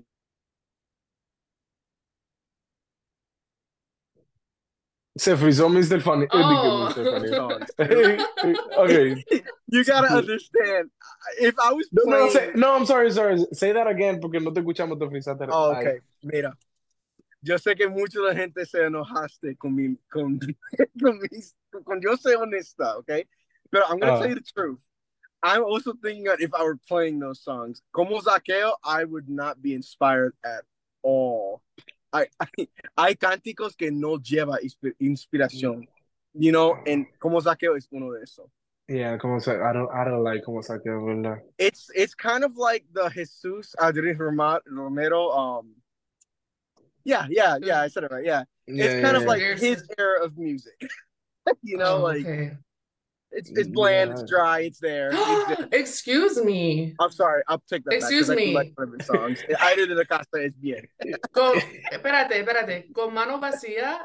se frizó Mr. Funny, dije Mr. Funny. Oh. Songs. Okay. You gotta understand. If I was playing, No, I'm sorry. Say that again, porque no te escuchamos, te frizaste oh, ahí. okay, mira. Yo sé que mucha la gente se enojaste con yo ser honesta, okay? But I'm gonna tell you the truth. I'm also thinking that if I were playing those songs, como Zaqueo, I would not be inspired at all. Hay cánticos que no lleva inspiración, and como Zaqueo es uno de esos. Yeah, como I don't like como saqueo, ¿verdad? It's kind of like the Jesus Adrián Romero. Yeah, I said it right. Yeah, it's kind of like his era of music. Like Okay. it's bland, it's dry, it's there. Excuse me. I'm sorry, I'll take that back Excuse because I do like me. some of his songs. Aire de la Casa es bien. Espérate. Con mano vacía.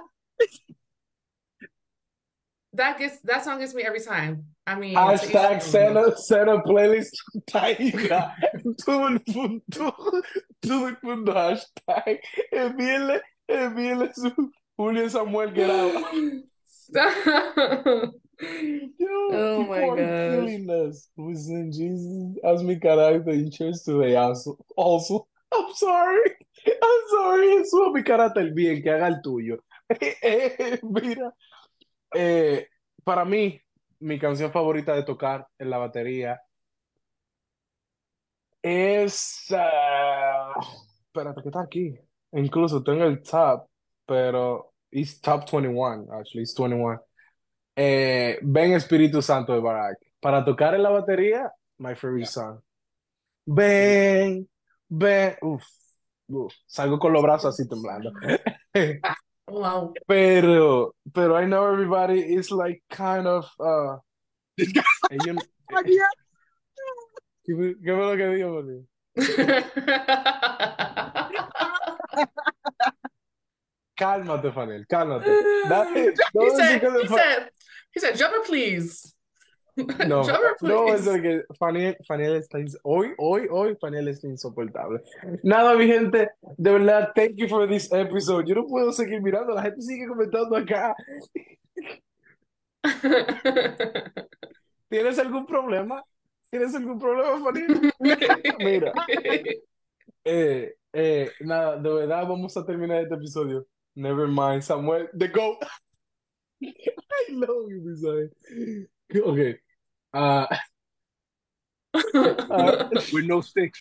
That song gets me every time. I mean, Hashtag Sena playlist Taika. Todo el mundo hashtag. Envíele su Julio Samuel Guerrero. Stop. Yo, Oh people my are gosh. killing us. Listen, Jesus, haz mi carácter in church today also. I'm sorry. Eso mi carácter bien, que haga el tuyo. Mira, para mí, mi canción favorita de tocar en la batería es... espérate, que está aquí. Incluso tengo el top, pero it's top 21, actually, it's 21. Ven Espíritu Santo de Barack. Para tocar en la batería, my favorite song. Ven, uf, salgo con los brazos así temblando. Wow. Pero I know everybody is like kind of, ellos- ¿qué fue lo que digo, boludo? Cálmate, Fanel, cálmate. He said, jumper, please. No, Jumper, no, es please. que Faniel está hoy Faniel está insoportable. Nada, mi gente, de verdad, thank you for this episode. Yo no puedo seguir mirando, la gente sigue comentando acá. ¿Tienes algún problema? Faniel? Mira, nada, de verdad, vamos a terminar este episodio. Never mind, Samuel, the GOAT. I love you, Misael. Okay. With no sticks.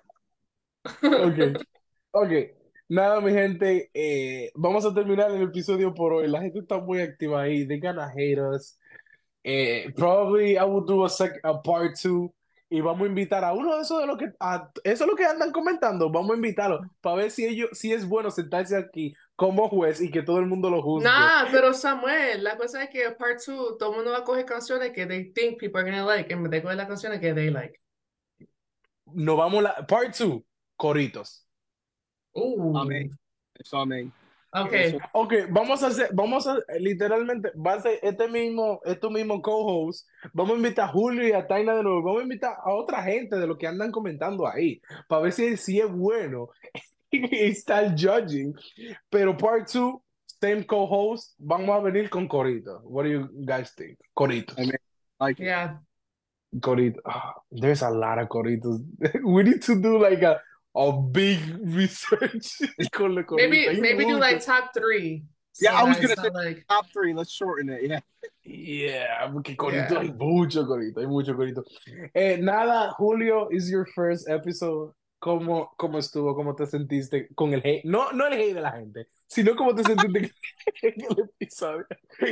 Ok. Nada, mi gente, vamos a terminar el episodio por hoy. La gente está muy activa ahí. They gonna hate us. Probably I will do a part two. Y vamos a invitar a uno de esos eso es lo que andan comentando. Vamos a invitarlo para ver si es bueno sentarse aquí como juez y que todo el mundo lo juzgue. Nah, pero Samuel, la cosa es que part 2, todo el mundo va a coger canciones que they think people are gonna like, en vez de coger las canciones que they like. Nos vamos part 2, coritos. Amén. Eso, amén. Okay. Ok, vamos a literalmente, va a ser estos mismos co-hosts, vamos a invitar a Julio y a Taina de nuevo, vamos a invitar a otra gente de lo que andan comentando ahí, para ver si es bueno y estar judging, pero part 2, same co-host, vamos a venir con Corito. What do you guys think? Corito. Amén. Like it. Yeah. Corito. There's a lot of coritos. We need to do like a big research con la corita. Hay Maybe do mucho. like top three. Yeah, So I was that gonna it's say not like, top three. Let's shorten it. Yeah. Yeah, porque corito yeah. hay mucho corito, hay mucho corito. Nada, Julio, is your first episode. ¿Cómo estuvo? ¿Cómo te sentiste con el hate? No, no el hate de la gente, sino cómo te sentiste en el episodio.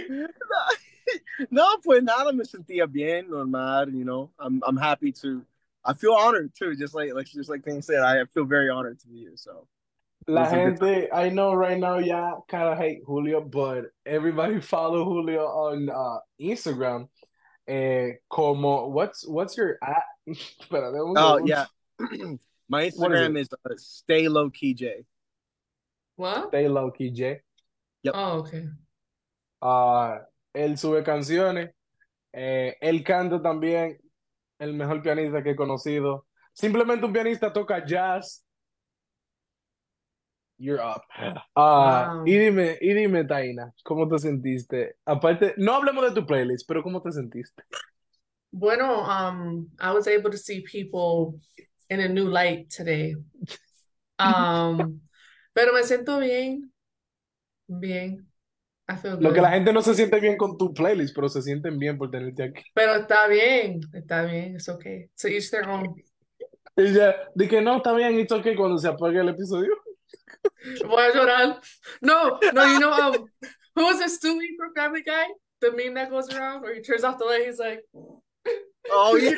No, pues nada, me sentía bien, normal. You know, I'm happy to. I feel honored too, just like Thing said. I feel very honored to be here. So it La was a good time. gente, I know right now, yeah, kind of hate Julio, but everybody follow Julio on Instagram. What's your at? Espérate un Oh segundo. yeah, my What is it? Instagram is stay low key J. What? Stay low key J. Yep. Oh, okay. Él sube canciones, él canta también, el mejor pianista que he conocido. Simplemente un pianista toca jazz. You're up. Wow. Y dime, Taina, ¿cómo te sentiste? Aparte, no hablemos de tu playlist, pero ¿cómo te sentiste? Bueno, I was able to see people in a new light today. Pero me siento bien, bien. I feel Lo que la good. gente no se siente bien con tu playlist, pero se sienten bien por tenerte aquí. Pero está bien, it's okay. To each their own. Y ya, de que no, está bien, it's okay cuando se apague el episodio. Voy a llorar. No, you know, who was it, Stewie from Family Guy? The meme that goes around where he turns off the light, he's like, Oh yeah.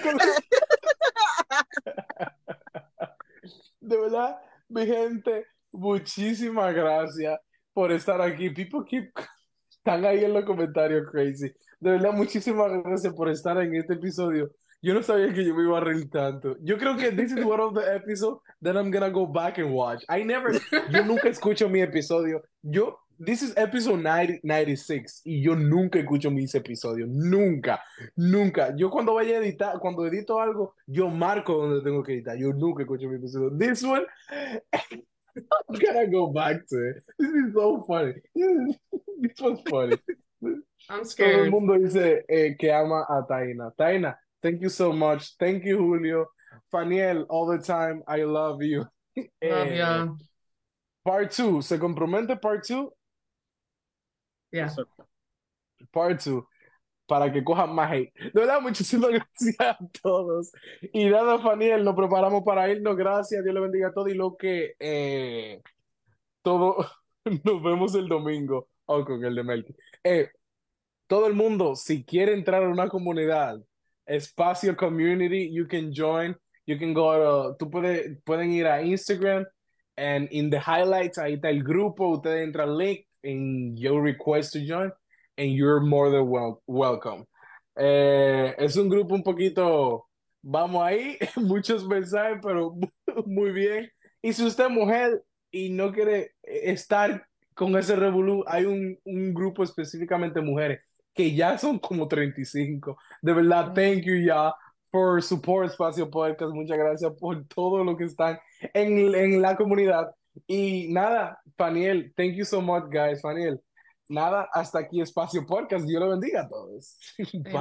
De verdad, mi gente, muchísimas gracias por estar aquí. Están ahí en los comentarios crazy. De verdad, muchísimas gracias por estar en este episodio. Yo no sabía que yo me iba a reír tanto. Yo creo que this is one of the episodes that I'm gonna go back and watch. Yo nunca escucho mi episodio. This is episode 96 y yo nunca escucho mis episodios. Nunca, nunca. Yo cuando vaya a editar, cuando edito algo, yo marco donde tengo que editar. Yo nunca escucho mi episodio. This one, I'm gonna go back to it. This is so funny. This was funny. I'm Todo el scared. mundo dice que ama a Taina. Taina, thank you so much. Thank you, Julio. Faniel, all the time. I love you. Love y'all. Part 2. ¿Se compromete part 2? Yeah. So, Part 2. Para que cojan más hate. De verdad, muchísimas gracias a todos. Y nada, Faniel, nos preparamos para irnos. Gracias, Dios le bendiga a todos. Y lo que todo, nos vemos el domingo. O con el de Melky. Todo el mundo, si quiere entrar a una comunidad, Espacio Community, you can join. You can go pueden ir a Instagram and in the highlights, ahí está el grupo. Ustedes entran al link and you request to join and you're more than welcome. Es un grupo un poquito, vamos ahí, muchos mensajes, pero muy bien. Y si usted es mujer y no quiere estar con ese revolú, hay un grupo específicamente mujeres que ya son como 35. De verdad, thank you ya for support Espacio Podcast. Muchas gracias por todo lo que están en la comunidad. Y nada, Faniel, thank you so much, guys. Faniel, nada, hasta aquí Espacio Podcast. Dios lo bendiga a todos. Bye.